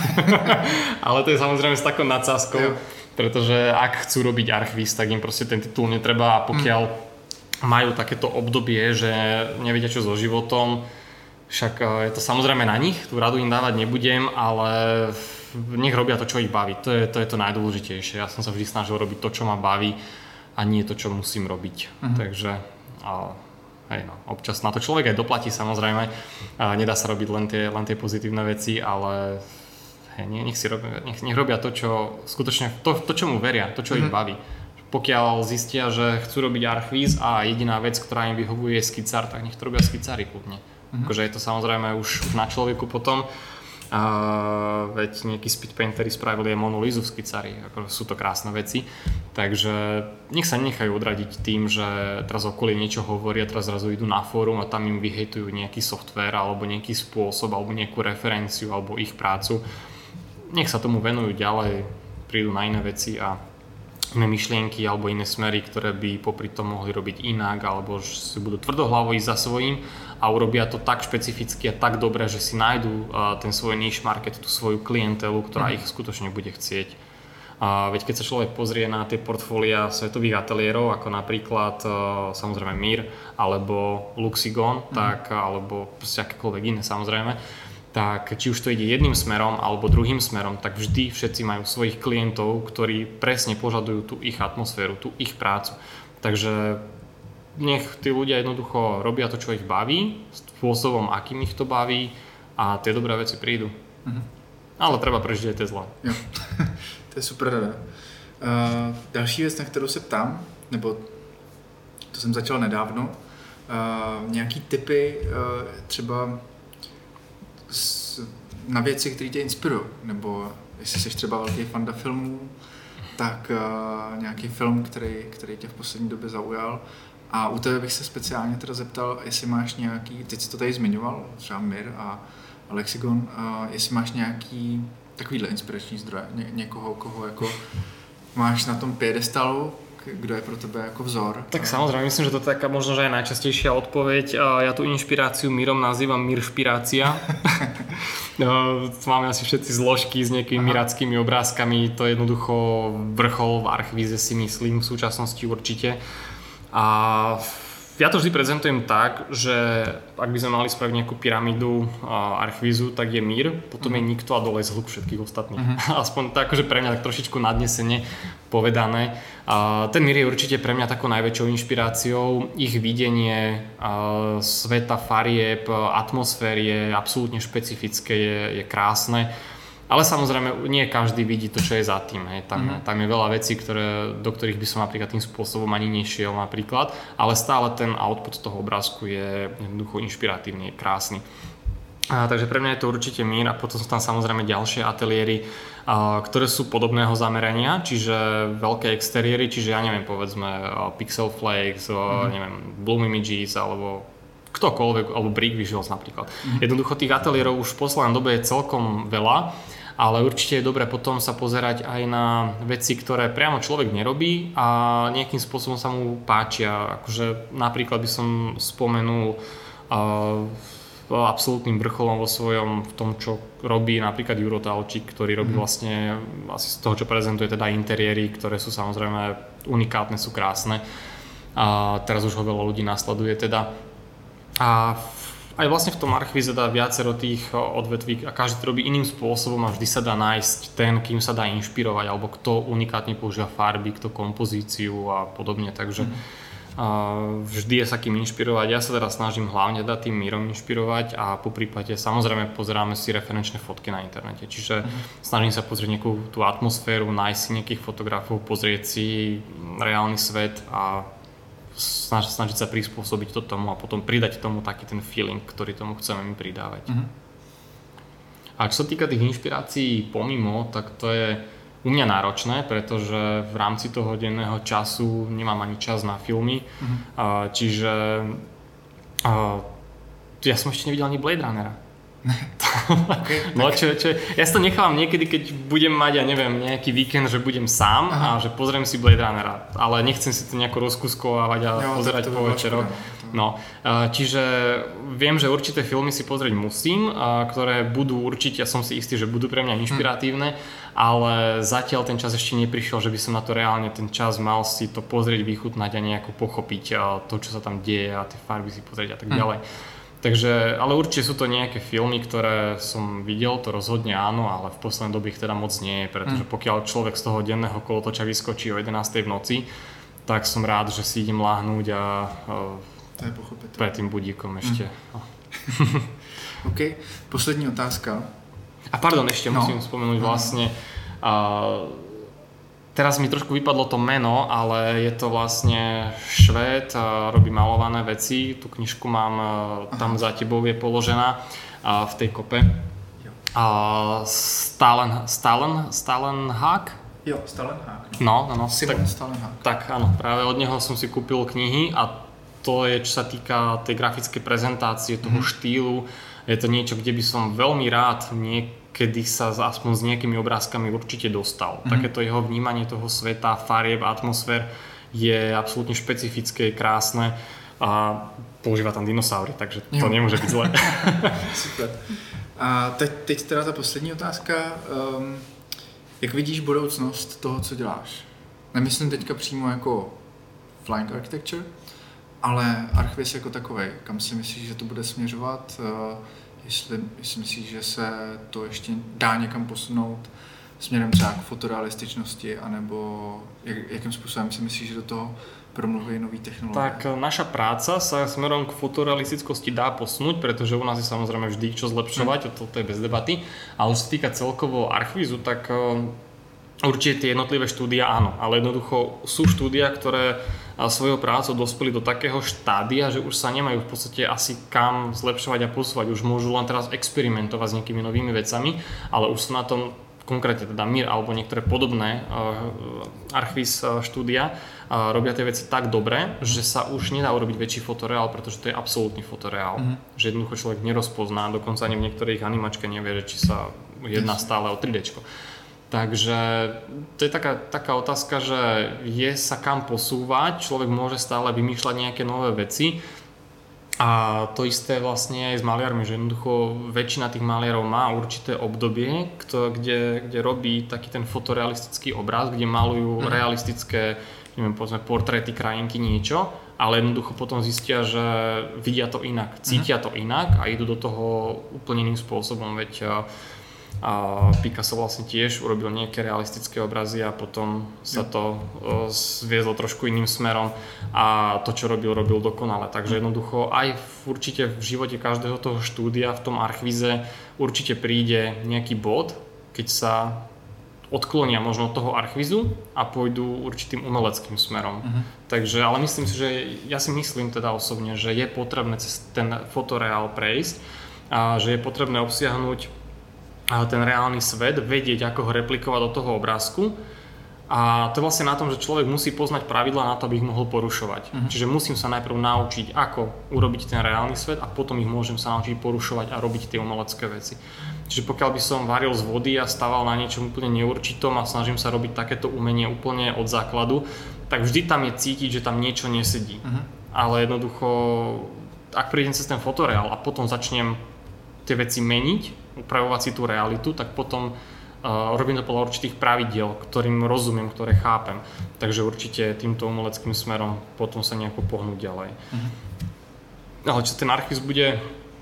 Ale to je samozrejme s takou nadsázkou, pretože ak chcú robiť Archviz, tak im proste ten titul netreba a pokiaľ mm. majú takéto obdobie, že nevedia čo so životom, však je to samozrejme na nich, tú radu im dávať nebudem, ale nech robia to, čo ich baví. To je to, je to najdôležitejšie. Ja som sa vždy snažil robiť to, čo ma baví, a nie to, čo musím robiť. Uh-huh. Takže a, hej no, občas na to človek aj doplatí samozrejme. A nedá sa robiť len tie, len tie pozitívne veci, ale hej, nech, si robia, nech, nech robia to, čo skutočne, to, to čo mu veria, to, čo uh-huh. ich baví. Pokiaľ zistia, že chcú robiť Archviz a jediná vec, ktorá im vyhovuje je skicár, tak nech to robia skicári kľudne. Uh-huh. Akože je to samozrejme už, už na človeku potom. A veď nejakí speed paintery spravili aj Monu Lizu v skicári, ako sú to krásne veci, takže nech sa nenechajú odradiť tým, že teraz okolie niečo hovoria, teraz zrazu idú na fórum a tam im vyhejtujú nejaký software alebo nejaký spôsob alebo nejakú referenciu alebo ich prácu. Nech sa tomu venujú ďalej, prídu na iné veci a iné myšlienky alebo iné smery, ktoré by popri tom mohli robiť inak alebo si budú tvrdohlavo ísť za svojím a urobia to tak špecificky a tak dobre, že si nájdú uh, ten svoj niche market, tú svoju klientelu, ktorá mm. ich skutočne bude chcieť. Uh, veď keď sa človek pozrie na tie portfólia svetových ateliérov, ako napríklad uh, samozrejme Mir alebo Luxigon, mm. tak, alebo proste akékoľvek iné samozrejme, tak či už to ide jedným smerom alebo druhým smerom, tak vždy všetci majú svojich klientov, ktorí presne požadujú tú ich atmosféru, tú ich prácu. Takže nech tí ľudia jednoducho robia to, čo ich baví, spôsobom, akým ich to baví a tie dobré veci prídu. Mm-hmm. Ale treba prežiť aj tie zlé. Jo. To je super rada. Uh, další věc, na kterou se ptám, nebo to jsem začal nedávno, uh, nějaký tipy uh, třeba s, na věci, které tě inspirují, nebo jestli jsi třeba velký fanda filmů, tak uh, nějaký film, který, který tě v poslední době zaujal. A u tebe bych se speciálně teda zeptal, jestli máš nějaký, teď jsi to tady zmiňoval, třeba Mir a Lexigon, uh, jestli máš nějaký takovýhle inspirační zdroje, Ně, někoho, koho jako máš na tom piedestalu, kdo je pro tebe jako vzor. Tak samozrejme, myslím, že to je taká možno, že aj najčastejšia odpoveď. Ja tú inšpiráciu Mirom nazývam Miršpirácia. Máme asi všetci zložky s nejakými miráckými obrázkami, to je jednoducho vrchol v Archvize, si myslím, v súčasnosti určite. A ja to vždy prezentujem tak, že ak by sme mali spraviť nejakú pyramídu Archvizu, tak je Mir, potom uh-huh. je nikto a dole je zhluk všetkých ostatných. Uh-huh. Aspoň to akože pre mňa tak trošičku nadnesene povedané. A ten Mir je určite pre mňa takou najväčšou inšpiráciou. Ich videnie sveta, farieb, atmosféry je absolútne špecifické, je, je krásne. Ale samozrejme, nie každý vidí to, čo je za tým. Hej. Tam, mm. tam je veľa vecí, ktoré, do ktorých by som napríklad tým spôsobom ani nešiel napríklad, ale stále ten output toho obrázku je jednoducho inšpiratívny, je krásny. A, takže pre mňa je to určite mír a potom sú tam samozrejme ďalšie ateliéry, a, ktoré sú podobného zamerania, čiže veľké exteriéry, čiže ja neviem, povedzme Pixel Flakes, mm. neviem, Bloom Images alebo ktokoľvek, alebo Brick Visuals napríklad. Mm. Jednoducho tých ateliérov už v poslednej dobe je celkom veľa, ale určite je dobré potom sa pozerať aj na veci, ktoré priamo človek nerobí a nejakým spôsobom sa mu páčia. Akože napríklad by som spomenul uh, absolútnym vrcholom vo svojom v tom, čo robí napríklad Juro Talčík, ktorý robí vlastne asi z toho, čo prezentuje teda interiéry, ktoré sú samozrejme unikátne, sú krásne. A teraz už ho veľa ľudí nasleduje teda. A aj vlastne v tom archíve dá viacero tých odvetví a každý to robí iným spôsobom a vždy sa dá nájsť ten, kým sa dá inšpirovať alebo kto unikátne používa farby, kto kompozíciu a podobne, takže mm. uh, vždy je sa kým inšpirovať. Ja sa teraz snažím hlavne dať tým mírom inšpirovať a po prípade samozrejme pozeráme si referenčné fotky na internete, čiže mm. snažím sa pozrieť nejakú tú atmosféru, nájsť si nejakých fotografov, pozrieť si reálny svet a Snaž, snažiť sa prispôsobiť to tomu a potom pridať tomu taký ten feeling, ktorý tomu chceme mi pridávať. Mm-hmm. A čo sa týka tých inšpirácií pomimo, tak to je u mňa náročné, pretože v rámci toho denného času nemám ani čas na filmy, mm-hmm. uh, čiže uh, ja som ešte nevidel ani Blade Runnera. Okay, no čo, čo, ja si to nechávam niekedy, keď budem mať, ja neviem, nejaký víkend, že budem sám Aha. a že pozriem si Blade Runnera, ale nechcem si to nejako rozkuskovávať a jo, pozerať po večeroch. No, čiže viem, že určité filmy si pozrieť musím, ktoré budú určite, ja som si istý, že budú pre mňa inšpiratívne, hmm. ale zatiaľ ten čas ešte neprišiel, že by som na to reálne ten čas mal si to pozrieť, vychutnať a nejako pochopiť to, čo sa tam deje a tie farby si pozrieť a tak hmm. ďalej. Takže, ale určite sú to nejaké filmy, ktoré som videl, to rozhodne áno, ale v poslednej dobe ich teda moc nie je, pretože pokiaľ človek z toho denného kolotoča vyskočí o jedenástej v noci, tak som rád, že si idem láhnuť a to je pochopiteľné. Pred tým budíkom ešte. Mm. OK, poslední otázka. A pardon, ešte no. musím spomenúť vlastne, uh, teraz mi trošku vypadlo to meno, ale je to vlastne Švéd, uh, robí malované veci, tú knižku mám, uh, tam za tebou je položená uh, v tej kope. Uh, Stalen, Stalen, Stalenhag? Jo, Stalenhag. No, no, no. Simon tak, Stalenhag. Tak áno, práve od neho som si kúpil knihy a to je, čo sa týka tej grafickej prezentácie, toho mm. štýlu. Je to niečo, kde by som veľmi rád niekedy sa aspoň s nejakými obrázkami určite dostal. Mm. Takéto jeho vnímanie toho sveta, farieb, atmosfér je absolútne špecifické, krásne a používa tam dinosaury, takže to jo. Nemôže byť zlé. Super. A teď, teď teda ta poslední otázka. Um, jak vidíš budoucnost toho, co děláš? Nemyslím teďka přímo jako Flying Architecture, ale Archviz jako takovej, kam si myslíš, že to bude směřovat? Jestli, jestli myslíš, že se to ještě dá někam posunout směrem třeba k fotorealističnosti, anebo jak, jakým způsobem si myslíš, že do toho promluví nový technológie? Tak naša práca sa smerom k fotorealistickosti dá posunúť, pretože u nás je samozrejme vždy čo zlepšovať, mm. to je bez debaty. Ale čo sa týka celkovo Archvizu, tak určite tie jednotlivé štúdia áno, ale jednoducho sú štúdia, ktoré svojou prácou dospeli do takého štádia, že už sa nemajú v podstate asi kam zlepšovať a posúvať. Už môžu len teraz experimentovať s nejakými novými vecami, ale už sú na tom konkrétne teda Mir alebo niektoré podobné uh, Archviz uh, štúdia uh, robia tie veci tak dobre, že sa už nedá urobiť väčší fotoreál, pretože to je absolútny fotoreál. Mm-hmm. Že jednoducho človek nerozpozná, dokonca ani v niektorých animačke nevie, že či sa jedná stále o tri déčko. Takže to je taká, taká otázka, že je sa kam posúvať, človek môže stále vymýšľať nejaké nové veci a to isté vlastne aj s maliarmi, že jednoducho väčšina tých maliarov má určité obdobie, kto, kde, kde robí taký ten fotorealistický obraz, kde malujú mm. realistické, neviem, povedzme portréty, krajinky, niečo, ale jednoducho potom zistia, že vidia to inak, cítia to inak a idú do toho úplne iným spôsobom, veď a Picasso vlastne tiež urobil nejaké realistické obrazy a potom sa to zviezlo trošku iným smerom a to, čo robil, robil dokonale. Takže jednoducho aj v, určite v živote každého toho štúdia v tom Archvize určite príde nejaký bod, keď sa odklonia možno od toho archvizu a pôjdu určitým umeleckým smerom. Uh-huh. Takže, ale myslím si, že ja si myslím teda osobne, že je potrebné cez ten fotoreál prejsť a že je potrebné obsiahnuť ten reálny svet, vedieť, ako ho replikovať do toho obrázku. A to je vlastne na tom, že človek musí poznať pravidlá na to, aby ich mohol porušovať. Uh-huh. Čiže musím sa najprv naučiť, ako urobiť ten reálny svet a potom ich môžem sa naučiť porušovať a robiť tie umelecké veci. Čiže pokiaľ by som varil z vody a stával na niečom úplne neurčitom a snažím sa robiť takéto umenie úplne od základu, tak vždy tam je cítiť, že tam niečo nesedí. Uh-huh. Ale jednoducho, ak prídem cez ten fotoreál a potom začnem tie veci meniť, upravovať si tú realitu, tak potom Uh, robím to podľa určitých pravidiel, ktorým rozumiem, ktoré chápem. Takže určite týmto umeleckým smerom potom sa nejako pohnúť ďalej. Uh-huh. Ale čo ten archív bude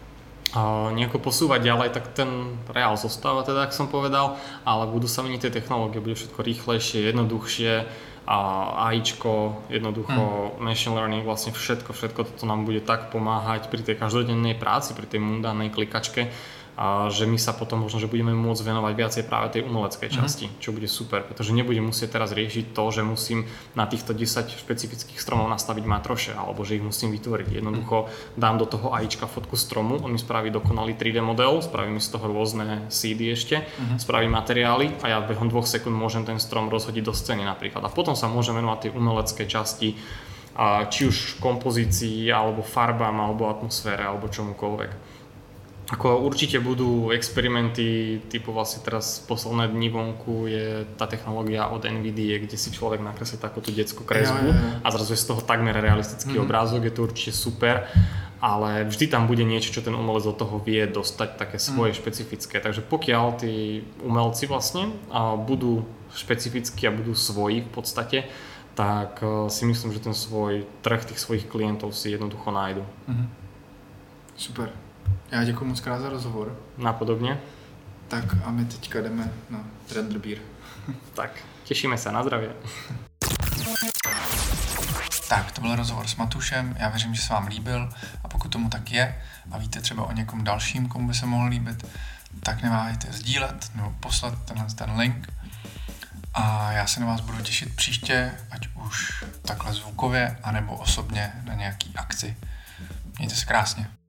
uh, nejako posúvať ďalej, tak ten reál zostáva teda, ako som povedal, ale budú sa meniť tie technológie, bude všetko rýchlejšie, jednoduchšie, a AIčko, jednoducho uh-huh. machine learning, vlastne všetko, všetko toto nám bude tak pomáhať pri tej každodennej práci, pri tej mundánnej klikačke, a že my sa potom možno, že budeme môcť venovať viacej práve tej umeleckej časti, uh-huh. čo bude super, pretože nebudem musieť teraz riešiť to, že musím na týchto desať špecifických stromov nastaviť matroše, alebo že ich musím vytvoriť. Jednoducho dám do toho AIčka fotku stromu, on mi spraví dokonalý tri dé model, spraví mi z toho rôzne sídy ešte, uh-huh. spraví materiály a ja behom dvoch sekúnd môžem ten strom rozhodiť do scény napríklad. A potom sa môžem venovať tej umeleckej časti, či už kompozícii, alebo farbám, alebo atmosfére, alebo čomukoľvek. Ako určite budú experimenty, typu vlastne teraz posledné dni vonku je tá technológia od NVIDIA, kde si človek nakreslí takúto detskú kresbu ja, ja, ja. a zrazu je z toho takmer realistický mm. obrázok, je to určite super, ale vždy tam bude niečo, čo ten umelec do toho vie dostať, také svoje mm. špecifické. Takže pokiaľ tí umelci vlastne budú špecifickí a budú svoji v podstate, tak si myslím, že ten svoj trh tých svojich klientov si jednoducho nájdu. Mm. Super. Já děkuji moc krát za rozhovor. Napodobně. Tak a my teďka jdeme na Renderbír. Tak, těšíme se, na zdravě. Tak, to byl rozhovor s Matušem, já věřím, že se vám líbil a pokud tomu tak je a víte třeba o někom dalším, komu by se mohl líbit, tak neváhejte sdílet nebo poslat tenhle ten link a já se na vás budu těšit příště, ať už takhle zvukově, anebo osobně na nějaký akci. Mějte se krásně.